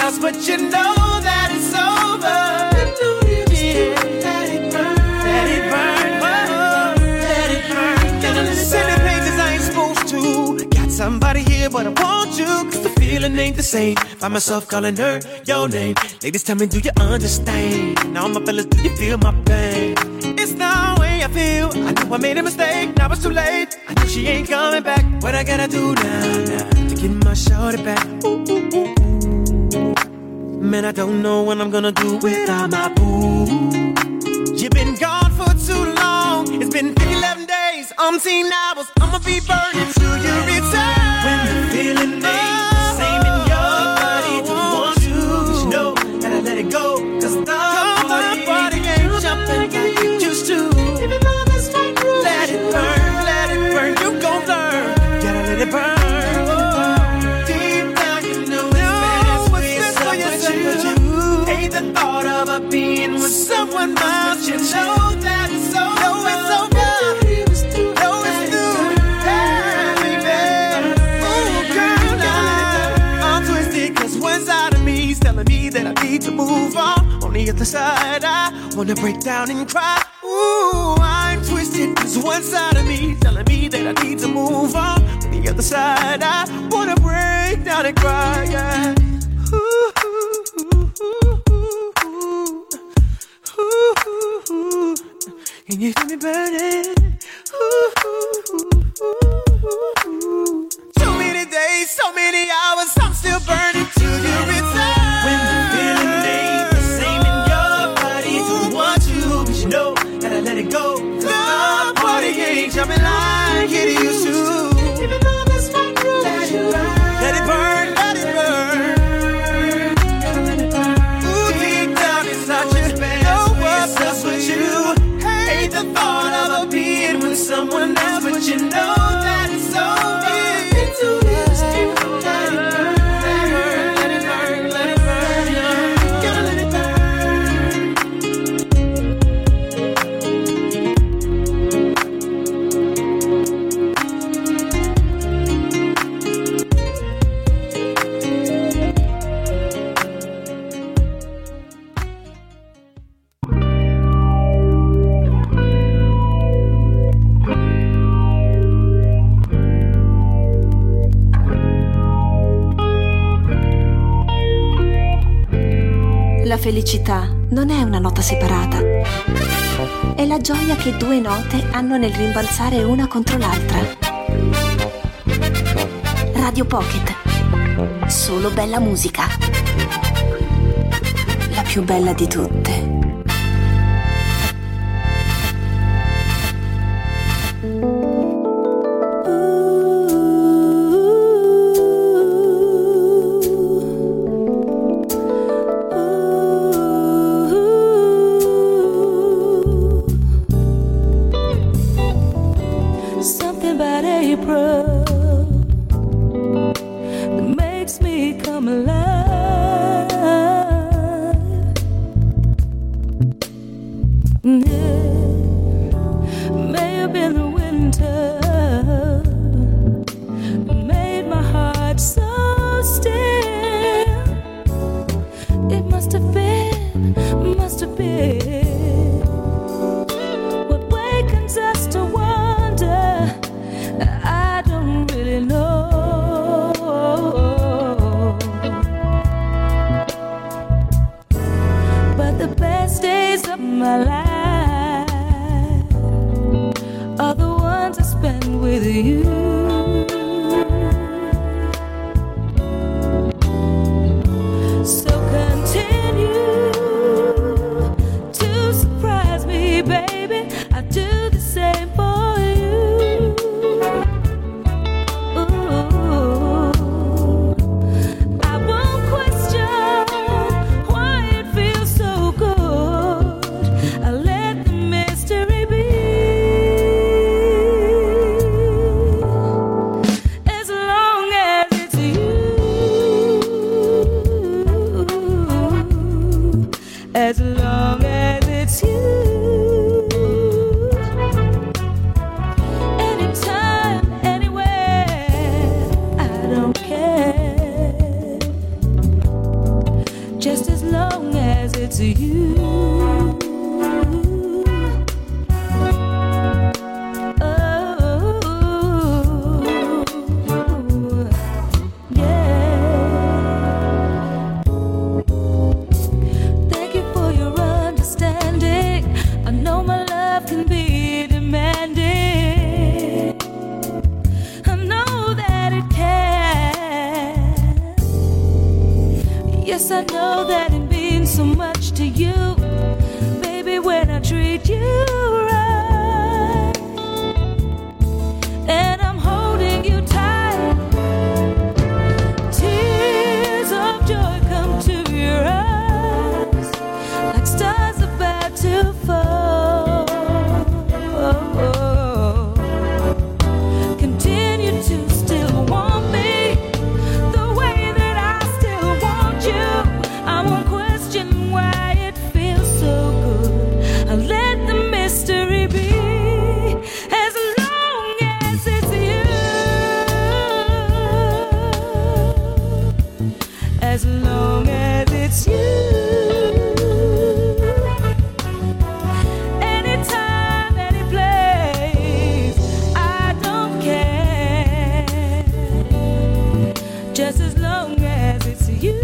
else, but you know that it's over. Yeah. Let it burn, let it burn, oh, let it burn. Gotta listen to pages I ain't supposed to. Got somebody here, but I want you, cause the feeling ain't the same. Find myself calling her your name. Ladies, tell me, do you understand? Now my fellas, do you feel my pain? It's the way I feel. I knew I made a mistake, now it's too late. I know she ain't coming back. What I gotta do now, now to get my shorty back? Ooh, ooh, ooh, ooh. Man, I don't know what I'm gonna do without my boo. You've been gone for too long. It's been eleven days, umpteen hours. I'ma be burning till you return. When the feeling ain't the same in your body, don't want you, but you know that I let it go. Cause the body, body ain't jumping like it used to. Even though that's my groove, let it burn, let it burn. You gon' learn, gotta let it burn. Deep down you know it's best for yourself. Hate the thought of a being with someone else. You know that it's over. Know it's over. Know it's through. Hey, baby. Oh, girl, now I'm twisted, cause one side of me is telling me that I need to move on. On the other side, I wanna break down and cry. Ooh, I'm twisted, cause one side of me is telling me that I need to move on. On the other side, I wanna break down and cry, yeah. Ooh, ooh, ooh, ooh, ooh. Ooh, ooh, ooh. Can you feel me burning? Ooh, ooh, ooh, ooh, ooh. So many days, so many hours, I'm still burning till you return. When the feeling ain't the same in your body, don't want you, but you know that I let it go. The party ain't jumping like it used to. Even though that's my groove, let it burn, let it burn, let it burn. The thought of a being with someone else, but you know that it's over. It's too late. Let it burn, let it burn, let it burn, yeah. Gotta let it La felicità non è una nota separata, è la gioia che due note hanno nel rimbalzare una contro l'altra. Radio Pocket, solo bella musica, la più bella di tutte. just as long as it's you. Yes, I know that it means so much to you, baby, when I treat you right. And I'm holding you tight. Tears of joy come to your eyes, like stars about to fall. Continue to still want me the way that I still want you. I won't question why it feels so good. I'll let the mystery be, as long as it's you, as long as it's you. Anytime, any place, I don't care, just as long as it's you.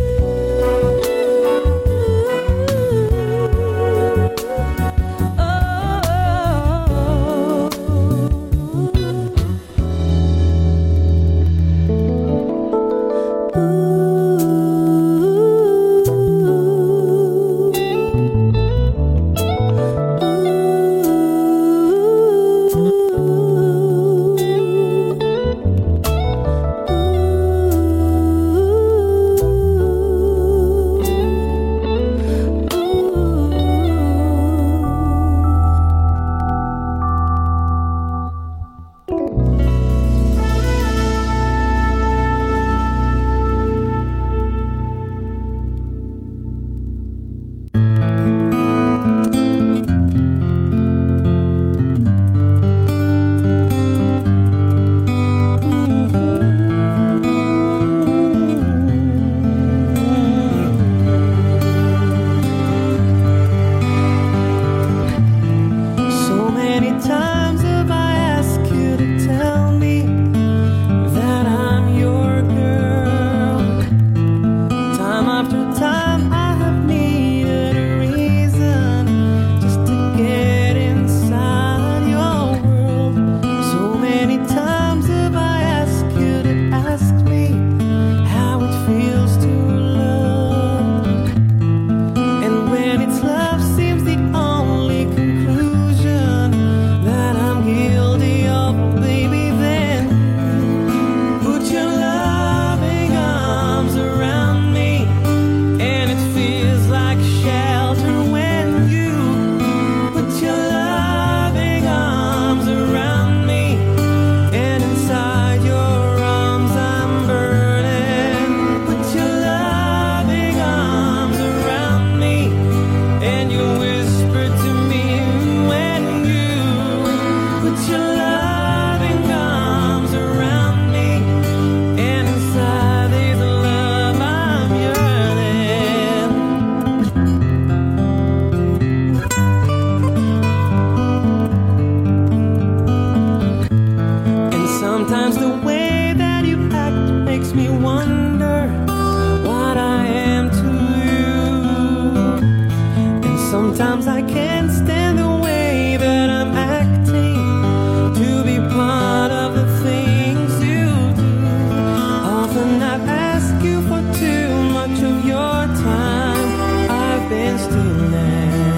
Sometimes I can't stand the way that I'm acting, to be part of the things you do. Often I've asked you for too much of your time. I've been stealing,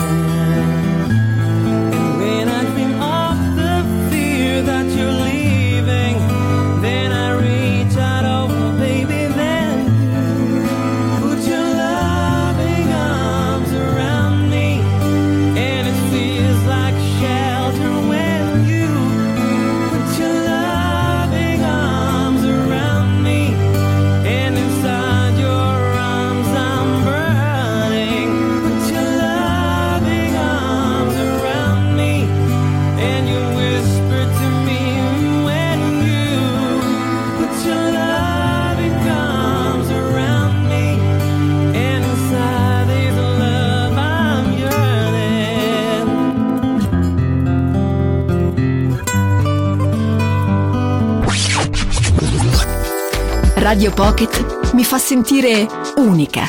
and when I dream of the fear that you're leaving, then I reach out, oh baby, then you put your loving arms around me. Radio Pocket mi fa sentire unica.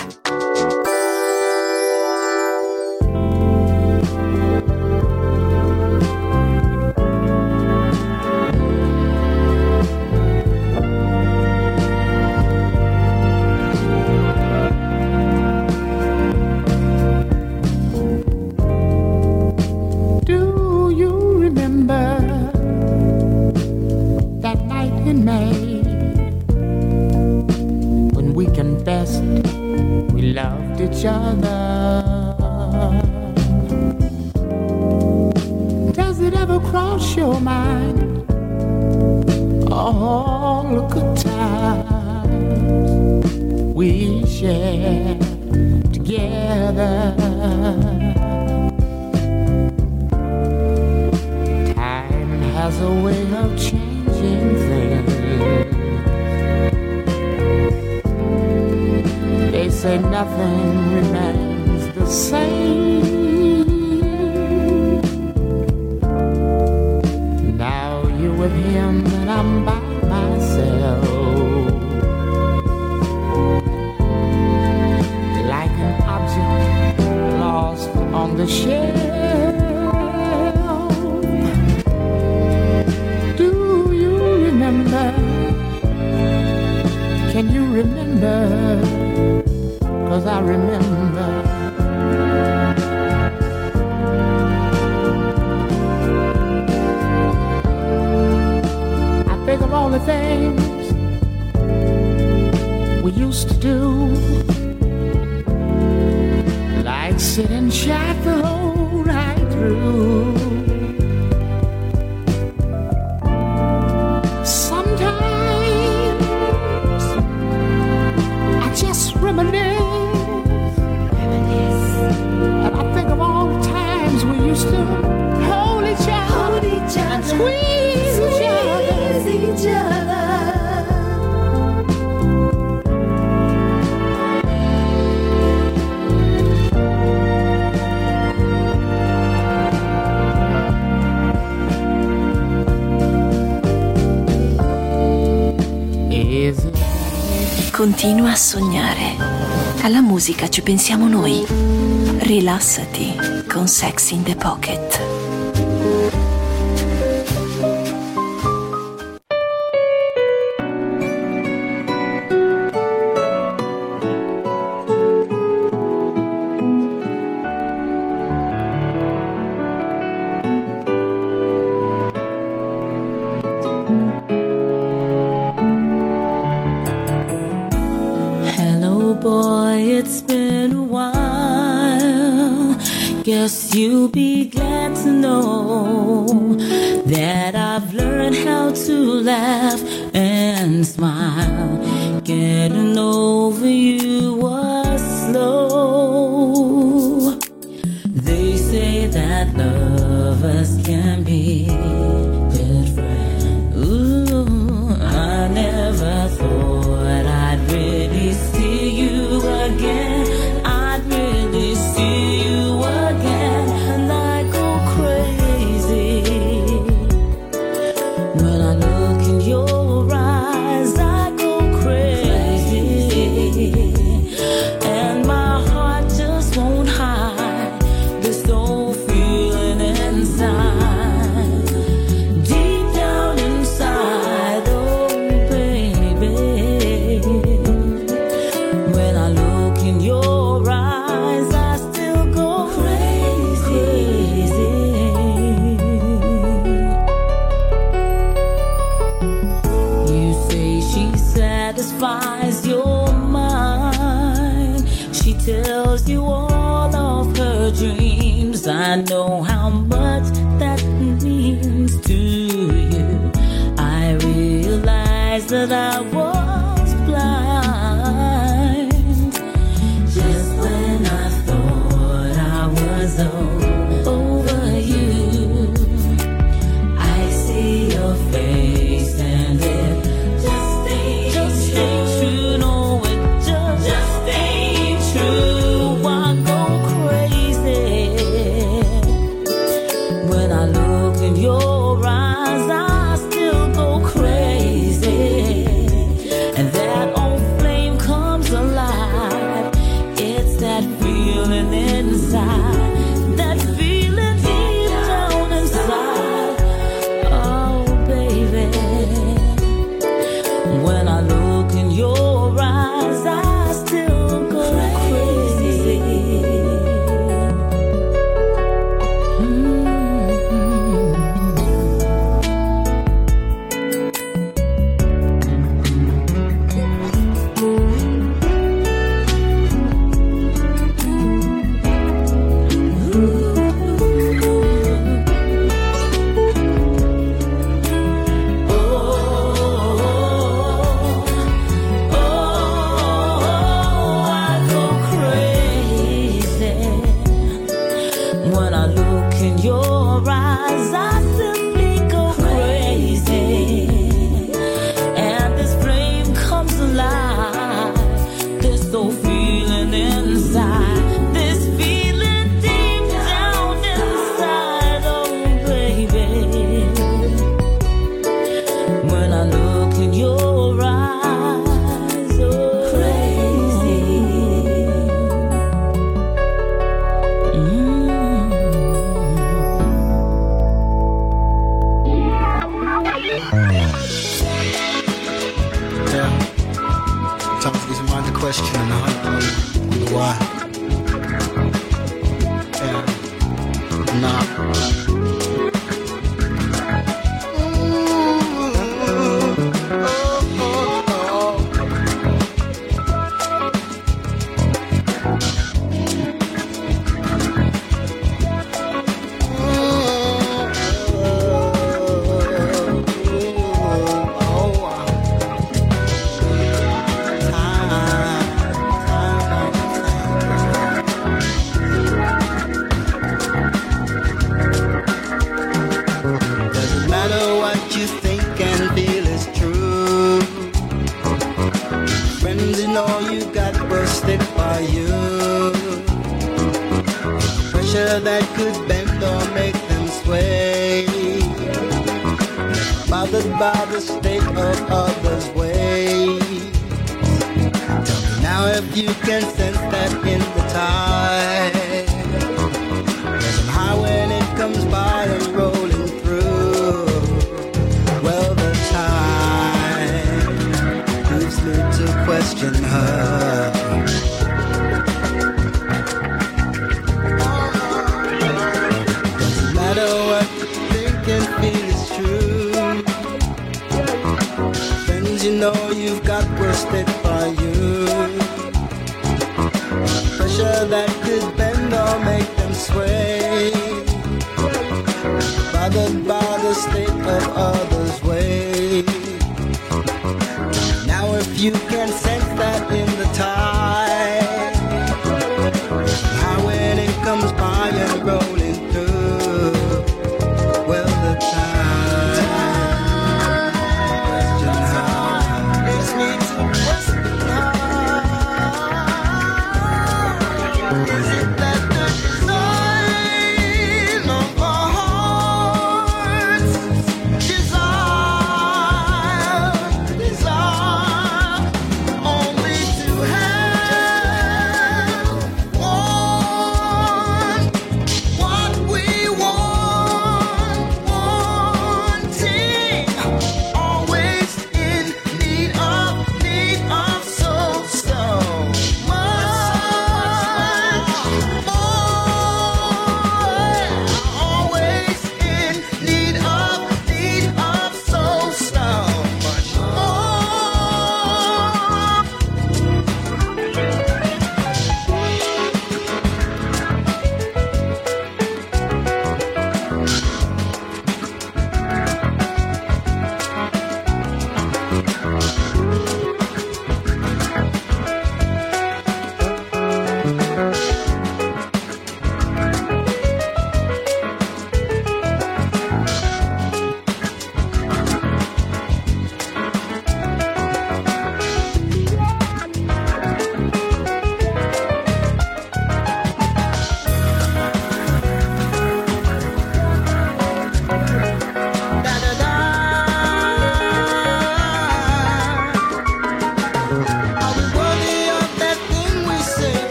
Continua a sognare. Alla musica ci pensiamo noi. Rilassati con Sex in the Pocket. Guess you'll be glad to know that I've learned how to laugh and smile. Getting over you was slow. They say that lovers can be good friends. Ooh, I never thought I'd really see you again. I'd really see you again, and I go crazy when I look in your eyes. I go crazy, and my heart just won't hide this old feeling inside, deep down inside. Oh baby, when I look in your eyes, I still go crazy. You say she satisfies your mind. She tells you all of her dreams. I know how much that means to you. I realize that I was blind just when I thought I was o- over you. I see your face and it just ain't, just ain't true. No, it just, just ain't true. I go crazy when I look in your eyes. I still go crazy, and that feeling inside, that feeling deep down inside. Oh, baby, when I look in your eyes, I still go crazy. Mm-hmm. When I look in your eyes, I simply go crazy. And this flame comes alive, this old feeling inside, this feeling deep down inside. Oh, baby, when I look in your eyes, oh, crazy. Mm. Question and I wonder why. Yeah. Nah. That could bend or make them sway, bothered by the state of others' ways. Tell me now if you can sense that in the tide. Somehow when it comes by and rolling through, well, the tide moves me to question her. You know you've got worsted by you, pressure that could bend or make them sway, bothered by the state of others' ways. Now if you can sense that in the tide, how when it comes by and rolling through, well, the tide desire, desire, oh.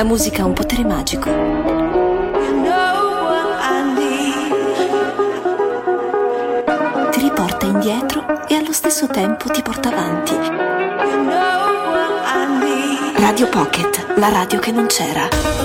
La musica ha un potere magico. Ti riporta indietro e allo stesso tempo ti porta avanti. Radio Pocket, la radio che non c'era.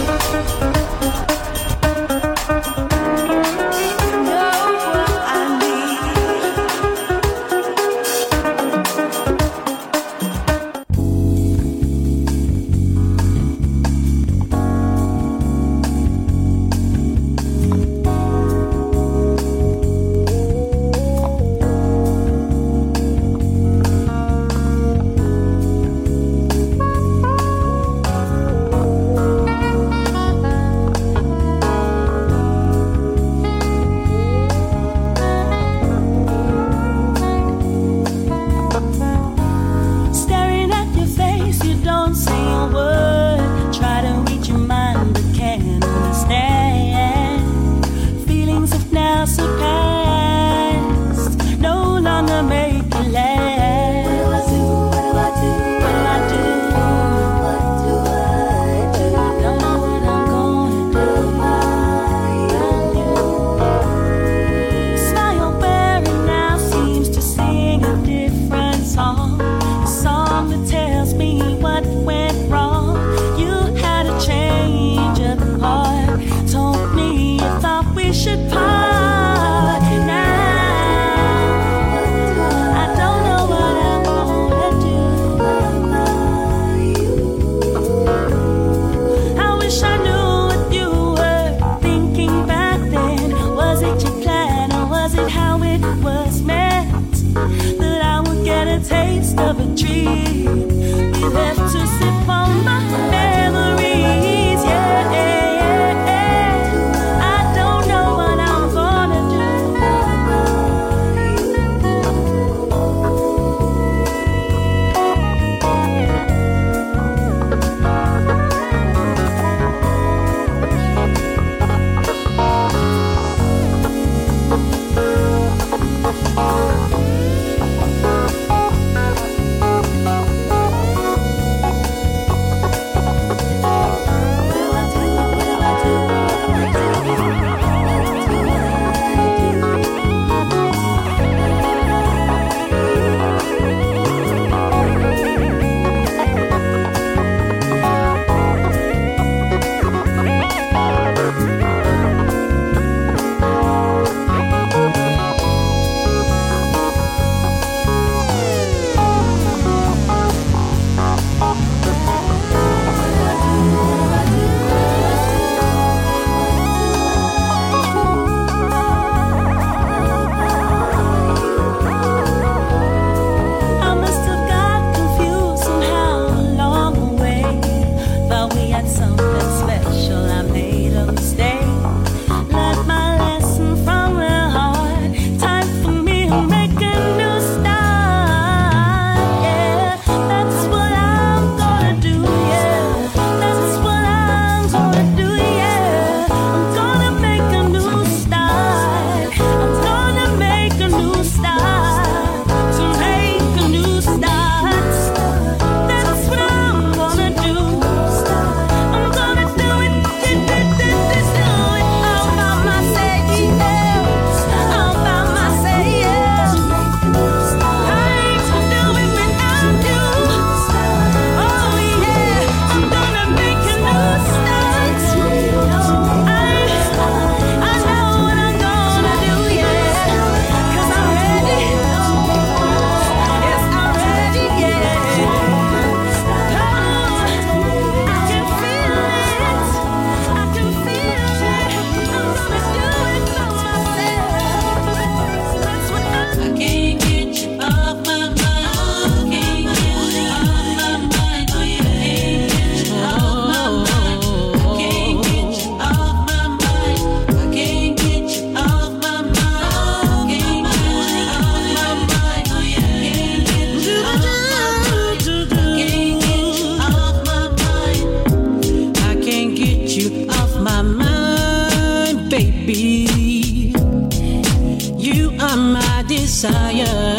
desire.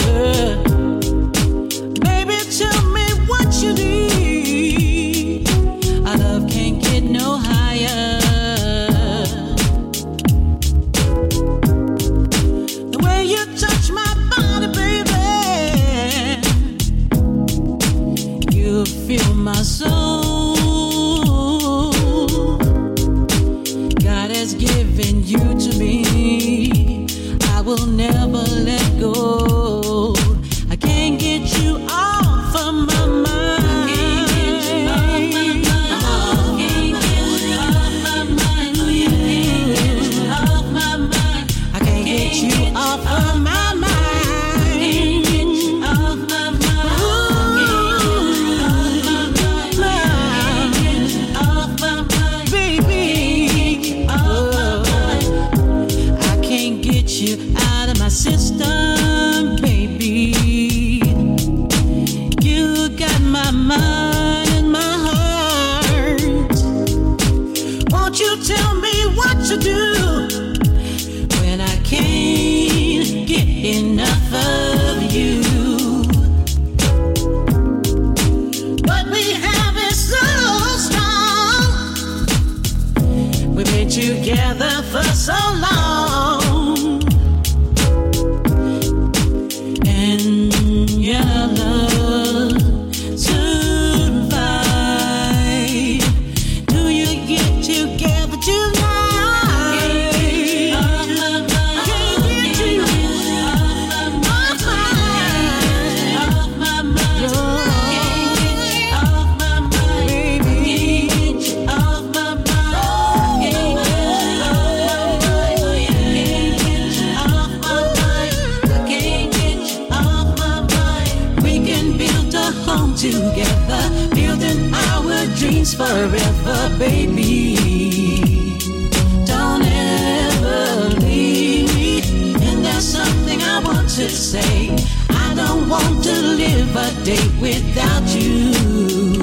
Baby, tell me what you need. The way you touch my body, baby, you fill my soul. God has given you to me. I will never let go. I can't get you off of my mind. System, baby, you got my mind and my heart. Won't you tell me what to do when I can't get enough of you? What we have is so strong. We've been together for so long. Together, building our dreams forever, baby. Don't ever leave me. And there's something I want to say. I don't want to live a day without you.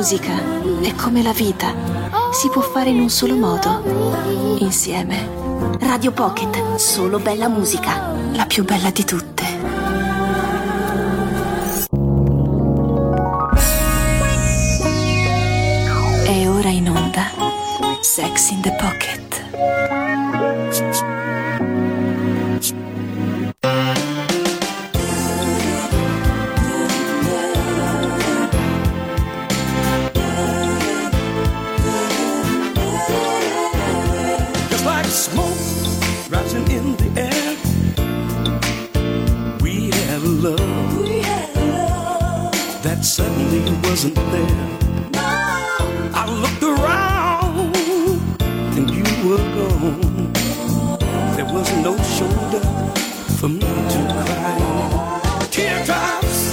musica è come la vita, si può fare in un solo modo, insieme. Radio Pocket, solo bella musica, la più bella di tutte. È ora in onda Sex in the Pocket. Suddenly wasn't there. No. I looked around and you were gone. There was no shoulder for me to cry on. Teardrops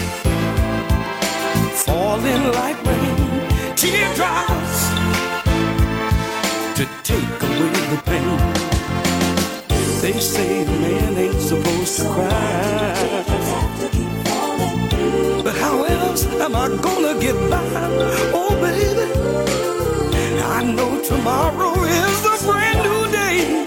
falling like rain. Teardrops to take away the pain. They say a man ain't supposed to cry. But how else am I gonna get by? Oh, baby, I know tomorrow is a brand new day.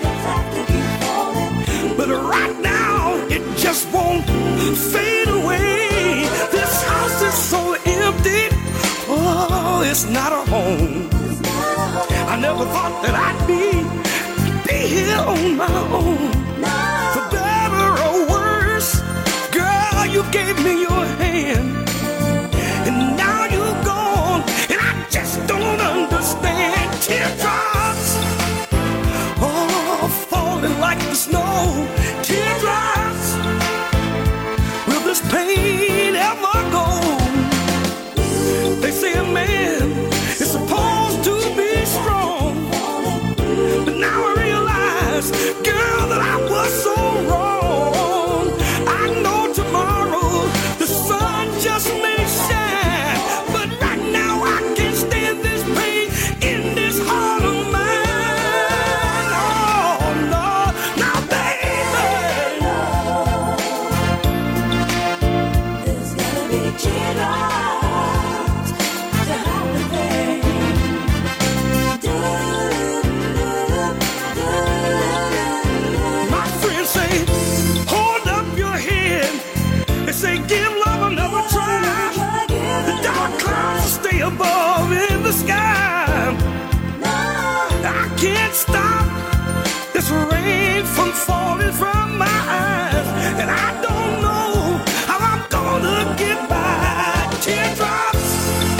But right now, it just won't fade away. This house is so empty. Oh, it's not a home. I never thought that I'd be, be here on my own. For better or worse, girl, you gave me your hand. And now you're gone, and I just don't understand. Teardrops, oh, falling like the snow. Teardrops, will this pain ever go? They say a man is supposed to be strong, but now I realize, girl, that I was so wrong. I know tomorrow the sun just may shine, but right now I can't stand this pain in this heart of mine. Oh no, now baby, there's gotta be teardrops to hide the pain. My friends say, hold up your head. They say, give love another try. The dark clouds stay above in the sky. I can't stop this rain from falling from my eyes, and I don't know how I'm gonna get by. Teardrops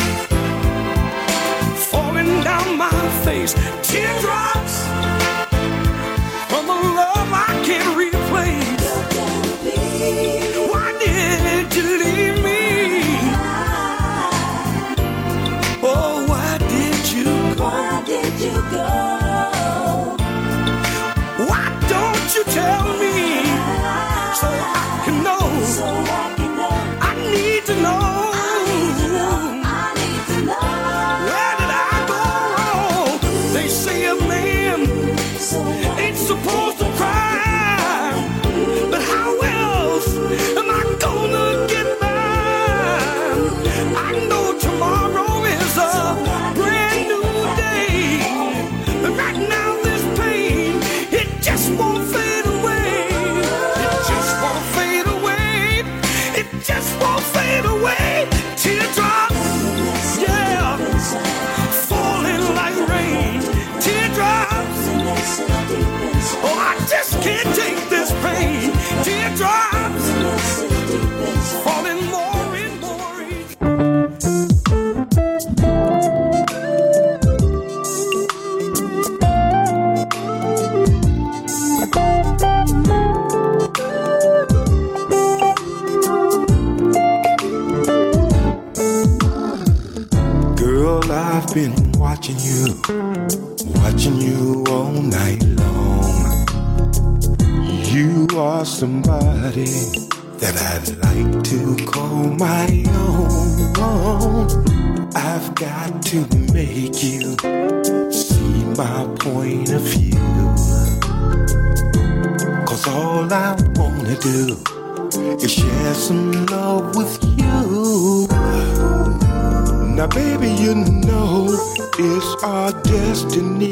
falling down my face. Teardrops from a love I can't replace. Why did you leave me? Oh, why did you go? Why did you go? Why don't you tell me so I can know? So I can know. I need to know. I need to know. I need to know. Where did I go wrong? They say a man ain't supposed to cry, but how else am I gonna get by? I know tomorrow is a brand new day, but right now this pain, it just won't fade away. It just won't fade away. It just won't fade away. Teardrops, yeah, falling like rain. Teardrops, oh, I just can't take this pain. Teardrops, falling more and more each. Girl, I've been watching you, watching you all night long. You are somebody that I'd like to call my own. I've got to make you see my point of view, 'cause all I wanna do is share some love with you. Now, baby, you know it's our destiny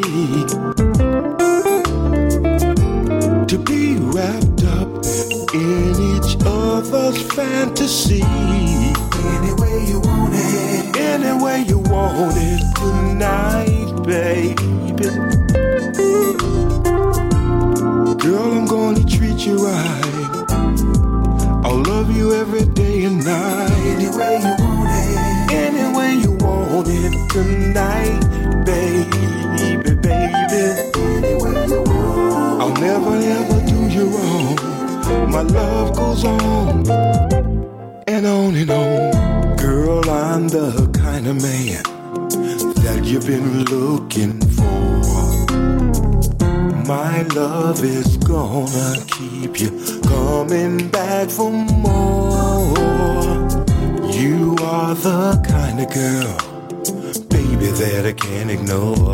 to be wrapped up in each other's fantasy. Any way you want it, any way you want it tonight, baby. Girl, I'm gonna treat you right. I'll love you every day and night. Any way you want it, any way you want it tonight, baby, baby. Any way you want it, I'll never ever do you wrong. My love goes on and on and on. Girl, I'm the kind of man that you've been looking for. My love is gonna keep you coming back for more. You are the kind of girl, baby, that I can't ignore.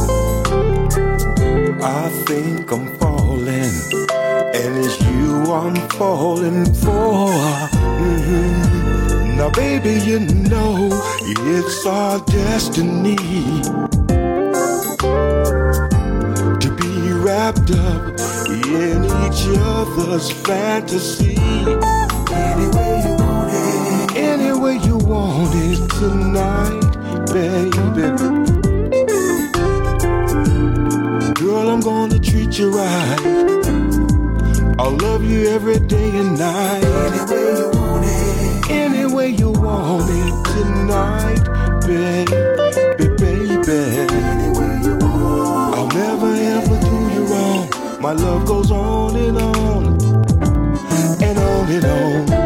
I think I'm falling, and it's you I'm falling for. Mm-hmm. Now, baby, you know it's our destiny to be wrapped up in each other's fantasy. any way you want it, any way you want it tonight, baby. Girl, I'm gonna treat you right. I'll love you every day and night. any way you want it, any way you want it tonight, baby, baby. any way you want it, I'll never ever do you wrong. My love goes on and on and on and on.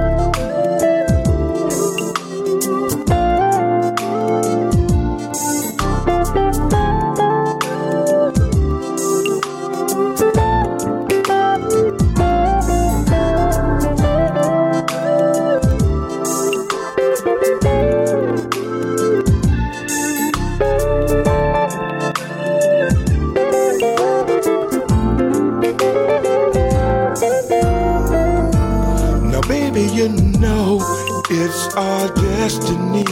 You know it's our destiny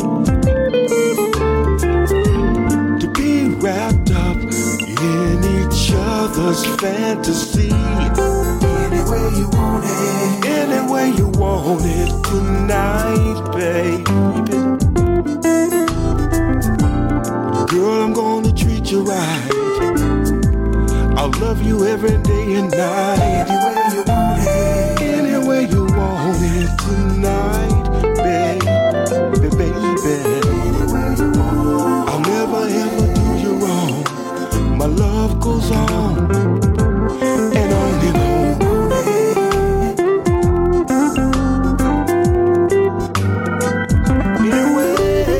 to be wrapped up in each other's fantasy. any way you want it, any way you want it tonight, baby. Girl, I'm gonna treat you right. I'll love you every day and night. any way you want it, any way you want it tonight, baby, baby. any way you want it, I'll never ever do you wrong. My love goes on and on and on. Anyway.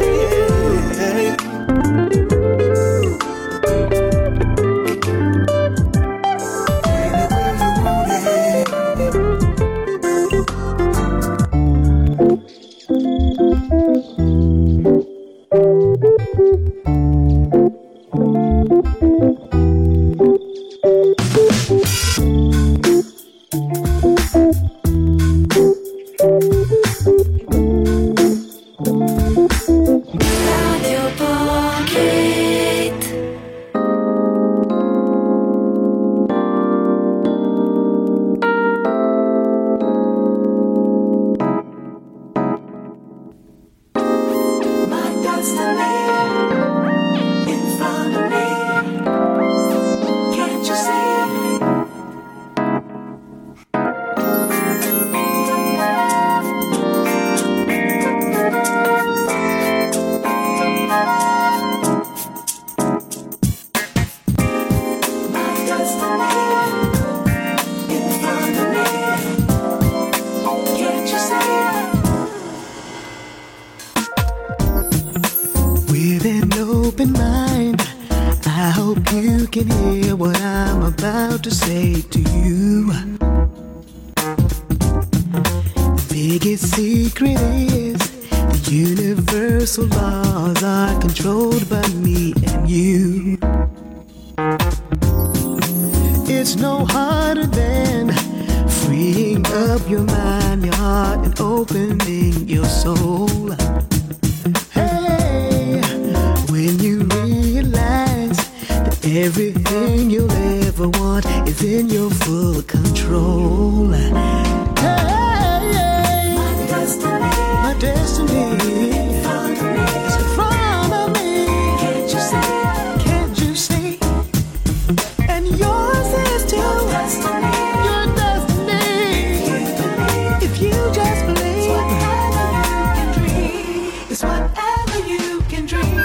open mind. I hope you can hear what I'm about to say to you. The biggest secret is the universal laws are controlled by me and you. It's no harder than freeing up your mind, your heart, and opening your soul. Hey, Everything you'll ever want is in your full control. Hey, my destiny, my destiny in front of me. It's in front of me. Can't you see? Can't you see? And yours is too. Your destiny, your destiny. If you just believe, it's whatever you can dream. It's whatever you can dream.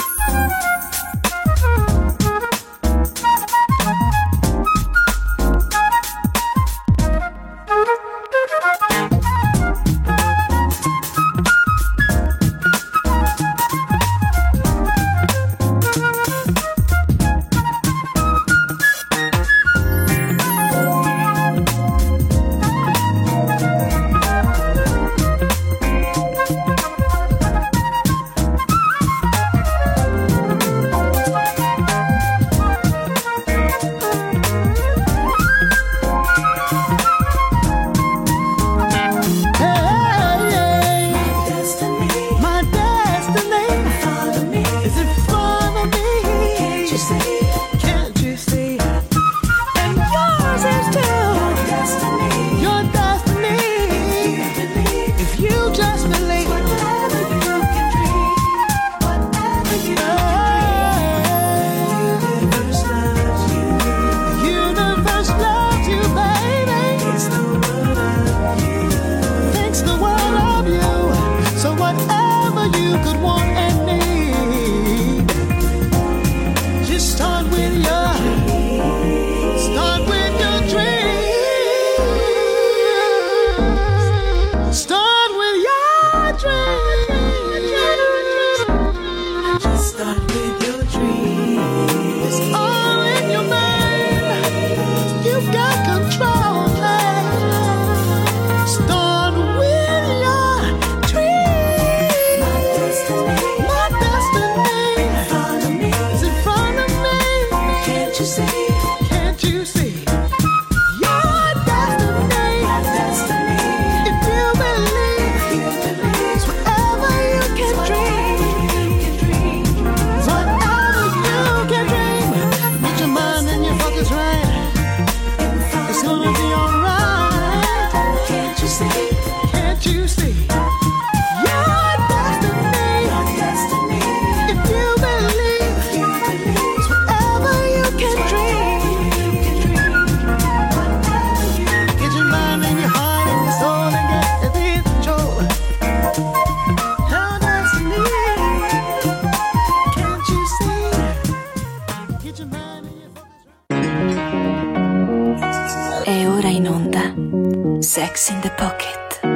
Sex in the Pocket.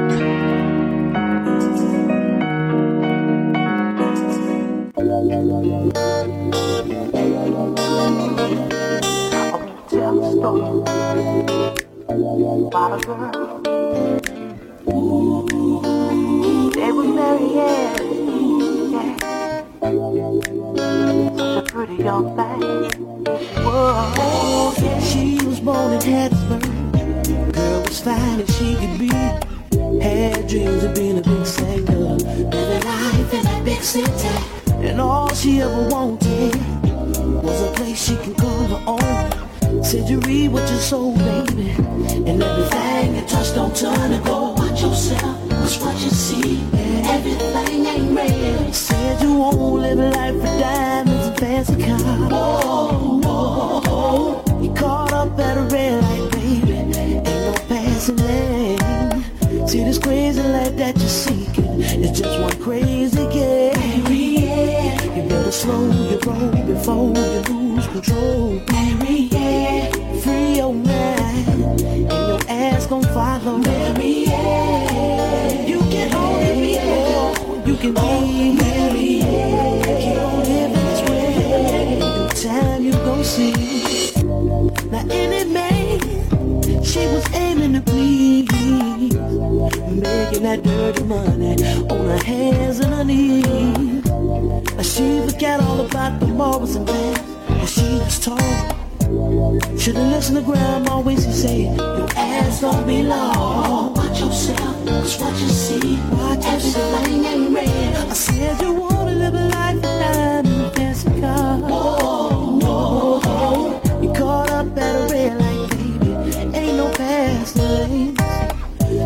They were married, yeah, yeah. Such a pretty young thing. Whoa, yeah. She was born in Hattiesburg. Girl was fine as she could be. Had dreams of being a big singer, living life in a big city. And all she ever wanted was a place she can call her own. Said you read what you sold, baby, and everything you touch don't turn to gold. Watch yourself, watch what you see. Everything ain't real. Said you won't live a life for diamonds and fancy cars. Whoa, whoa, whoa. You caught up at a red light, baby. Ain't no passing lane. See this crazy life that you're seeking, it's just one crazy game. Mary, yeah. You better slow your roll before you lose control. Mary, yeah. Free your mind, and your ass gon' follow. Mary, yeah. You can only be all you can be. Mary, yeah. Keep on living this way, in time you gon' see. Now any man she was aiming to please, making that dirty money on her hands and her knees. Now she forgot all about the morals and things that she was taught. Should've listened to grandma always say, your ass don't belong. Watch yourself, cause what you see, watch everything ain't real. I said you wanna live a life of diamond and fancy cars. Whoa, whoa,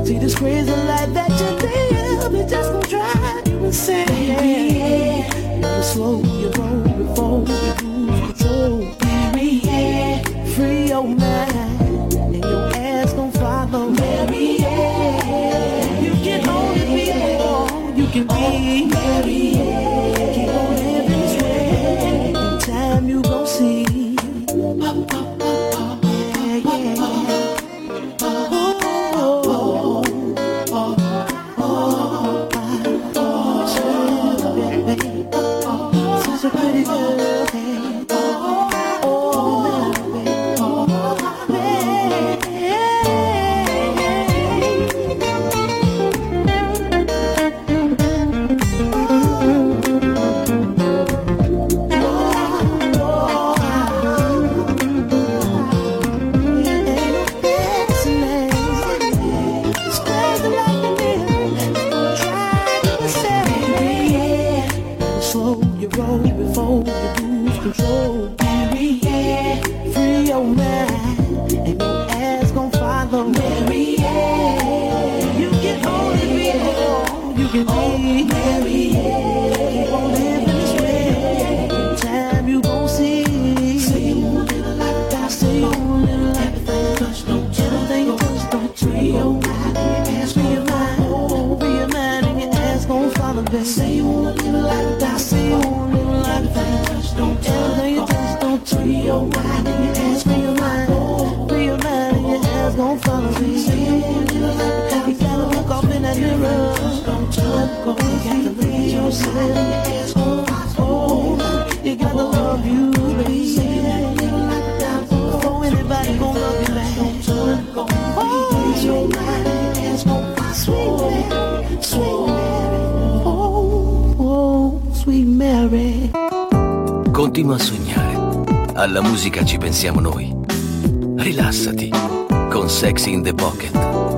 See this crazy life that you live, it just gon' drive you insane. Baby, yeah. Never slow your roll before you lose control. Baby, yeah. Free your mind and your ass gon' follow. Baby, yeah. You can only be all you can be. Baby, yeah. Keep on living this way. In time you gon' see. Continua a sognare. Alla musica ci pensiamo noi. Rilassati con Sexy in the Pocket.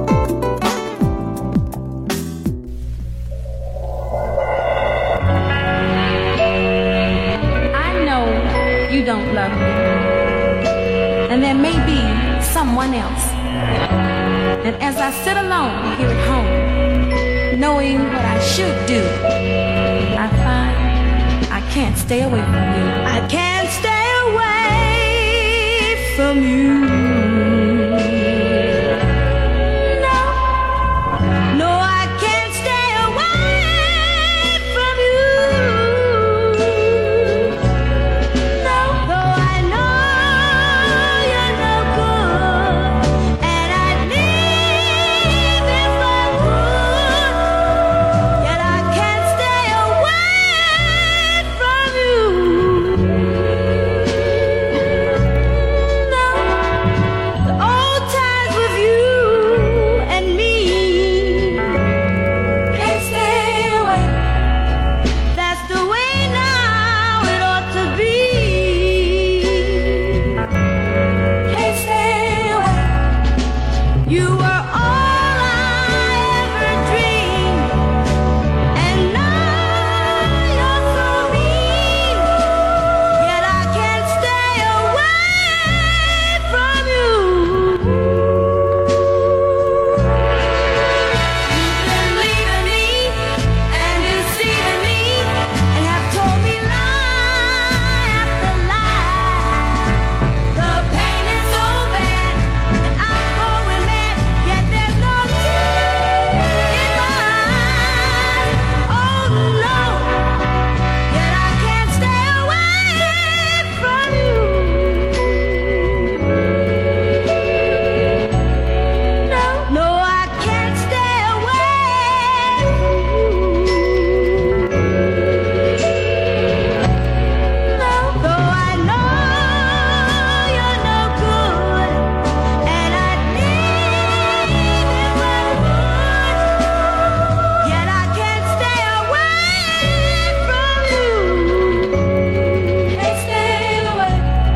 I know you don't love me. And there may be someone else. And as I sit alone here at home, knowing what I should do, I find I can't stay away from you. I can't stay away from you. No, no, I can't stay away from you. No, though I know you're no good, and I'd leave if I would, yet I can't stay away from you. No, the old times with you and me can't stay away. That's the way now it ought to be. Can't stay away. You were all I ever dreamed, and now you're so mean. Yet I can't stay away from you. You've been leaving me and deceiving me, and have told me lie after lie. The pain is so bad that I'm going mad, yet there's no tears in my eyes. Oh no, yet I can't stay away from you. No, no, I can't stay away from you. No, though I know you're no good, and I'd leave if I would, yet I can't stay away from you. Can't stay away.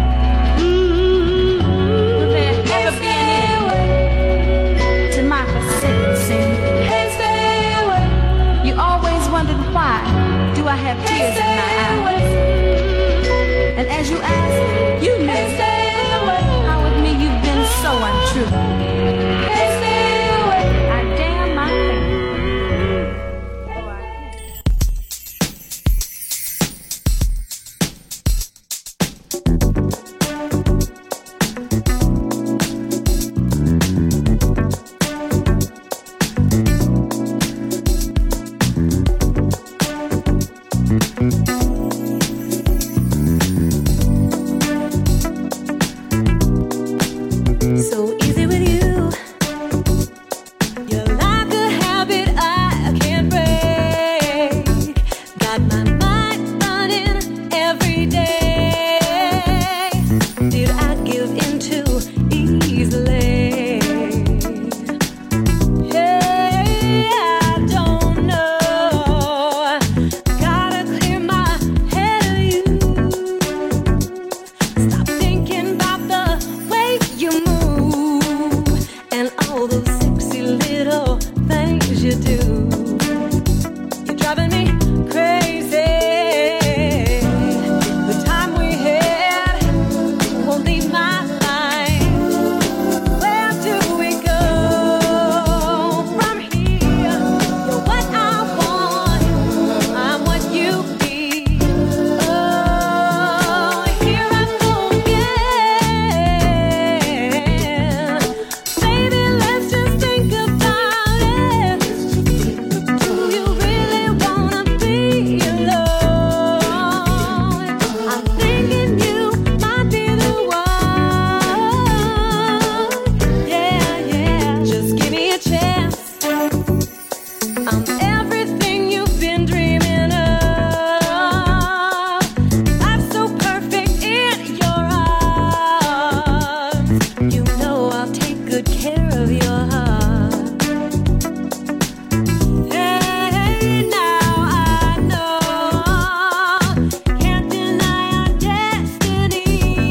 Will there ever be an end to my forsaken sin? Can't stay away. You always wondered why do I have tears in my eyes? And as you ask, you knew how with me you've been so untrue. I dare you do. You're driving me crazy. The time we had won't leave my mind. Where do we go from here? You're what I want, I'm what you need. Oh, here I go again. Baby, let's just think about it. Do you really wanna be alone? I'm thinking you might be the one. Yeah, yeah. Just give me a chance. I'm everything you've been dreaming of. Life's so perfect in your arms. You know I'll take good care of your heart. Hey, now I know, can't deny our destiny.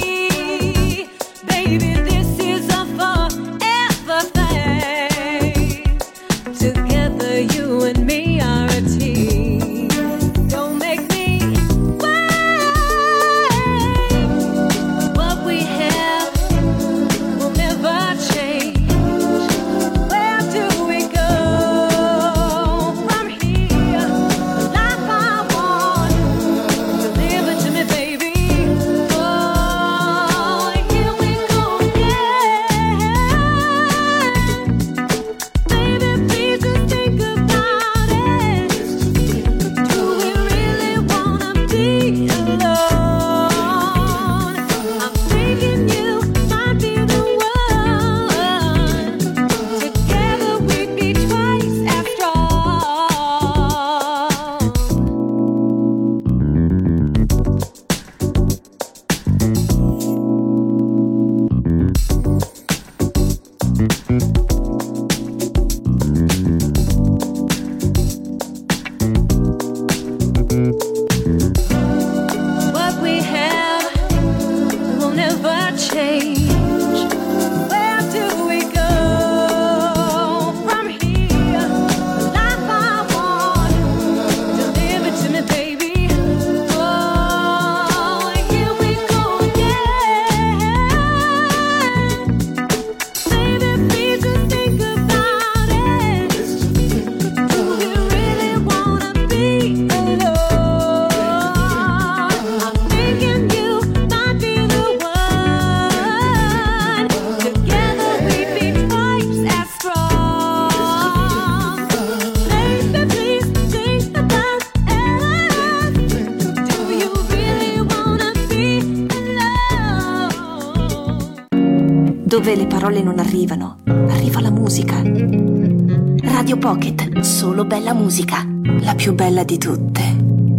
Baby, this is a forever thing. Together, you and me are a team. Don't make me wait. What we have will never change. Where do we go from here? The life I want, deliver it to me, baby. Oh, here we go again. Baby, please just think about it. Do we really wanna be alone? I'm thinking you might be the one. Together we'd be twice as strong. What we have will never change. Where do we go from here? The life I want, deliver it to me, baby. Oh, here we go again. Baby, please just think about it. Do we really wanna be alone? I'm thinking you might be the one. Together we'd be twice as strong. Baby, please think about it. Do you really wanna be alone? Dove le parole non arrivano, arriva la musica. Radio Pocket, solo bella musica, la più bella di tutte.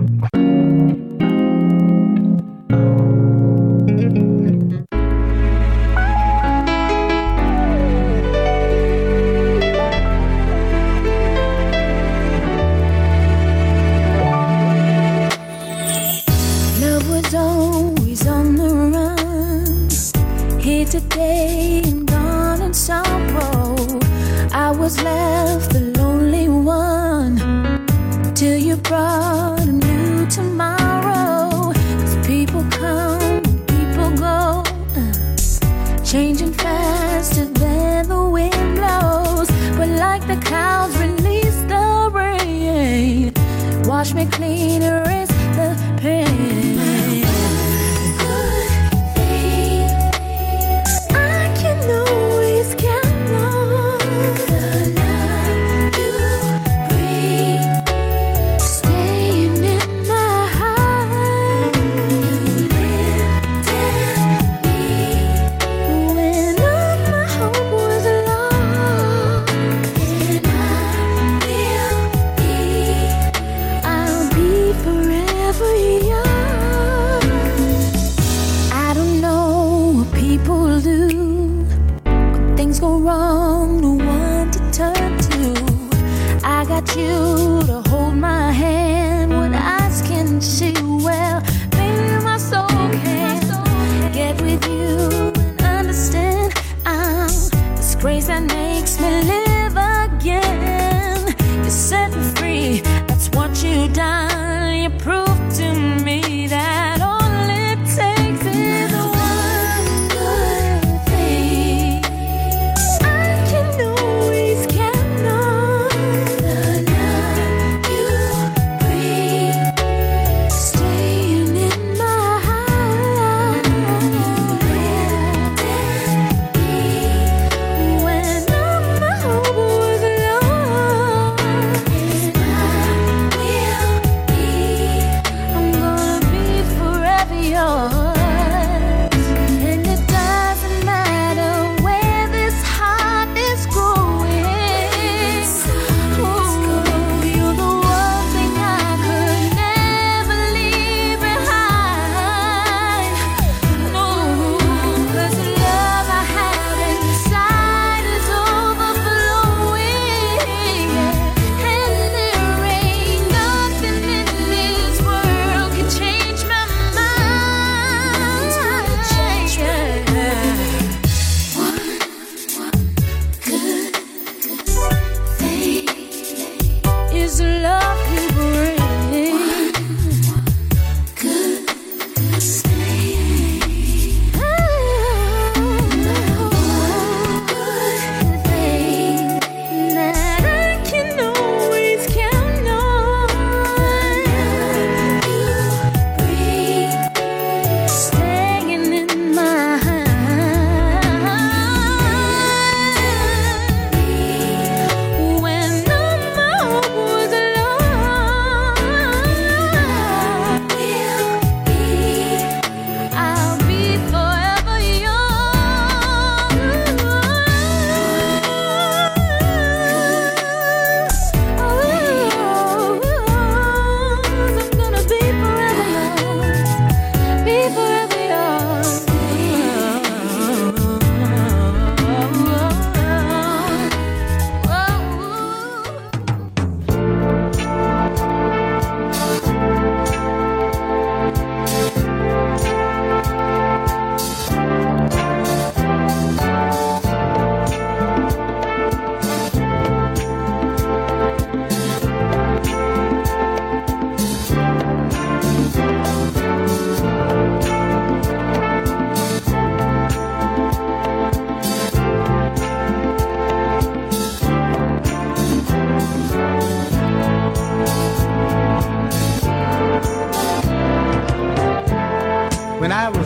Love was always on the run, here today and gone in sorrow. I was left the lonely one till you brought a new tomorrow. 'Cause people come, people go, uh, changing faster than the wind blows. But like the clouds release the rain, wash me clean, erase the pain. I can always count on the love you bring, staying in my heart. You lifted me when all my hope was lost, and I will be, I'll be forever yours. I don't know what people do when things go wrong, no one to turn to. I got you to hold my hand when eyes can see. Well, maybe my soul can get with you and understand I'm this grace that makes me live again.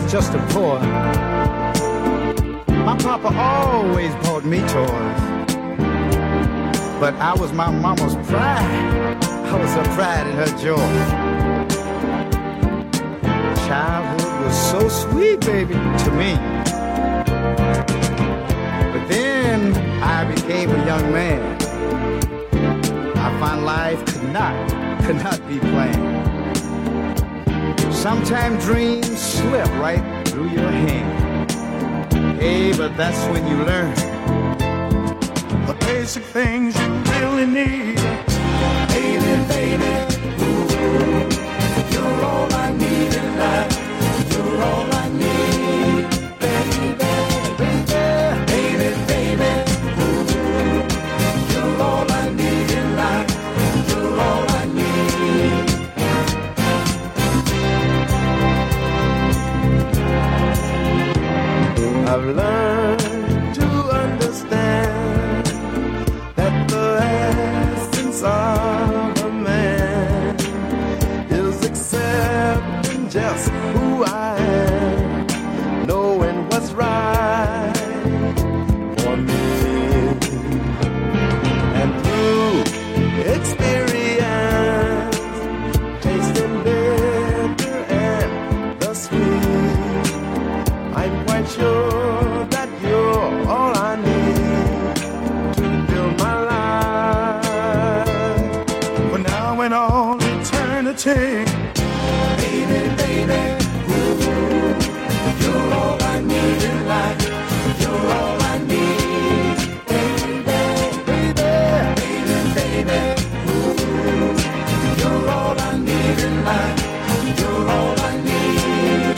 just a boy, my papa always bought me toys. But I was my mama's pride. I was her pride and her joy. Childhood was so sweet, baby, to me. But then I became a young man. I found life could not, could not be planned. Sometimes dreams slip right through your hand. Hey, but that's when you learn the basic things you really need. Baby, baby, ooh, you're all I need in life. You're all I need. Baby, baby, baby, baby, ooh, you're all I need in life. You're all I need. I've learned to understand that the essence of a man is accepting just who I am, knowing what's right for me. And through experience, tasting bitter and the sweet, I'm quite sure that you're all I need to fill my life for now and all eternity. Baby, baby, ooh, you're all I need in life. You're all I need. Baby, baby, baby, baby, ooh, you're all I need in life. You're all I need.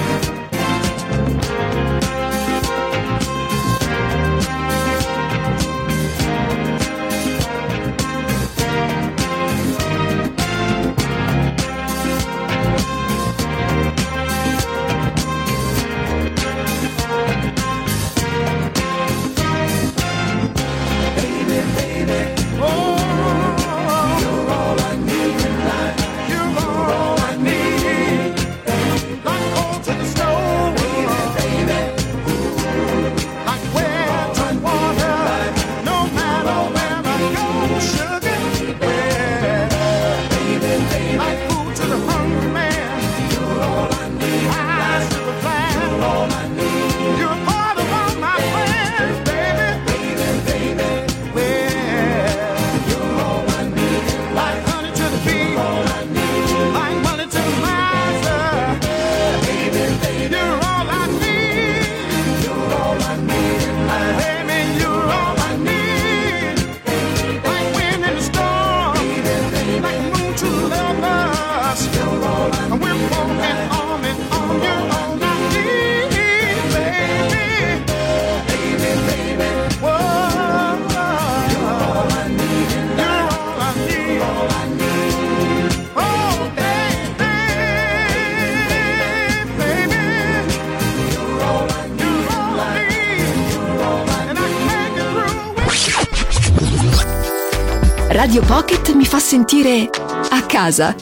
Radio Pocket mi fa sentire a casa.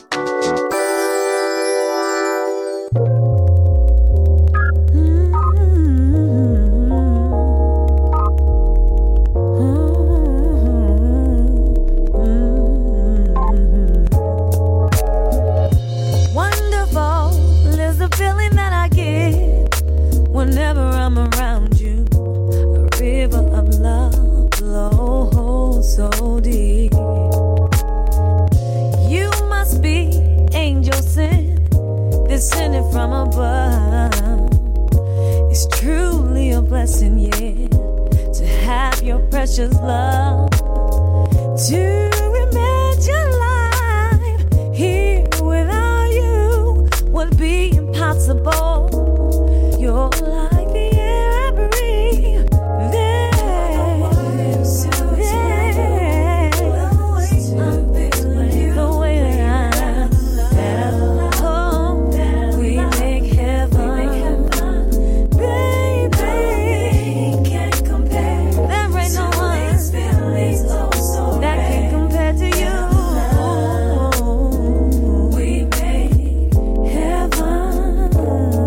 Oh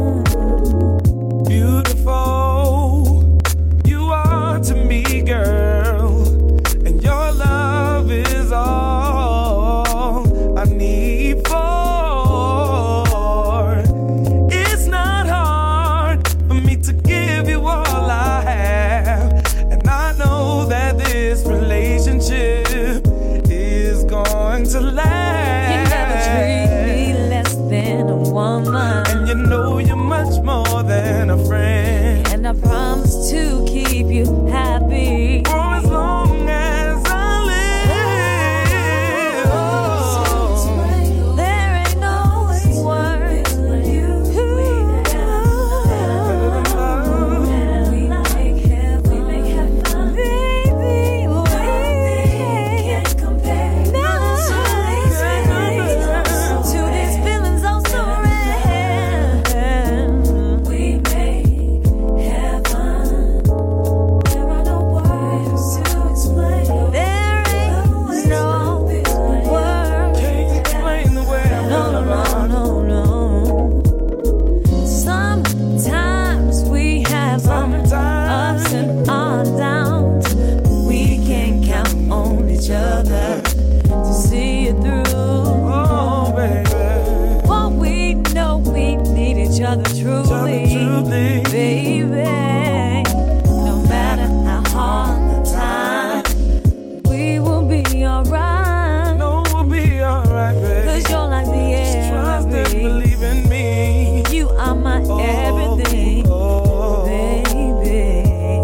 together to see it through. Oh, baby. For we know we need each other truly, truly. baby. No matter how hard the time, we will be alright. No, we'll be alright, baby. Cause you're like the air. Trust and believe in me. You are my oh, everything, oh. baby.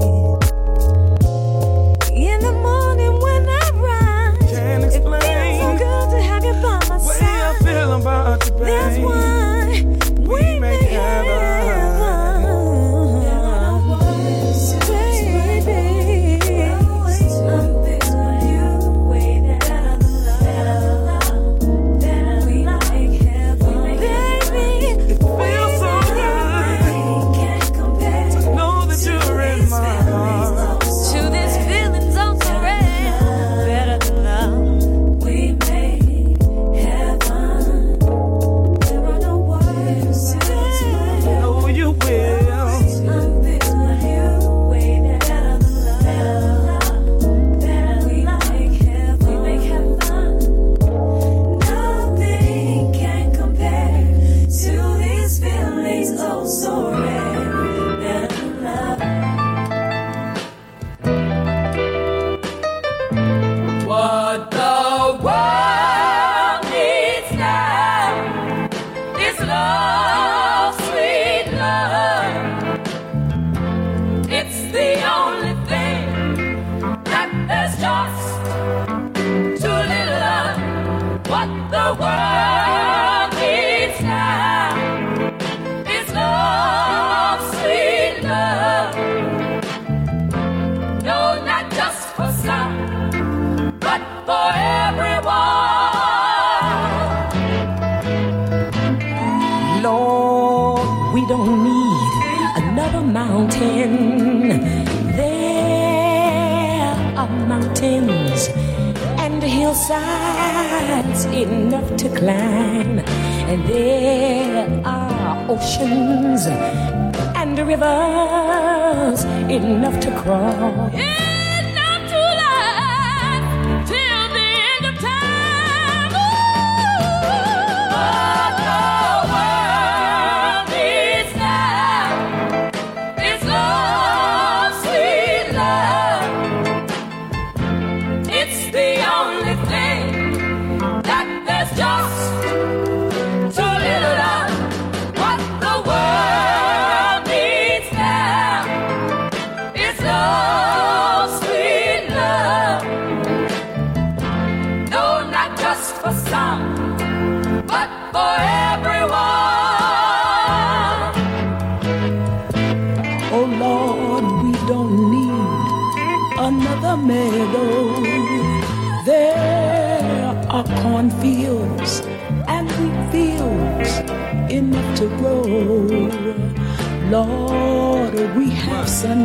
In the morning when I rise, Can't explain. It feels so good to have you by my way side. I feel about you, baby. That's why we, we make heaven. Hillsides enough to climb, and there are oceans and rivers enough to cross. Enough to last till the end of time. Ooh. What the world needs now is love, sweet love. It's the only thing that there's just too little of. What the world needs now is love, sweet love. No, not just for some, but for everyone. Oh Lord, we don't need another meadow. There are cornfields and wheat fields enough to grow. Lord, we have sun